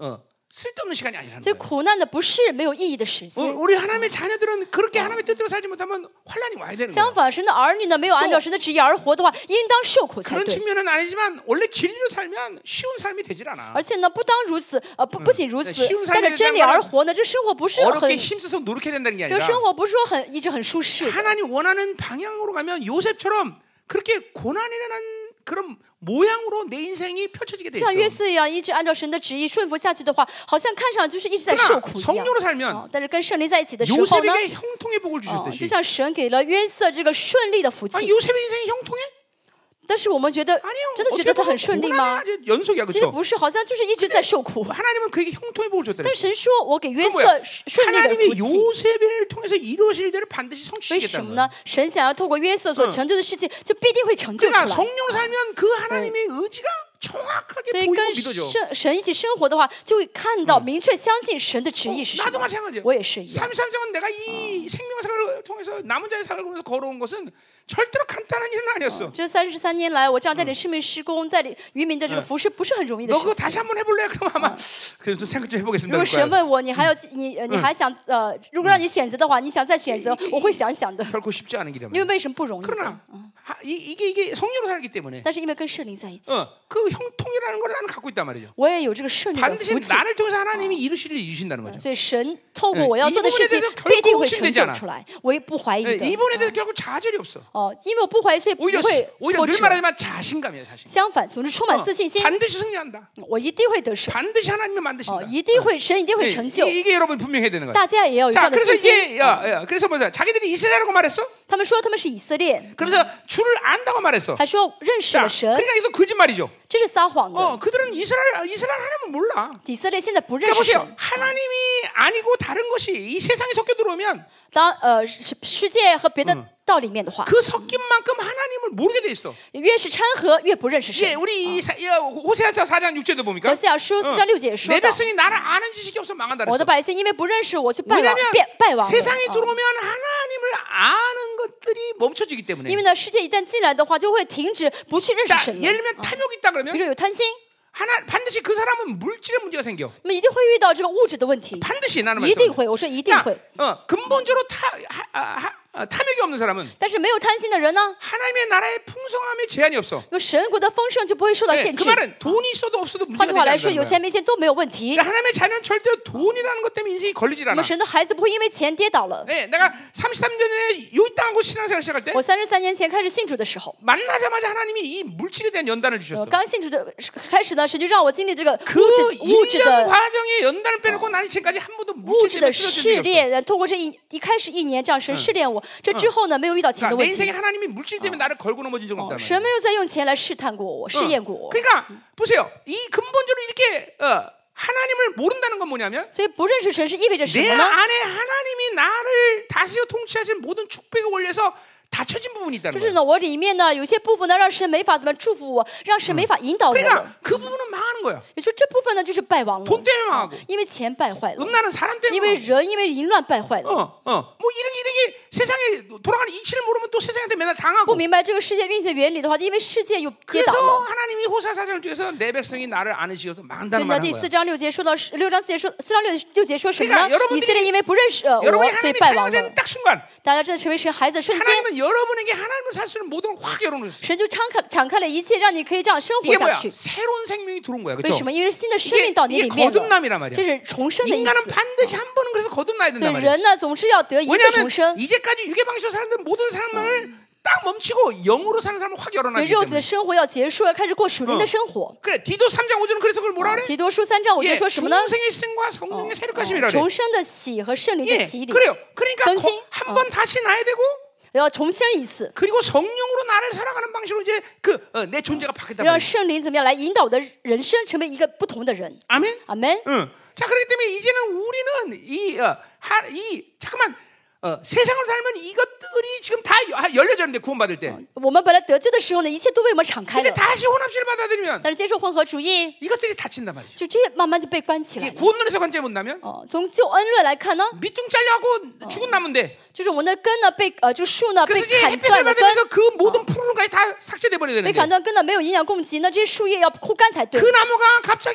쓸데없는 시간이 아니라는 所以 거예요. 苦难呢不是没有意义的时 어, 间。 우리 하나님의 자녀들은 그렇게 하나님의 뜻대로 살지 못하면 환란이 와야 되는 相 거예요. 反，神的儿女呢没有按照神的旨意而活的话，应当受苦才 그런 对。 측면은 아니지만 원래 진리로 살면 쉬운 삶이 되질 않아. 而且呢，不当如此，呃，不不仅如此 쉬운 ， 带着 삶에 真理 대한 而活呢，这生活不是很， 어렵게 힘써서 노력해야 된다는 게 这个 아니라 生活不是说很一直很舒适的。 하나님 원하는 방향으로 가면 요셉처럼 그렇게 고난이라는 그런 모양으로 내 인생이 펼쳐지게 돼 像约 있어. 瑟一样，一直按照神的旨意顺服下去的话，好像看上去就是一直在受苦一 그러나 样。 성령으로 살면 哦但是跟圣灵在一起的时候呢， 요셉에게 형통의 복을 哦， 주셨듯이 就像神给了约瑟这个顺利的福 아, 气。 요셉의 인생이 형통해? 但是我们觉得， 아니요. 真的觉 어떻게 得他 보면 很顺利 고난의 吗？ 아주 연속이야, 其实 그렇죠? 不是，好像就是一直在受苦。 하나님은 그에게 형통의 복을 줬더래. 但神说，我给约 그 瑟 뭐야? 顺利的 하나님이 福气。 요셉을 통해서 이루어질 일들을 반드시 为 성취시키겠다는 什么 거야. 呢？神想要透过约瑟所成就的事情，就必定会成就出 그러니까 来。 성령으로 살면 그 하나님의 의지가 所 정확하게 以 보이고 跟 믿어져. 神神一起生活的话，就会看到、明确相信神的旨意是什 나도 么。 마찬가지야. 我也是一样。 삼십삼 장은 내가 이 생명사를 통해서 남은 자의 사를 보면서 걸어온 것은 절대로 간단한 일은 아니었어. 这三十三年来，我这样带领生命施工，带领渔民的这个服饰，不是很容易的 너 事 그거 情。 다시 한번 해볼래? 그럼 아마 그래서 생각 좀 如 해보겠습니다. 果 그럴 神 거야. 问我，你还要你呃你还想呃，如果让你选择的话，你想再选择，我会想想的。 결코 쉽지 않은 길이야. 因为为什么不容易的？ 그러나 하, 이, 이게 이게 성령으로 살기 때문에 但是因为跟圣灵在一起， 어, 그 형통이라는 걸 나는 갖고 있단 말이죠. 我也有这个顺利的 반드시 福气。 나를 통해서 하나님이 이루실 일을 이루신다는 거죠. 所以神透过我要 이 做的 부분에 事情 대해서 ， 必定 결코 会成 의심되지 就 않아. 出来。我也不怀疑 네, 的。 이 부분에 대해서 결국 좌절이 없어. 哦，因为我不怀疑，所以不 오히려 会 오히려 挫 늘 折。 말하지만 자신감이야, 자신. 相反，总是充满自信心， 반드시 승리한다. 我一定会得胜。 반드시 하나님이 哦， 만드신다. 一定会，神一定会 네, 成就。 이- 이게 여러분 분명히 해야 되는 거야. 大家也要有这 자, 样的 그래서 信心。 이제 야, 야, 그래서 뭐야? 자기들이 이스라엘이라고 말했어? 他们说他们是以色列， 그래서 주를 안다고 말했어. 还说认识 자, 了神， 그러니까 이거 거짓말이죠. 这是撒谎 어, 的。 그들은 이스라엘 이스라엘 하나님을 몰라. 以色列现在不认 그러니까 识 보세요. 神。 하나님이 아니고 다른 것이 이 세상에 섞여 들어오면 当呃世世界和别的道里面的话， 그 섞인 만큼 하나님을 모르게 돼 있어. 越是掺和，越不认识 예, 神。 우리 이 사- 야, 호세아서 사 장 육 절도 何 보니까 西阿书四章六节也说 내 到， 백성이 나를 아는 지식이 없어 망한다 我的 그랬어. 百姓因为不认识我，就败亡 왜냐하면 败败亡了。 세상에 啊 들어오면 하나님을 아는 것들이 멈춰지기 때문에. 因为呢，世界一旦进来的话，就会停止不去认识 자, 神了。 예를 들면 탐욕이 있다 比如 그러면 说有贪心， 하나 반드시 그 사람은 물질의 문제가 생겨. 那么一定会遇到这个物质的问题， 반드시 나는 一定 말씀. 会。我说一定 그러니까 会。 어, 근본적으로 타, 하, 하, 하, 어, 탐욕이 없는 사람은 但是没有贪心的人呢， 하나님의 나라의 풍성함에 제한이 없어. 那么神国的丰盛就不会受到 네, 限 그 制。 말은 돈이 있어도 없어도 换 문제가 句话来 되지 说， 않는 有 거야. 钱没钱都没有问题。 그러니까 하나님의 자녀는 절대로 돈이라는 것 때문에 인생이 걸리질 那 않아. 么神的孩子不会因为钱跌倒了。 네, 내가 삼십삼 년 전에 요이 땅하고 신앙생활 시작할 때 我三十三年前开始信主的时候， 만나자마자 하나님이 이 물질에 대한 연단을 呃， 주셨어. 刚信主的开始呢，神就让我经历这个 그 物质物质 일 년 的 과정에 연단을 빼놓고 나는 지금까지 한 번도 物 물질 质 때문에 的 쓰러진 试 적이 없어. 炼，透过这一一开始一年这样神试炼我，这之后呢，没有遇到钱 그러니까 的 내 问 인생에 题。 하나님이 물질 때문에 나를 걸고 넘어진 적은 哦 없단 神 말이야. 没有再用钱来试探过我，试验过我。 그러니까 보세요. 이 근본적으로 이렇게 어, 하나님을 모른다는 건 뭐냐면 所以不认识神是意味着什 내 么呢？ 안에 하나님이 나를 다스려 통치하실 모든 축복의 원리에서 닫혀진 부분이 있다는 就是 거예요. 呢，我里面呢有些部分呢，让神没法怎么祝福我，让神没法引导我了。 그러니까 그 부분은 망하는 거야. 也就这部分呢，就是败亡了 돈 ， 때문에 망하고 因为钱败坏了， 음란은 사람 因 때문에 为 망하고. 人因为淫乱败坏了。 어, 어. 뭐 이런 이런 게 세상에 돌아가는 이치를 모르면 또 세상한테 맨날 不 당하고. 明白这个世界运行原理的话，因为世界又跌倒 그래서 了。 하나님이 호사 사장을 통해서 내 백성이 나를 아는시여서 所以 망한다는 呢， 말을 第 한 四 거야. 章六节说到六章四节说四章六六节说什么 그러니까 呢？ 여러분들이 以色列因为不认识呃 여러분이 我，所以 하나님의 败 사랑이 亡了 되는 。 딱 순간 大家真的成为神孩子的瞬间， 하나님은 여러분에게 하나님을 살 수 있는 모든 걸 확 열어놓으셨어요. 神就敞开敞开了一切，让你可以这样生活 이게 下 뭐야? 去。 새로운 생명이 들어온 거야. 为 그렇죠? 什么？因为新的生命到你 이게 里面了， 거듭남이란 말이야. 这是重生的意 인간은 思。 반드시 한 번은 그래서 거듭나야 所 된단 以 말이야. 人呢，总是要得一次 왜냐하면 重生。 이제까지 육의 방식으로 사는 모든 삶을 딱 멈추고 영으로 사는 사람을 확 因为 열어놔야 肉体的 때문에. 生活要结束，要开始过属灵的生活。 그래 디도 삼 장 오 절은 그래서 그걸 뭐라 그래? 提多书三章五节 예, 说什么呢？ 중생의 생과 성령의 새롭가심이라 그래. 重生的喜和圣灵的 예, 洗礼， 그래요. 그러니까 更新. 한 번 다시 나야 되고 要重生一次， 그리고 성령으로 나를 살아가는 방식으로 이제 그 내 존재가 바뀌었단 让 말이야. 圣灵怎么样来引导我的人生，成为一个不同的人。 아멘. 阿门。 응. 자 그렇기 때문에 이제는 우리는 이, 어, 하, 이 잠깐만 어, 세상으로 살면 이것들이 지금 다 여- 열려졌는데 구원받을 때. 我们本来得救的时候呢，一切都为我们敞开 근데 了， 다시 혼합주의를 받아들이면 但是接受混合主义， 이것들이 닫힌단 말이죠. 就这些慢慢就被关起来 이 了。 구원론에서 관점 본다면 哦，从救恩论来看呢， 밑둥 잘려갖고 죽은 나무인데 就是我们的根呢被呃这个树呢被 그래서 이제 砍 햇빛을 断了根， 받으면서 그 모든 푸른 것까지 다 삭제돼 버려야 被 되는데 砍断根呢没有营养供给，那这些树叶要枯干才对 그 。 나무가 갑자기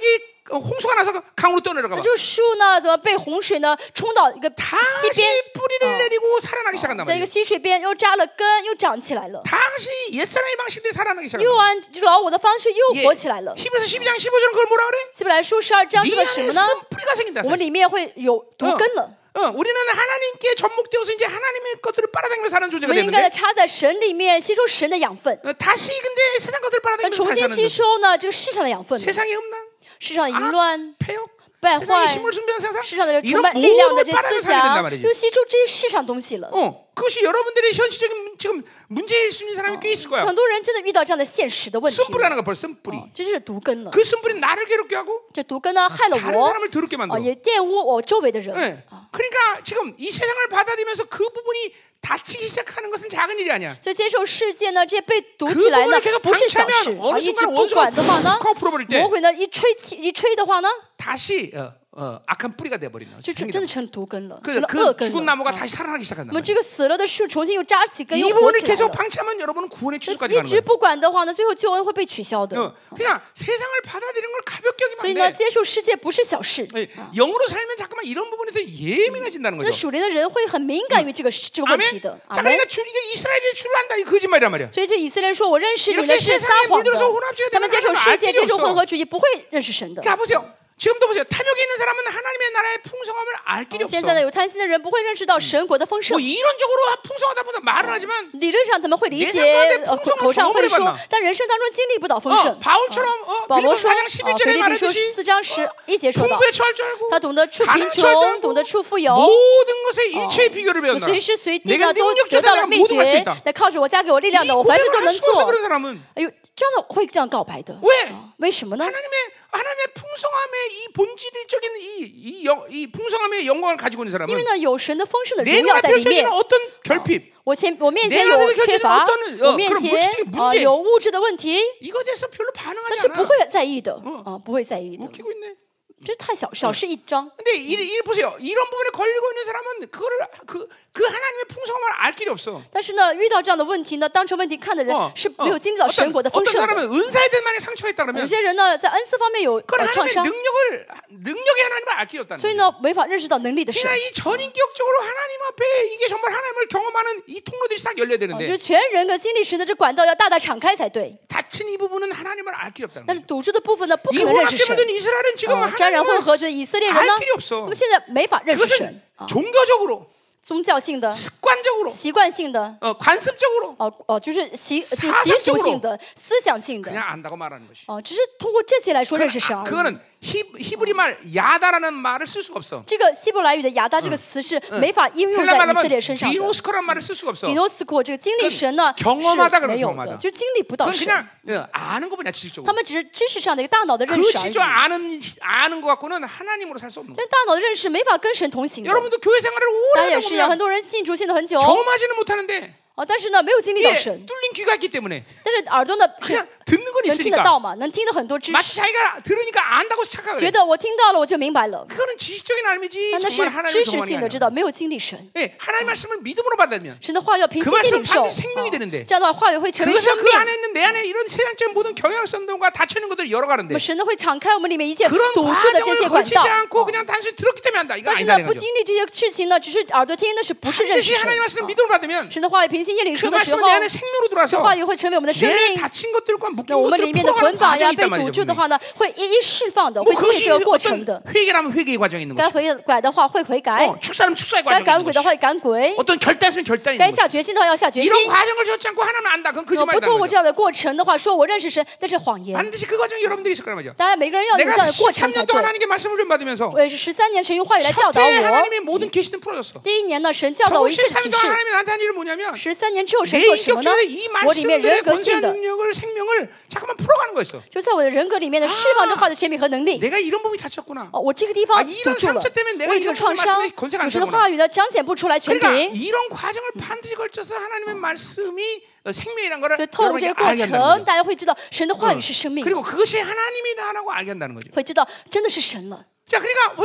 홍수가 나서 강으로 떠내려가 봐. 这个树呢，怎么被洪水呢冲到一个溪 다시 边， 뿌리를 내리고 살아나기 시작한단 在一 말이야. 个溪水边又扎了根，又长起来了， 다시 옛사람의 방식대로 살아나기 又 시작한다. 按老我的方式又活起来了。 히브리서 십이 장 십오 절은 그걸 뭐라 그래? 希伯来书十二章 네 说的什 안에 么呢？ 쓴뿌리가 생긴다. 我们里面会有毒根了。 어, 우리는 하나님께 접목되어서 이제 하나님의 것들을 빨아당기며 사는 我 존재가 们应该 되는데 插在神里面，吸收神的养分， 어, 다시 근데 세상 것들을 但 빨아당기며 重 다시 新 사는 吸 존재. 收呢这个世上的养分了， 세상의 음란, 世上的淫乱、 폐역, 败 세상의 坏， 힘을 숭배하는 세상 世上的充 이런 满力量的 모든 这 걸 思 빨아당겨 살게 된단 想， 말이지. 又吸收这些世上东西了。 어, 그것이 여러분들의 현실적인 지금 문제일 수 있는 사람이 꽤 있을 거야. 很多人真的遇到这样的现实的问题了， 쓴뿌리라는 거 벌써 쓴뿌리. 这就是毒根了。 그 쓴뿌리는 나를 괴롭게 하고 这毒根呢害了 다른 我， 사람을 더럽게 啊， 만들어. 也玷污我周围的人。 네. 그러니까 지금 이 세상을 받아들이면서 그 부분이 다치기 시작하는 것은 작은 일이 아니야. 所以接受世界呢，这些被毒 그 起来呢 부분을 ， 계속 不是小事 방치하면 。 어느 啊，一直 순간 不 원수가 管的话呢， 콕 풀어버릴 때 魔鬼呢一吹气一吹的话呢， 다시 어, 어, 악한 뿌리가 돼버리는 就真真的成毒根了， 그, 成了 그 恶根 죽은 了。 나무가 啊 다시 살아나기 시작한다. 那么这个死了的树重新又扎起根， 이 又活 부분을 起来 계속 了。 방치하면 여러분은 구원의 那 취소까지 一 가는 直 거예요. 不管的话呢，最后救恩会被取消的。 어, 그러니까 세상을 받아들이는 걸 가볍게 所以 여기면 呢， 안 돼. 接受世界不是小事。 예, 영으로 살면 잠깐만 이런 부분에서 예민해진다는 那 거죠. 属灵的人会很敏感于这个这个问题 아멘. 的。 자, 阿门。 그러니까 주, 이게 이스라엘의 주를 안다 이 거짓말이란 말이야. 所以这以色列人说：“我认识你 이렇게 呢是撒 세상에 谎的 물들어서 혼합주의가 。 他们接受 되면 世界， 알 接 길이 受 없어. 混合主义，不会认识神的。 자, 보세요. 지금도 보세요. 탐욕에 있는 사람은 하나님의 나라의 풍성함을 알 길이 없어. 现在呢，有贪心的人不会认识到神国的丰盛 뭐 。 이론적으로 풍성하다 보다 말은 하지만 理论上他们会理 내 解 삶 가운데 ， 呃， 풍성한 口口上会 경험을 说 해봤나 ， 但人生当中经历不到丰 어, 盛。 바울처럼 어, 保罗 빌립보서 说， 사 장 啊， 십일 腓 절에 立比书 말하듯이 四章十一节说到， 풍부에 처할 줄 알고 他懂得处贫 가난에 처할 줄 穷， 알고 懂得处富有， 모든 것에 일체의 비결을 我 배웠나 随时随地 내가 呢都 능력 得到 자산을 了秘 모든 걸 수 诀 있다. 。 那靠着我加给我力量 이 的，我凡事 고백을 都能 할 수 없어 做。 그런 사람은 哎呦，这样的会这样告白的， 왜 为什么呢？ 하나님의 하나님의 풍성함의 이 본질적인 이, 이, 영, 이 풍성함의 영광을 가지고 있는 因 사람은 为呢，有神的丰盛的 내 荣耀 눈에 在里面 펼쳐지는 。 어떤 결핍 我前我面 내 前 안에 有 펼쳐지는 缺乏， 어떤 어, 我面 그런 前 물질적인 啊 문제 有物质的问题， 이것에 대해서 별로 但 반응하지 是不 않아. 会在意的啊，不会在意的， 웃기고 있네. 这太小小事一桩。 근데 이, 이 보세요. 이런 부분에 걸리고 있는 사람은 그거를 그, 그 하나님의 풍성함을 알 길이 없어. 但是呢，遇到这样的问题呢，当成问题看的人 어, 是 어. 没有经历到神国的丰 어떤 盛的。 사람은 은사에 대한 만에 상처가 있다 有 그러면 些人呢，在恩赐方面有 그건 呃创 하나님의 伤， 능력을 능력의 하나님을 알 길이 없다는 所以 거예요. 呢，没法认识到能力的神。 그러니까 이 전인격적으로 하나님 앞에 이게 정말 하나님을 경험하는 이 통로들이 딱 열려야 啊，就 되는데 是全人格经历神的这管道要大大敞开才对。 닫힌 이 부분은 하나님을 알 길이 없다는 但是 거예요. 堵住的部分呢，不可 이 能认识神 혼합체물된 。 이스라엘은 지금 呃，沾染混 하나님을 合的以色列人呢 알 길이 ， 없어. 那么现在没法认识 그것은 神啊， 종교적으로 宗教性的、 습관적으로 习惯性的， 어, 관습적으로 哦哦，就是习就是习 사상적으로 俗性的、思想性的， 그냥 안다고 말하는 것이. 哦，只是通过这些来说认识 그건, 神 아, 而已。 그거는 히, 히브리 말 야다라는 말을 쓸 수가 없어. 这个希伯来语的亚达这个词是没法应用 헬라 在以色 말하면 列身上的。 디노스코란 말을 쓸 수가 없어. 迪诺斯库这个经历神呢 그경험하다 是 그래 没有 경험하다 的，就经历不到 그건 神。 그냥 어, 아는 것뿐이야 지식적으로. 他们只是知识上的一个大脑的认 그 识而已。 지적 아는 아는 것 갖고는 하나님으로 살 수 없는 거야. 但大脑的认识没法跟神同行的。 여러분도 교회 생활을 大 오래 家也 하다 是一样，很 보면 多人信主信的很久， 경험하지는 못하는데 啊，但是呢没有经历到 예, 神， 뚫린 귀가 있기 때문에 但是耳朵呢是 그냥 듣는 건 能听得 있으니까 到嘛，能听到很多知 마치 识， 자기가 들으니까 안다고 착각을 觉 해. 得我听到了我就明白了， 그거는 지식적인 알미지 但那是 정말 하나님을 知识 경험하는 性 게 的知 아니야. 道，没有经历神。 예, 하나님 말씀을 믿음으로 받으면 神的话要凭 그 信心 말씀은 领受， 반드시 생명이 啊 되는데 这样的话话语会成为 그것은 生 그 命。 안에 있는 내 안에 이런 세상적인 모든 경향성들과 닫혀있는 것들을 那 열어가는데 么神呢会敞开我们里面一切 그런 堵住的这 과정을 些管 거치지 道， 않고 그냥 단순히 들었기 때문에 한다. 이거 但是 아니다는 呢不 거죠. 经历这些事情呢，只是耳朵听，那是不是认识 반드시 神？ 하나님 말씀을 啊 믿음으로 받으면 神的话语凭信心领 그 受的时候 말씀은 ，내 안에 생명으로 这 들어와서 话语会成为我们的生 내 命。 닫힌 것들과 묶인 那我们里 것들을 面的 풀어가는 捆绑呀 과정이 被 있단 堵 말이죠. 住的话呢，会一一释放的， 뭐 会经历 그것이 这个过程的。 어떤 회개라면 회개의 과정이 있는 该 것이고 悔改的话会悔改， 어, 축사라면 축사의 该 과정이 赶 있는 鬼的 것이고 话会赶鬼， 어떤 결단이면 결단이 该 있는 下决心的话要下决 것이고 心。 이런 과정을 겪지 않고 하나는 안다. 그건 如果不 거짓말이라는 透过 거죠. 这样的过程的话，说我认识神，那是谎言。 반드시 그 과정이 여러분들이 있을 거란 말이죠. 当然，每个人要有这 내가 样的过程 십삼 才 년 동안 对。 하나님께 말씀을 좀 받으면서 我也是十三年神用话语来教导 첫해 我。 하나님의 모든 계시는 풀어졌어. 第一年呢，神教导 결국 我一切的 십삼 启 년 동안 示。 하나님이 나한테 한 일은 뭐냐면 十三年之后，神 내 做什么呢 인격적인 이 ？ 我里面人 말씀들의 格性 권세한 的， 능력을 생명을 잠깐만 풀어가는 거였어. 就在我的人格里面的释放这话的权柄和能力。 내가 이런 부분이 다쳤구나. 哦，我这个地方 아 堵 이런 住了 상처 때문에 ， 내가 我有这 이런 个创 부분의 伤 말씀에 ， 권세가 안 有神的 되구나. 话语呢彰显不出来权 그러니까 柄。 이런 과정을 반드시 걸쳐서 하나님의 말씀이 어, 생명이란 거를 所以透过这 여러분에게 个过 알게 한다는 程， 거죠. 大家会知道神的话语是生命， 그리고 그것이 하나님이다라고 알게 한다는 거죠. 会知道真的是神了。 자, 그러니까 보세요.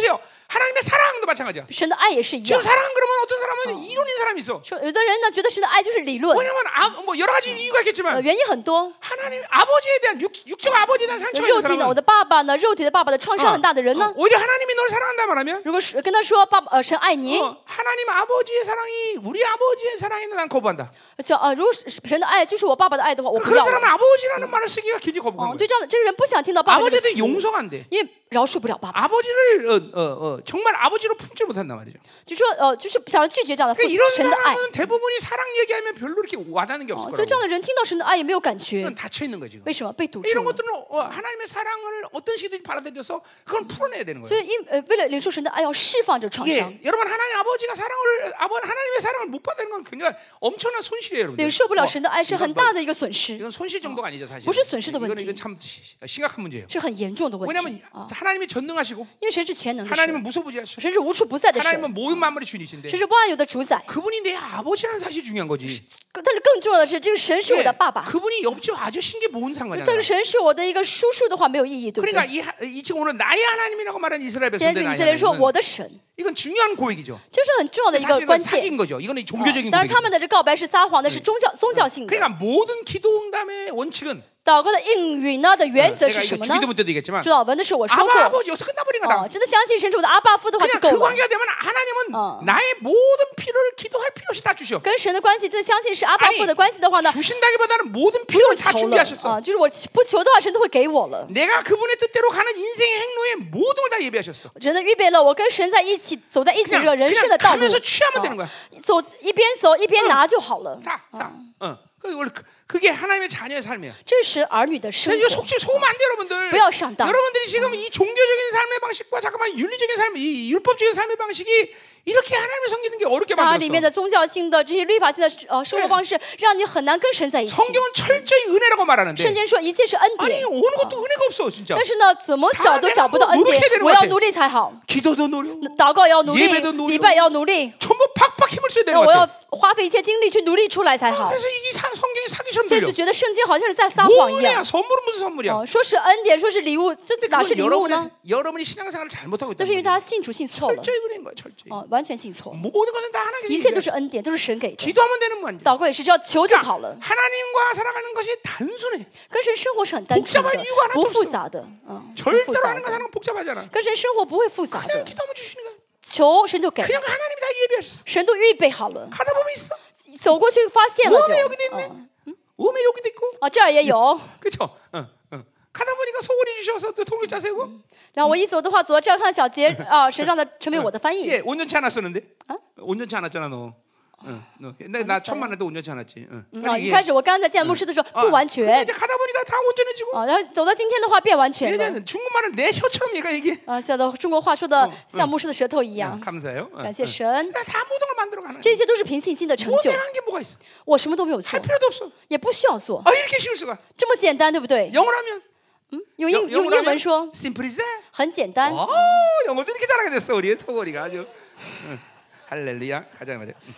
하나님의 사랑도 마찬가지야. 神的爱也是一 지금 样。 사랑 그러면 어떤 사람은 이론인 사람이 있어. 说有的人呢觉得神的爱就是理论， 왜냐면 아, 뭐 여러 가지 이유가 呃 있겠지만 原因很多。 하나님 아버지에 대한 육, 육적 아버지에 대한 상처가 肉 있는 体呢，我 사람은 的爸爸呢，肉体的爸爸的创伤很大的人 어, 呢， 오히려 하나님이 너를 사랑한다 말하면 如果是跟他说爸爸呃神爱你， 어, 하나님 아버지의 사랑이 우리 아버지의 사랑에는 난 거부한다. 像呃如果是神的爱就是我爸爸的爱的话，我不 그런 要 사람은 了。 아버지라는 말을 쓰기가 굉장히 哦， 거부하는 对 거야. 这样的这个人不想听到爸爸这个 아버지도 词， 용서가 안 돼. 因为饶恕不了爸爸， 아버지를 어, 어, 어, 정말 아버지로 품지 못한단 말이죠. 就说呃就是想要拒绝这样的父 그러니까 이런 神的爱。 사람은 대부분이 사랑 얘기하면 별로 이렇게 와닿는 게 哦， 없을 所以这样 거라고. 的人听到神的爱也没有感觉， 그건 닫혀 있는 거지. 为什么被堵住 이런 了？ 것들은 어, 하나님의 사랑을 어떤 식이든지 받아들여서 그건 풀어내야 되는 所 거예요. 以因呃为了领受神的爱，要释放这创伤。 예, 여러분 하나님 아버지가 사랑을 아버 하나님의 사랑을 못 받는 건 굉장히 엄청난 손실이에요, 여러분. 领受不了神的爱是很大的一个损失， 이건 손실 정도가 아니죠, 사실. 不是损失的问 이건 题。 이건 참 시- 심각한 문제예요. 是很严重的问 왜냐하면 题啊！ 하나님이 전능하시고 因为神是全能的 하나님은 神， 무소부지하시고 神是无处不在的神， 하나님은 모든 만물의 주인이신데 神是万有的主宰。 그분이 내 아버지라는 사실이 중요한 거지. 但是更重要的是，这个神是我 예, 的爸爸。 그분이 옆집 아저씨인 게 뭔 상관이야? 但是神是我的一个叔叔的话没有意义，对不 그러니까 对？ 이, 하- 이 지금 오늘 나의 하나님이라고 말하는 이스라엘 今天 백성들 这以 나의 色列人说 하나님은 我的神， 이건 중요한 고백이죠. 这是很重要的一个 사실은 关 사기인 键。 거죠. 이거는 啊 종교적인 当然，他 고백이죠. 们的这告白是撒谎的，是宗教宗教性的。 그러니까 모든 기도응답의 원칙은 祷告的应允呢的原则 내가 是 이거 什么呢？ 주기도 문제도 얘기했지만 主导文的时候我说 아바 过， 아버지 여기서 끝나버린 거다. 哦，真的相信神是我的阿爸父的话就 그냥 够 그 了。 관계가 되면 하나님은 어. 나의 모든 필요를 기도할 필요 없이 다 주셔. 跟神的关系，真的相信是阿爸父的关系的话呢， 주신다기보다는 모든 不用 필요를 다 求了 준비하셨어. 啊，就是我不求的话，神都会给我了。 내가 그분의 뜻대로 가는 인생의 행로에 모든 걸 다 예비하셨어. 真的预备了我跟神在一起走在一起这个 그냥 人生的道路 가면서 취하면 되는 ， 거야. 走一边走一边拿就好了。 다, 다. 어. 그 원래 그- 그게 하나님의 자녀의 삶이야. 这是神儿女的生 이거 活， 속지 속으면 안 돼, 여러분들. 不要上当。 여러분들이 지금 이 종교적인 삶의 방식과 잠깐만 윤리적인 삶, 이 율법적인 삶의 방식이 이렇게 하나님을 섬기는 게 어렵게 它里面 만들었어. 的宗教性的这些律法性的呃生活方式，让你很难跟神在一起。 성경은 철저히 은혜라고 圣 말하는데 经说一切是恩 아니 典， 어느 것도 은혜가 없어 진짜. 但是呢，怎么找都找不到恩 노력해야 典 되는 ， 我 것 要 같아 努力才好。 기도도 노력, 祷告也要努力 예배도 노력 ， 礼拜也要努力， 전부 팍팍 힘을 써야 那 되는 我 것 要 같아. 花费一切精力去努力出来才好。 그래서 이게 상- 성경이 사기처럼 所以 들려. 就觉得圣经好像是在撒 뭐 谎一 은혜야? 样。 선물은 무슨 선물이야? 哦，说是恩典，说是礼物，这 근데 哪是 그건 礼物 여러분의 呢？ 여러분이 신앙생활을 잘못하고 那 있다는 是因为 거야. 他信主信错了， 철저히 은혜인 거야, 철저히. 哦，完全信错， 모든 것은 다 하나님께 一切都 얘기해. 是恩典，都是神给的。 기도하면 되는 문제. 祷告也是，只要求就好了。 하나님과 살아가는 것이 단순해. 跟神生活是很单纯 복잡할 的 이유가 하나도 ， 不复 없어 杂的，嗯，不复 절대로 杂 하는 거 的。 사는 건 복잡하잖아. 跟神生活不会复杂 그냥 的， 기도하면 주시는 거야. 求神就给， 그냥 하나님이 다 예비하셨어. 神都预备好了， 가다 보면 있어. 走过去发现了 오메 就， 여기도 있네. 嗯， 오메 여기도 있고. 啊，这儿也有。 그렇죠? 어, 어. 가다 보니까 소원이 주셔서 또 통일 짜세고. 然后我一走的话，走到这儿看到小杰啊，神让他成为我的翻译。 예, 온전치 않았었는데. 온전치 않았잖아 너. 응, 너. 옛날에 나 처음 만날 때 온전치 않았지. 응. 啊，一开始我刚刚在见牧师的时候不完 근데 全 이제 가다 보니까 다 온전해지고. 啊，然后走到今天的话变完全了 얘는 중국말을 내 혀처럼 얘가 얘기해. 啊，像的中国话说的像牧师的舌头一样。 감사해요. 어, 感谢 어. 神， 다 모든 걸 만들어가는. 这些都是凭信心的成 뭐 就。 내가 한 게 뭐가 있어? 我什么都没有做 할 ， 필요도 없어. 也不需要做， 아 이렇게 쉬울 수가. 这么简单，对不对？ 영어로 하면 用英 영- 用 영어로 英文 하면 说 simple is that. 很简单。 어, 영어도 이렇게 잘하게 됐어 우리 토거리가 아주. 응. 할렐루야. 가자 말이야. 응.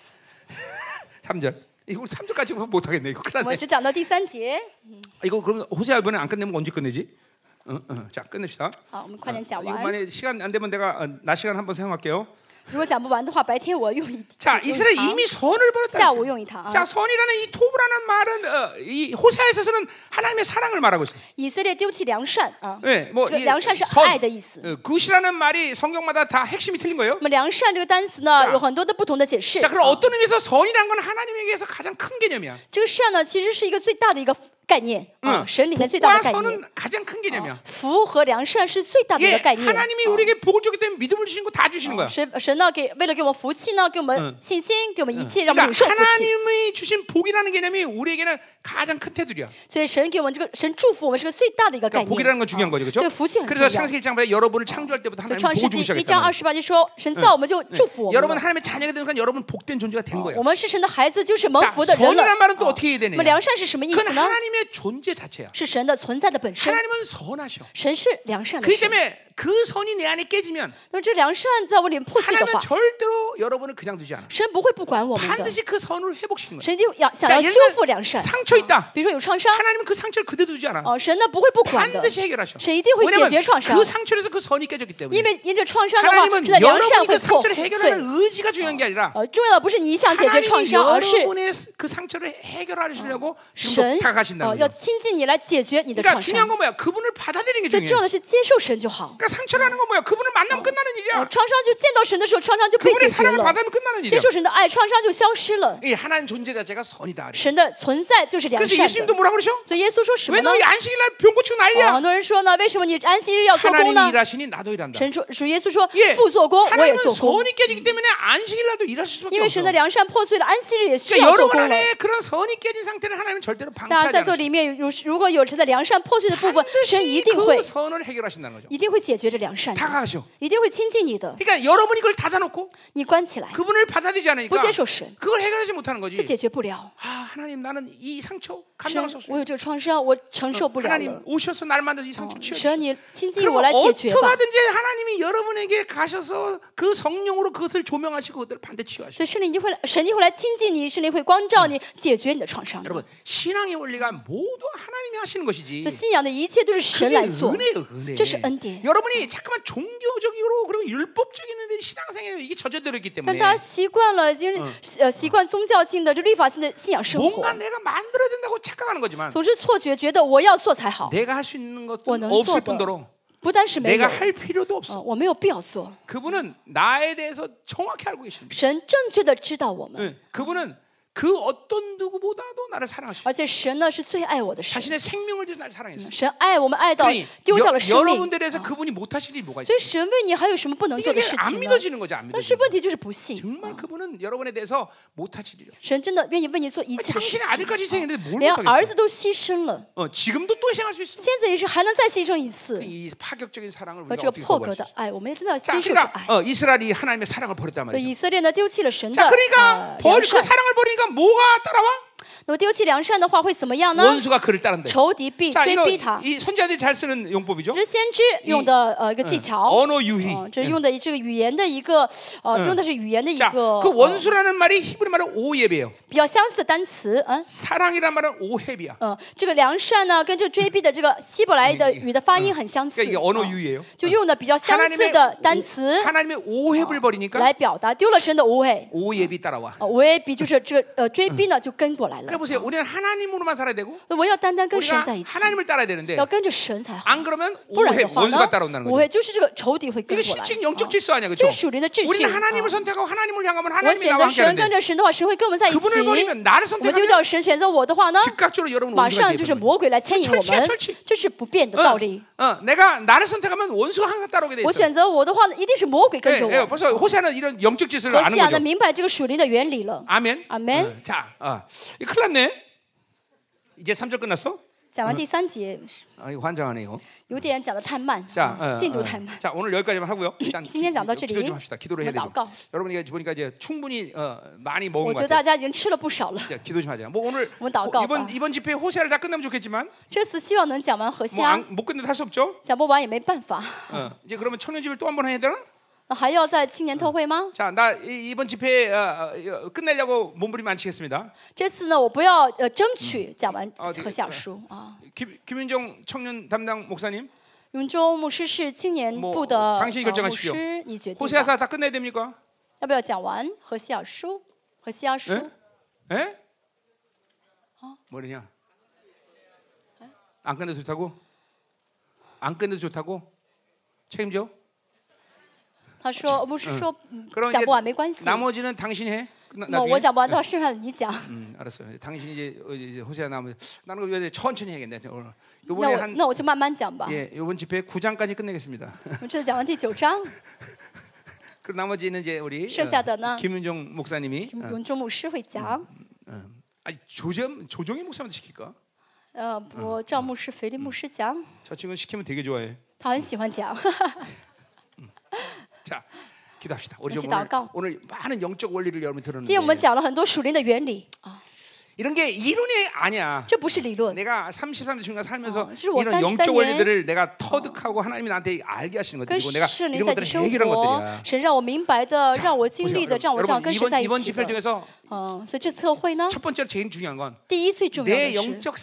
삼 절. 이거 삼 절까지 못 하겠네. 이거 我 큰일 们 났네. 只讲到第三节， 이거 그럼 호세아 이번에 안 끝내면 언제 끝내지? 어, 어. 자, 끝냅시다. 好，我们快点讲 이거 完。 만약 시간 안 되면 내가 어, 낮 시간 한번 사용할게요. 如果讲不完的话，白天我用一 자, 用 이스라엘 一堂 이미 선을 벌였다. 下午用一堂啊。 자, 선이라는 이 토브라는 말은 어, 이 호세아에 있어서는 하나님의 사랑을 말하고 있어요. 以色列丢弃良善啊， 네, 뭐 这 이 良善是 선, 爱的意思。 어, 굿이라는 말이 성경마다 다 핵심이 틀린 거예요. 那么良善这个单词呢，有很多的不同的解释。 자, 그럼 啊 어떤 의미에서 선이라는 건 하나님에게서 가장 큰 개념이야. 这个善呢，其实是一个最大的一个概念啊， 응. 神里面最大 복과 的概念。 선은 가장 큰 개념이야. 福和良善是最大的一 예, 个概念。 하나님이 우리에게 복을 주기 때문에 믿음을 주신 거 다 주시는 거야. 神神呢，给为了给我们福气呢，给我们信心，给我们一切，让我们领 그러니까 受福气。 하나님이 주신 복이라는 개념이 우리에게는 가장 큰 테두리야. 所以神给我们这个神祝福我们是个最大的一个概 그러니까 念。 복이라는 건 중요한 거죠, 这 그렇죠? 个福气很重 그래서 要。 창세기 일 장 보면 여러분을 창조할 때부터 所以 하나님 创世 복을 纪 주기 一章 시작했단 二 말이야. 十八节说，神造我们就祝福我们 여러분 了。 하나님의 자녀가 되는 순간 여러분 복된 존재가 된 거야. 我们是神的孩子，就是蒙 자, 福的人了。 선이란 말은 또 啊 어떻게 해야 那 되느냐? 么良善是什么意 그건 思呢？ 하나님의 존재 자체야. 是神的存在的本身。 하나님은 선하셔. 神是良善的 그렇기 神， 때문에 그 선이 내 안에 깨지면 那么这良善在我里面破碎的 하나님은 话， 절대로 여러분을 그냥 두지 않아. 神不会不管我们的， 반드시 그 선을 회복시키는 거야. 神一定要想 자, 要 예를 修 들면 复良善。 상처 있다. 比如说有创伤， 하나님은 그 상처를 그대로 두지 않아. 哦，神呢不会不管的， 반드시 해결하셔. 神一定会解 왜냐면 决创伤 그 ， 상처에서 그 선이 깨졌기 因 때문에. 为因着创伤的话， 하나님은 是在良善 여러분이 会 그 破 상처를 碎。 해결하는 의지가 중요한 게 아니라 呃，重要的不是你一想解决创 하나님이 伤，而是 여러분의 그 상처를 해결하시려고 神 지금 呃 다가가신다는 要 거예요. 亲近你来解决你的 그러니까 创 중요한 伤。 건 뭐야? 그분을 받아들이는 게 最 중요해. 重要的是接受神就好。 그러니까 상처라는 건 뭐야? 그분을 만나면 끝나는 呃， 일이야. 创伤就见到神的时候，创伤就被 그분의 解决 사랑을 了。 받으면 끝나는 接 일이야. 受神的爱，创伤就消失了。 이 하나님 존재 자체가 선이다. 神的存在就是良 그래서 善 예수님도 的。 뭐라 그러셔? 所以耶稣说什么 왜 呢 너희 ？ 안식일날 병 고치고 哦， 난리야? 很多人说呢，为什么你安息日要做工 하나님이 呢？ 일하시니 나도 일한다. 神说，主耶稣说 예, ， 父做工，我也 하나님은 做工。 선이 깨지기 때문에 안식일날도 일하실 수밖에 因为 없어. 神的良善破碎了，安息日也需 그러니까 要做 여러분 工了。 안에 그런 선이 깨진 상태를 하나님은 절대로 大家 방치하지 在座 않으셔. 里面，如如果有神的良善破碎的部分，神一 반드시 定会 그 선을 해결하신다는 거죠. 一定会解决这良善的， 다가가셔. 一定会亲近你的。 그러니까 여러분이 그걸 닫아놓고 你关起来， 그분을 받아들이지 않으니까 不接受神， 그걸 해결하지 못하는 거지. 这解决不了。 아 하나님 나는 이 상처 神 감당할 수 ， 我 없어요. 有这个创伤，我承受不了 하나님 了。 오셔서 날 만나서 이 상처 神， 치워주세요. 你亲近 그럼 我来解决 어떻게 吧。 하든지 하나님이 여러분에게 가셔서 그 성령으로 그것을 조명하시고 그것을 반드시 치유하시고. 所以圣灵一定会来，神一定会来亲近你，圣灵会光照你，解决你的创伤的。 여러분 신앙의 원리가 모두 하나님이 하시는 所 것이지. 以信仰的一切都是神 그게 来做， 은혜예요, 은혜. 这是恩典。 여러분이 잠깐만 종교적으로 그리고 율법적인 신앙생활에 이게 젖어들었기 但 때문에 大家习惯了，已经呃习惯宗教性的、这律法性的信仰生活 뭔가 ， 내가 만들어야 된다고 착각하는 거지만 总是错觉，觉得我要做才好， 내가 할 수 있는 我 것도 能做 없을 的 뿐더러 不单是没有 내가 ， 할 필요도 없어. 呃，我没有必要做。 그분은 나에 대해서 정확히 알고 계십니다. 神正确的知道我们， 응, 그분은 그 어떤 누구보다도 나를 사랑하시고 而且神呢是最爱我的神， 자신의 생명을 주셔서 나를 사랑했어. 神爱我们爱到 그러니 丢掉 여, 了生命， 여러분들에 대해서 그분이 못하실 일이 뭐가 所以 있어요? 神为你还有什么不能做 이게 的事 안 情呢？ 믿어지는 거죠, 안 但是 믿어지는 问 거. 题就是不信， 정말 그분은 여러분에 대해서 못하실 일이요. 神真的愿意为你做一切的事 당신의 情， 아들까지 희생했는데 뭘 连儿 못하겠어? 子都牺牲了， 어, 지금도 또 희생할 수 있어. 现在也是还能再牺牲一次。 이 파격적인 사랑을 和 우리가 这个 어떻게 破 거부할 格 수 的 있어? 爱，我们也真的要 자, 接受这 그러니까 爱。 어, 이스라엘이 하나님의 사랑을 버렸단 所以 말이죠. 以色列呢丢弃了神的 자, 呃 그러니까 良 벌, 그 善， 사랑을 버리니까 뭐가 따라와? 那么丢弃良善的话会怎么样呢？ 원수가 그를 따른다. 仇敌必 자, 追 이거 逼他。 이 선지자들이 잘 쓰는 용법이죠. 这是先知用的呃一个技巧， 언어 유희. 哦，这是用的这个语言的一个呃，用的是语言的一 자, 个 그 呃 원수라는 말이 히브리 말은 오예베예요. 比较相似的单词，嗯 사랑이란 말은 오헤비야. 嗯，这个良善呢跟这个追逼的这个希伯来的语的发音很相似， 그러니까 이게 언어 哦 유희예요. 就用的比较相似 하나님의 的单词 하나님의 오헤비를 버리니까 来表达丢了神的无畏， 오예비 따라와. 呃，无畏比就是这个呃追逼呢就跟过来了 그래 。 보세요. 우리는 하나님으로만 살아야 되고 我们要单单跟神 우리가 在一起， 하나님을 따라야 되는데 要跟着神才好， 안 그러면 不然 오해 的话 원수가 呢， 따라온다는 无 거죠. 畏就是这个仇敌会跟 이게 过来。 실질 영적 啊 질서 아니야, 这 그렇죠? 是属灵的秩序。 우리는 하나님을 啊 선택하고 하나님을 향하면 我 하나님이 选 나와 择 함께 神，跟 하는데 着神的话，神会跟我们在一起。 그분을 버리면 나를 我们丢掉 선택하면 神，选择我的话呢， 즉각적으로 여러분 马 원수가 上就是 되는 魔鬼来牵引我 철치야 们 철치 ， 这是不变的道理。 어, 어, 내가 나를 선택하면 원수가 항상 따라오게 돼 我 있어. 选择我的话呢，一定是魔鬼跟 예, 着 예, 我。 벌써 호세아는 이런 영적 질서를 何 아는 西亚 거죠. 呢，明白这个属灵的原理了。 아멘. 아멘. 어, 자, 어, 이거 큰일 났네. 이제 삼 절 끝났어? 讲完第三节， 아, 이거 환장하네요. 有点讲的太慢， 자, 啊 어, 进度 어. 太慢。 자, 오늘 여기까지만 하고요. 일단 기, 今天讲到这里， 기도 좀 합시다. 기도를 해야 我们 되죠. 祷告。 여러분 이게 보니까 이제 충분히 어, 많이 我 먹은 觉 것 得大 같아요. 家已经吃了不少了。 자, 기도 좀 하자. 뭐 오늘 我们祷告吧。 이번 이번 집회 호세아를 다 끝나면 좋겠지만 这次希望能讲完何西 뭐 阿， 못 끝내도 할 수 없죠. 讲不完也没办法。 어, 이제 그러면 청년집을 또 한 번 해야 되나? 还要在青年特会吗？ 자, 나 이, 이번 집회 어, 어, 끝내려고 몸부림 안 치겠습니다. 这次呢，我不要呃争取讲完哦这个何西阿书啊。 김, 김윤정 청년 담당 목사님, 永州牧师是青年部的 뭐 呃 당신이 牧 결정하십시오. 师，你决定吧 호세아사 다 끝내야 됩니까? 要不要讲完何西阿书？何西阿书 예? 예? 뭐냐? 안 끝내도 좋다고? 안 끝내도 좋다고? 책임져? 他说牧师说嗯 그럼 讲 이제 不完没关系。 나머지는 당신이 해. 끝나, 那 나중에. 我讲不完的话，剩下的你讲。 음, 알았어요. 당신이 이제, 어, 이제 호세아 나면 나는 그거 이제 천천히 해야겠네. 오늘 那 이번에 我 한 那我就慢慢讲吧。 예, 이번 집회 구 장까지 끝내겠습니다. 我这次讲完第九章， 그리고 나머지는 이제 우리 剩下的呢 어, 김윤정 목사님이 어, 永州牧师会讲。 어, 아니 조정 조정희 목사한테 시킬까? 呃，我赵牧师、腓力牧师讲， 저 친구는 시키면 되게 좋아해. 他很喜欢讲。 자, 기도합시다. 우리 좀 같이 오늘, 祷告。 오늘 많은 영적 원리를 여러분 今天我们 들었는데 讲了很多属灵的原理啊， 이런 게 이론이 아니야. 这不是理论。 내가 삼십삼 세 중간 살면서 어, 就是我 이런 三十三 영적 年 원리들을 내가 터득하고 하나님이 나한테 알게 하시는 跟 것들이고 내가 圣灵 이런 在一 것들을 起生 해결한 活， 것들이야. 神让我明白的， 자, 让我经历的， 보세요. 让我这样 여러분 跟神 이번 在一 이번 起 집회 的。 중에서 嗯，所以这次特会呢， 첫 번째로 제일 중요한 건 第一最重要 내 的是 영적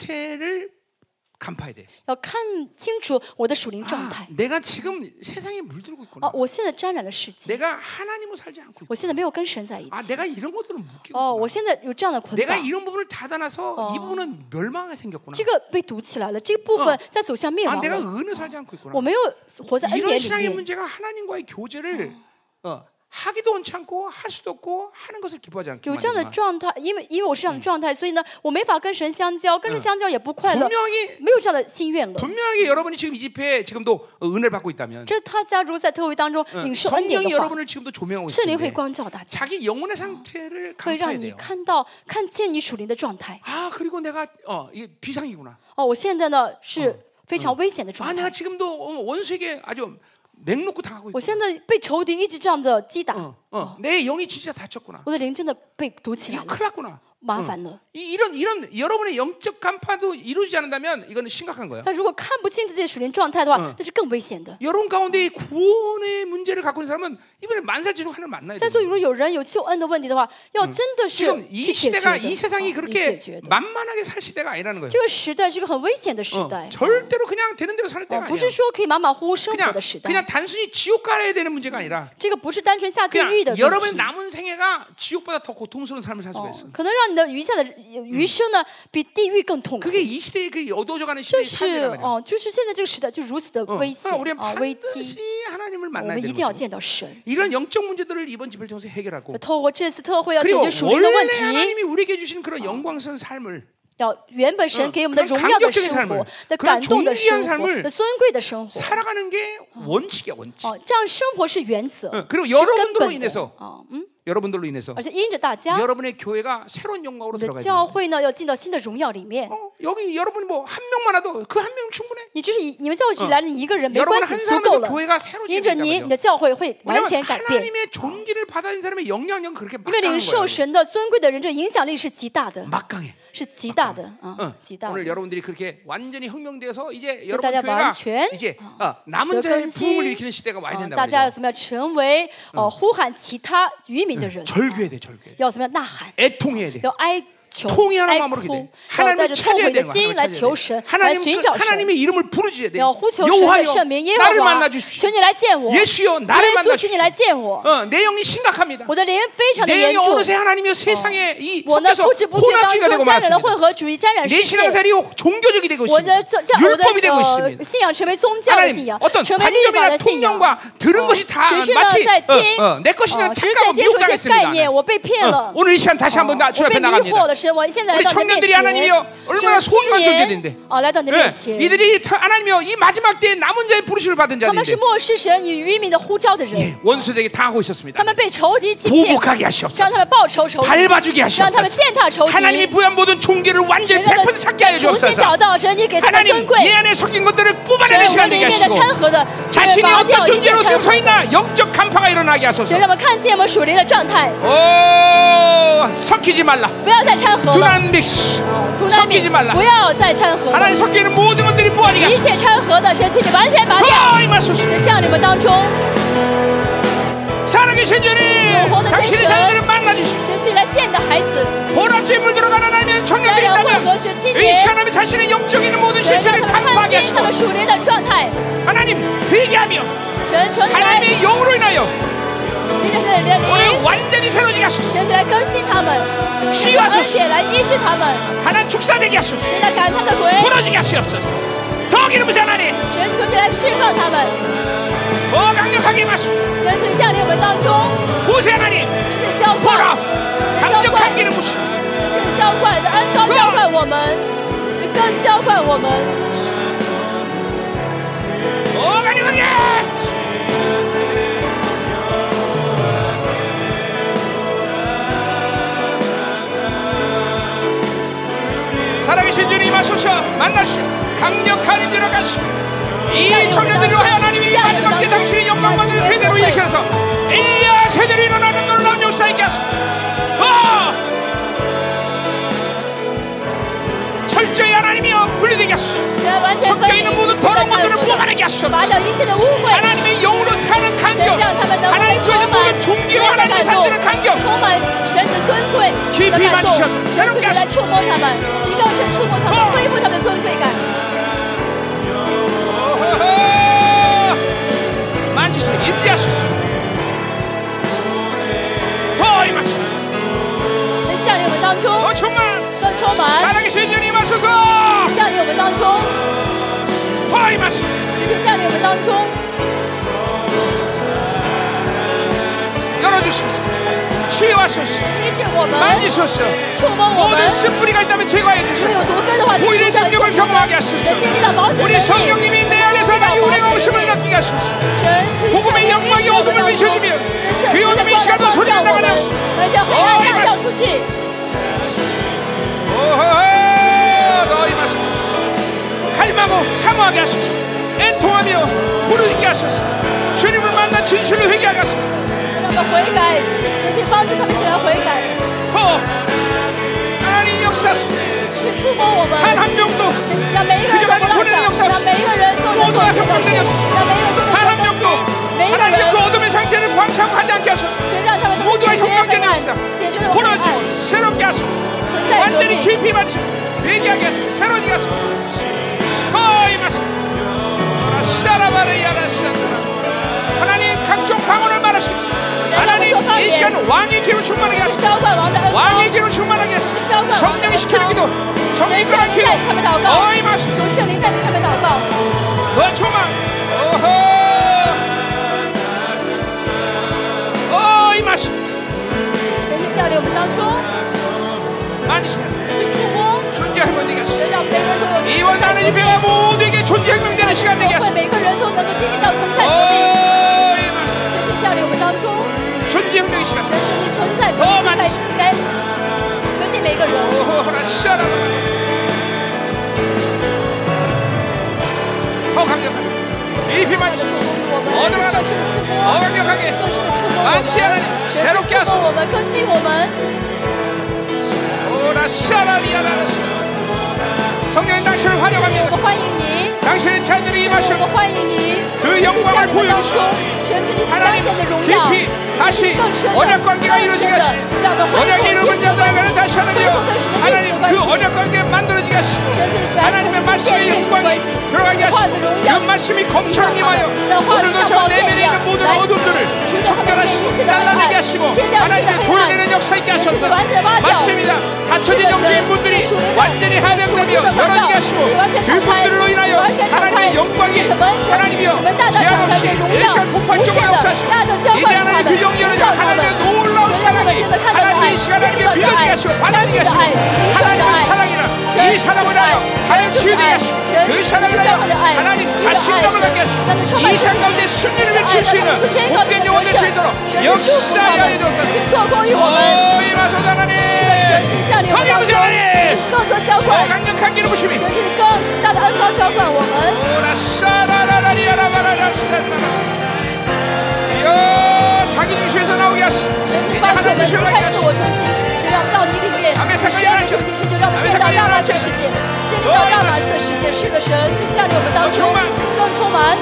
상태를 간파해야 돼. 要看清楚我的属灵状 아, 态。 내가 지금 세상에 물들고 啊 있구나. ， 我现在沾染了世界， 내가 하나님으로 살지 않고 我 있구나. 现在没有跟神在一 아, 起。 내가 이런 것들은 묶이고 哦， 있구나. 我现在有这样的捆 내가 绑， 이런 부분을 닫아놔서 이 부분은 멸망하게 생겼구나. 这个被堵起来了，这个部分在走向灭 아, 亡 내가 了。 은혜 살지 않고 있구나. 我没有活在恩 이런 典里 신앙의 面。 문제가 하나님과의 교제를 어, 하기도 원치 않고 할 수도 없고 하는 것을 기뻐하지 않게 有这样的 만드는 状态，因为因为我是这样的状态，所以呢，我没法跟神相交，跟神相交也不快乐， 분명히 没有这样的心愿了。 분명히 여러분이 지금 이 집회에 지금도 어, 은혜를 받고 있다면 这他假如在特会当中领受恩典 성령이 的话， 여러분을 지금도 조명하고 圣灵会 있는데 光照大家， 자기 영혼의 상태를 会让 간파해야 你 돼요. 看到看见你属灵的状态。 아 그리고 내가 어, 이게 비상이구나. 哦，我现在呢是非常危险的 아 状 내가 态， 지금도 어, 원수에게 아주 맹놓고 당하고 我 있구나. 现在被仇敌一直这样的击打， 어, 어, 내 영이 진짜 다쳤구나. 我的灵真的被堵起来 이거 了， 큰일 났구나. 麻烦了。 이, 이런 이런 여러분의 영적 간파도 이루어지지 않는다면 이거는 심각한 거예요. 但如果看不清自己的属灵状态的话，那是更危险的。 여러분 가운데 이 구원의 문제를 갖고 있는 사람은 이번에 만살지로 하나님 만나야 在 돼요. 座如果有人有救恩的问题的话，要真的是 지금 去 이 解决 시대가 的， 이 세상이 啊 그렇게 解决的。 만만하게 살 시대가 아니라는 거예요. 这个时代是个很危险的时 어, 代， 절대로 그냥 되는 대로 사는 哦 때가 不 아니야. 是说可以马马虎虎生活 그냥 的时代。 그냥 단순히 지옥 가야 되는 문제가 아니라 这个不是单纯下地 그냥 狱的问 여러분의 题， 남은 생애가 지옥보다 더 고통스러운 삶을 살 수가 哦 있어. 可能让你的余下的余生呢，比地狱更痛苦。 그게 이 시대의 그 어두워져가는 就 시대의 是 삶이란 말이야. 哦，就是现在这个时代就如此的 어, 危险 그러니까 우리는 啊，危机， 반드시 하나님을 我 만나야 们一 되는 定要 거죠. 见到神。 이런 영적 문제들을 이번 집회를 통해서 해결하고 透过这次特会要解 그리고 决属灵的问 원래 题， 하나님이 우리에게 주신 그런 영광스러운 삶을 要原本神给我们的 그런 荣耀的 감격적인 生 삶을 活、的 그런 感动的 존귀한 生活、 삶을 的尊贵的生活。 살아가는 게 원칙이야 원칙. 哦，这样生活是原则， 어, 그리고 是根 여러분들로 本的。 인해서 哦，嗯， 여러분들로 인해서 而且因着大家， 여러분의 교회가 새로운 영광으로 我的 들어가야 教 돼요. 会呢要进到新的荣耀里面。 어, 여기 여러분이 뭐 한 명만 와도 그 한 명 충분해. 你只是以你们教会只来了你一个人没 여러분 关系， 한 足够 사람에서 了。 교회가 새로 因着 지어진단 你， 말이에요. 你的教会会完 왜냐면 全改变。 하나님의 존귀를 받아들인 사람의 영향력은 그렇게 因为领 막강한 受 거예요. 神的尊贵的人，这影响力是极大的， 막강해. 是极大的啊 어, ， 极大 오늘 的。 여러분들이 그렇게 완전히 혁명되어서 이제 所以 여러분 大家 교회가 完全 이제 어, 남은 得 자의 更 부흥을 新 일으키는 시대가 와야 啊 된다 大家要 말이죠. 怎么样成为呃呼喊其他渔民的人？ 절규해야 돼, 절규. 要怎么样呐喊？ 애통해야 돼. 要哀求、 통일하는 哀 마음으로 哭 기도해. ， 要带 하나님을 着痛 찾아야 悔的 되는 거야. 心来 하나님을 求 찾아야 神 돼. ， 来 하나님, 寻 그, 找神。 하나님의 이름을 부르짖어야 돼. 要呼求神的 여호와여, 圣名耶和 나를 华， 만나 주십시오. 求你来见我。 예수여, 耶 나를 稣， 만나 求你来 주십시오. 见我。 어, 내 영이 심각합니다. 我的灵非常的 내 严 영이 重， 어느새 하나님의 세상에 이 我呢 섞여서 不知不觉当 혼합주의가 中 되고 沾染了混 말았습니다. 合主义，沾染 내 世界。 신앙생활이 종교적이 되고 我的 있습니다. 教教我的 율법이 되고 呃 있습니다. 信仰成为宗教的信 하나님 仰， 어떤 成为律法 관념이나 的信仰。 통념과 들은 것이 다 只是呢 마치 在 어, 听， 어, 내 것이냐 哦只是在 착각하고 接受一些概 미혹당했습니다. 念，我被骗 어, 了。 오늘 이 시간 다시 한번 나, 我 주 앞에 被迷惑 나갑니다. 了，神，我现在来 우리 到你的面 청년들이 前， 하나님이여 얼마나 是 소중한 青年 존재인데 啊，来到你的 예, 面前。 이들이 타- 하나님이여 이 마지막 때에 남은 자의 부르심을 받은 他们是 자들인데 漠视神与渔民的呼召的人， 예, 원수들에게 당하고 있었습니다. 他们被仇敌欺骗， 보복하게 让 하시옵소서. 他们报仇仇敌， 밟아주게 让他们 하시옵소서. 践踏仇敌。 하나님이 부여한 모든 종기를 완전히 神让 백 他 퍼센트 찾게 하여 重新 주옵소서. 找到神，你给他们尊 하나님 贵。 내 안에 섞인 것들을 神， 뽑아내는 我 시간 里 되게 面的 하시고 掺和的， 자신이 拔掉 어떤 一切 존재로 掺 지금 和 서 있나 영적 간파가 일어나게 神 하소서. 让我们看见我们属灵的状态， 오, 섞이지 말라. 不要再掺和了， 두난 믹스. 图难 섞이지 말라. 不要再掺和了， 하나님 섞이는 모든 것들이 뿌아지게 一 하소서. 切掺和的，神，请你完全拔掉， 더 임하소서. 神降你们当中， 살아계신 주님, 당신의 자녀들을 만나 주시오. 神，请你来见你的孩子， 보람죄에 물들어가는 하나님의 沾 청년들이 染混 있다면 合之青 이 年， 시간에 자신의 영적인 모든 神，让 실체를 他们 간파하게 看清他 하시고 们属灵的状态， 하나님 회개하며 神，求你来， 하나님의 영으로 인하여 你的神的 오늘 灵， 완전히 새로지게 하소서. 神，请来更新他们， 치유하소서. 而且来医治他们， 하나님 축사되게 하소서. 神来赶他们的鬼， 풀어지게 하시옵소서. 더 기름 부으시 하나님, 神，求你来释放他们， 더 강력하게 임하시고 神，求你降临我们当中， 구세 하나님, 神，请浇灌， 보라 神，浇灌 강력한 。 기름 부으시고 请浇灌你的恩膏浇灌我们，你更浇灌我们， 더 강력하게. 살아계신 주님 임하소서. 만나시오. 강력한 힘 들어가시오. 이 청년들로 하여 하나님이 마지막 때 당신의 영광 받는 세대로 일으켜서 엘리야 세대로 일어나는 놀라운 역사 있게 하소서. 어! 拔掉一切的污秽， 하나님의 영으로 사는 神 간격, 让他们能够 하나님 充 주신 满 모든 존귀와 神的 하나님의 感动， 사실을 간격. 充满神的尊贵的感动，神就来触摸他们，一道神触摸他们，恢复他们的尊贵感。 만지세요. 임재하소서. 더 임하소서. 降临我们当中， 더 충만. 更充满， 살아계신 주님 임하소서. 降临我们当中， 더 임하소서. 就降临我们当中， 열어주소서. 치유하소서. 医治我们， 만지소서. 触摸我们 모든 。 쓴뿌리가 있다면 제거해 如果有 주소서. 毒根的话，就 보일의 除掉， 능력을 就除掉， 경험하게 하소서. 经历到保险 우리 能力。 성령님이 내 안에서 하나님 운행하 오심을 느끼게 하소서. 神 복음의 영광이 어둠을 비춰주며 그 어둠의 시간도 소리가 나가게 하소서. 而且黑暗大叫出去。 오호, 너 임하소서. 갈망하고 사모하게 하소서. 애통하며 부르짖게 하소서. 주님을 만나 진실로 회개하게 하소서. 让他们悔改，也去帮助他们起来悔改， 더 하나님 역사하소서. 去触摸我们， 단 한 명도 让每一个人都不落下，让每一个人都能够见到神，让每一个人都能 단 够 한 相信 명도 ， 每一个 하나님의 人 그 어둠의 상태를 광창하지 않게 하소서. 神让他们能够 모두가 解决黑 혁명된 暗， 역사 解决了黑暗， 풀어지고 새롭게 하소서. 存在革 완전히 命， 깊이 받으시고 회개하게 하소서. 새로지게 하소서. 더 임하소서. 샤라바르야라샤라. 하나님 각종 방언을 말하시옵소서. 하나님 이 시간 왕의 기름 충만하게 하소서. 浇灌王的恩膏， 왕의 기름 충만하게 하소서. 성령이 시키는 기도, 神 성령이 圣 그런 灵 기도. 带领他们祷告， 더 임하소서. 求圣灵带领他们祷告， 더 충만. 오호. 어 임하소서. 神是降临我们当中， 만지세요. 去触摸， 존재 혁명 되게 하소서. 神让每个人都有 이번 나는 집회가 모두에게 존재 혁명되는 시간 되게 会 하소서. 每个人都能够经历到存在革命， 어 임하소서. 神是降临我们当中， 존재 혁명의 시간. 神是你存在革命，该该革新每个人。 오호라 샤라바. 더 강력하게. 깊이 만지소서. 我们 어느 更 하나 深的触摸， 더 강력하게. 更深的触摸我们， 만지하는 神 새롭게 触摸 하소서. 我们，更新我们。 오라 샤라리아라라. 성령의 당신을 환영합니다. 我们欢迎你， 당신의 자녀들이 我 임하시고 们欢迎你， 그 神 영광을 在我们当中 보여주시고 ， 神是你所彰 하나님 显的荣耀， 깊이 다시 更深的、 언약 관계가 更 이루어지게 深的 하시고 ， 让我们恢复 언약의 亲 이루어진 子关 자들에게는 系， 다시 恢 하나님이여 复跟神的 하나님 亲子关 그 系。 언약 관계 만들어지게 하시고 神是来 하나님의 重新 말씀의 建立亲子关 영광이 系， 들어가게 话语 하시고 的荣 그 耀。 말씀이 검처럼 让他 임하여 们让话语 오늘도 像 저 宝剑 내면에 一样 있는 모든 来 어둠들을 除掉他们内 척결하시고 心的黑 잘라내게 暗， 하시고 切掉一切的 하나님의 黑暗， 도려내는 역사 있게 神是 하셔서 完全挖掉。 맞습니다. 닫혀진 영적인 문들이 완전히 한량되며 열어지게 하시고 그분들로 인하여 하나님의 영광이 하나님이여 제한 없이 일시간 폭발적으로 역사하시고 이제 하나님 그 영이 열어져 하나님의 놀라운 사랑이 하나님의 이 시간 하나님의 믿어지게 하시고 받아들이게 하시고 하나님의 사랑이라 이 사랑을 하여 하나님 치유되게 하시고 그 사랑을 하여 하나님 자신감을 갖게 하시고 이 시간 가운데 승리를 외칠 수 있는 복된 영혼 될 수 있도록 역사하여 해주옵소서. 오 임하소서 하나님 하나님 하나님 更多浇 더 灌， 강력한 기름 부심이 神是更大的恩膏浇灌我们。 오라 샤라라라리아라바라라 이야 자기 중심에서 나오게 하시 神是 이제 帮助我 하나님 们 중심으로 离 나오게 开自 하시 我中心，神让到你里面，神的中心，神就让我们见到大马色世界，建立到大马色世界。是的，神降临我们当中，更充满。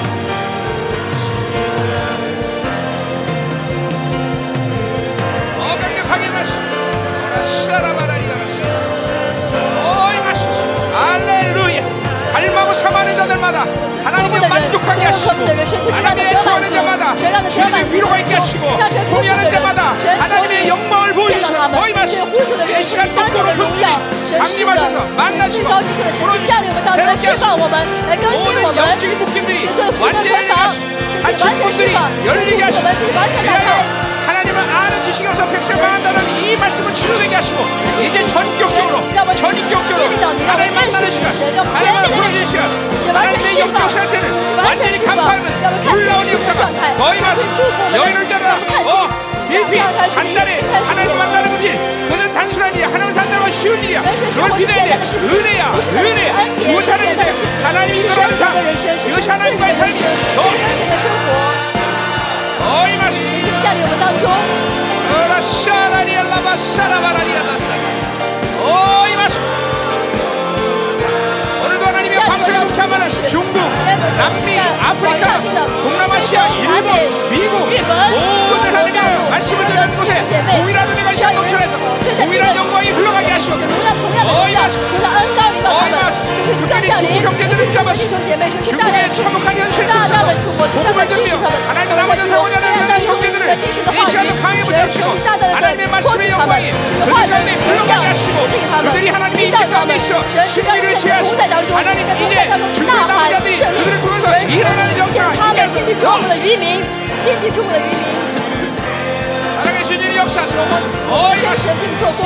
어 강력하게 마시 오라 샤라바라리아라 오 이마시 할렐루야 갈망하고 사모하는 자들마다 하나님의 만족하게 하시고 하나님의 애통하는 자마다 주님의 위로가 있게 하시고 통일하는 자마다 하나님의 영광을 보여주시고 거의 마시 이 시간 거꾸로 분들이 강림하셔서 만나시고 풀어주시고 새롭게 하시고 모든 영적인 묶임들이 완전히 열리게 하시고 갇힌 분들이 열리게 하시고 위하여 하나님을 아는 지식이 없어 백성 망한다는 이 말씀을 치료되게 하시고 이제 전격적으로 전인격적으로 하나님 만나는 시간 하나님을 풀어주는 시간 하나님의 영적 상태를 완전히 간파하는 놀라운 역사가 거의 마시 여인을 따라 어 깊이 간단히 하나님 만나는 거지 그것은 단순한 일이야 하나님 산다는 건 쉬운 일이야 그걸 믿어야 돼 은혜야 은혜 그것이 하나님의 삶 하나님이 이끌어가는 삶 이것이 하나님과의 삶이야 어 이 말씀 降临我们当中， 오라 샤라리알라바 샤라바라리알라사 오 이 말씀 오늘도 하나님의 방송에 동참하는 중국 남미, 在网 아프리카, 上听的 동남아시아, 非洲、南 일본, 美、 미국 日本、中 모든 国、大 하나님의 陆 말씀을 所有 듣는 的 곳에 姐妹， 동일한 은혜가 只要有人 넘쳐나서 就在这 동일한 个 영광이 흘러가게 有 하시고 同样同样的力量，有的恩高临到他们，就是更降临，尤其是弟兄姐妹，是大大的 참혹한 현실을 大大的触摸，大大 복음을 的支持 들으며 他们， 하나님 我们 나머지 在说， 사고자 大家 하는 用 형제들을 真实的 이 话语， 시간도 강하게 神 붙잡시고 神大大的 하나님의 托举 말씀의 他们， 영광이 这个 그들 话语的 가운데 荣 흘러가게 耀 하시고 赐给他们， 그들이 하나님의 引 인격 导他 가운데 们， 있어 神是在 승리를 同 취하시고 在当中， 하나님 在同 이제 在当中 중국의 呐喊 남자들이 胜利， 그들을 통해서 神 일어나는 借 역사가 他们 이겨서 兴起注目的渔民，兴起注目的渔民， 살아계신 주님 역사하시고 真神请做工。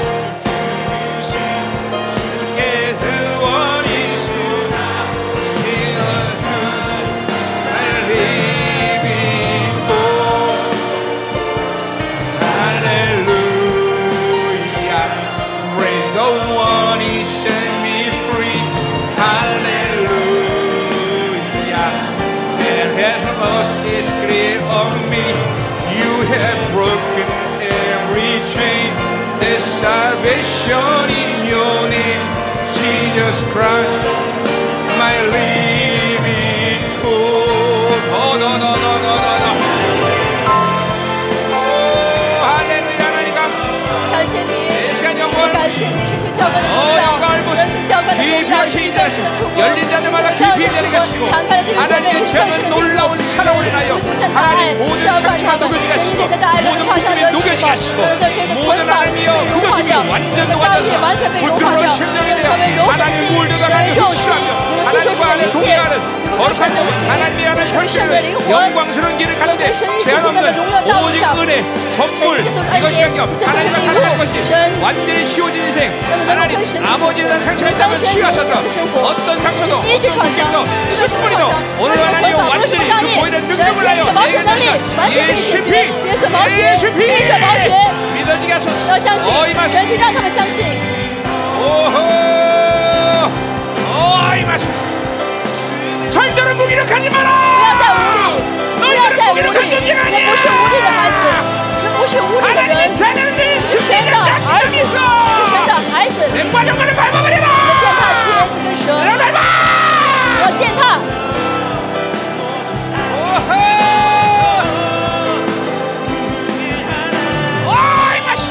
There's salvation in your name, Jesus Christ, my living hope. Oh, no, no, no, no, no, no. Oh, 할렐루야, 하나님 감사합니다. 感谢你， 시간 영광. 感谢你，神教官的 어 荣耀， 영광을 神 보시고 教官的荣 깊이 耀， 하시기 真实的触摸， 열린 자들마다 真实 깊이 的触 내려가시고 摸，敞开了弟兄姐妹， 하나님의 真实 제한 的 놀라운 사랑을 인하여 하나님 모든 상처가 녹여지게 하시고 모든 묶임이 녹여지게 하시고 모든 하나님이여 굳어짐이 완전 녹아져서 부드러운 심령이 되어 하나님 물들도 하나님 흡수하며 하나님과 하나님 동행하는 거룩한 몸은 하나님이 하는 혈신을 영광스러운 길을 가는데 제한 없는 오직 은혜, 선물 이것이 아니요 하나님과 살아가는 것이 완전히 쉬워진 인생 하나님 아버지에 대한 상처가 있다면 치유하셔서 어떤 상처도 어떤 문제도 십 분이도 오늘 하나님이 완전히 그 보이는 능력을 하여 내게 주셔 예수 피 예수 피 믿어지게 하소서 要相信， 어이 마시 神是让他们相信。 오호 어이 마시 절대로 무기력하지 不 마라 要再无力，不要再无力， 무기력한 존재가 你们 아니야 不是无力的孩子，你们不是无力的人， 하나님의 자녀들 是神的 승리자 儿 자식이 子， 있어 是神的孩子。 내 과정거를 밟아버리라 我们践踏蝎子跟蛇， 내가 밟아 我践踏。 오호 어이 마시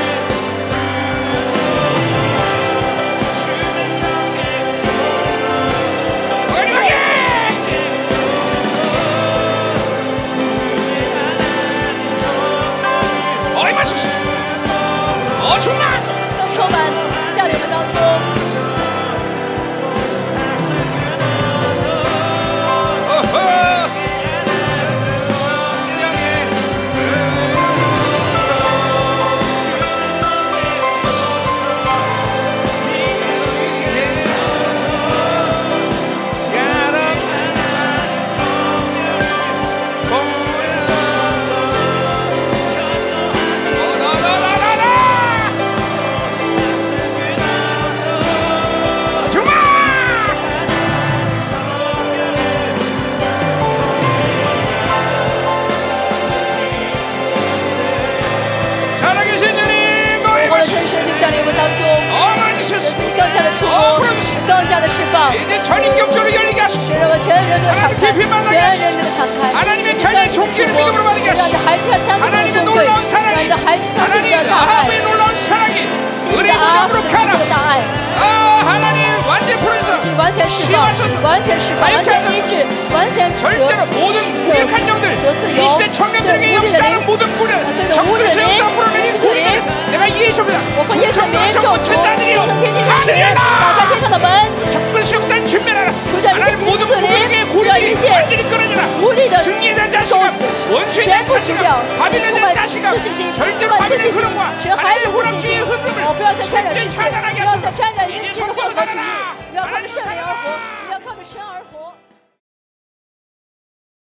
어이 마시 어 정말 更充满在你们当中。 어허 살아계신 주님 我 너의 的 말씀 真神就在你们当中， 어마니셔서 神更加的触摸，更加的释放。 이제 전인격적으로 열리게 하소서 神让我全人都敞开，全人都敞开。 하나님의 자녀의 종기를 믿음으로 받게 让你的 하시고 孩子相信 하나님의 尊贵， 놀라운 让 사랑이 你的孩子相信你 하나님 的大爱， 아합의 놀라운 사랑이 你 은혜 的阿 무덤으로 父 가라 的大爱， 아 하나님 완전 풀어주소서 请完全释放，完全释放，完全医治，完全得 절대로 모든 무력한 영들 得自 이 由， 시대 청년들에게 역사하는 모든 굴을 적그리스도 역사 풀어내는 구리들을 내가 예수입니다 我奉耶稣的名咒 전부 诅， 천사들이여 咒成天地之神，打开天上的门， 적그리스도 역사를 진멸하라 除掉一切 하나님 敌 모든 死的灵， 무력의 除掉一 고리들이 切 완전히 끊어져라 无力的 승리에 대한 咒 자신감 死， 원수에 全 대한 部除掉， 자신감 바빌론에 充 대한 满 자신감 自信心， 절대로 充满自 바빌론의 信心， 흐름과 使孩 하나님의 子自信 호랑주의 心， 흐름을 哦，不要再沾染世 절대 界， 차단하게 不要再 하소서 沾染世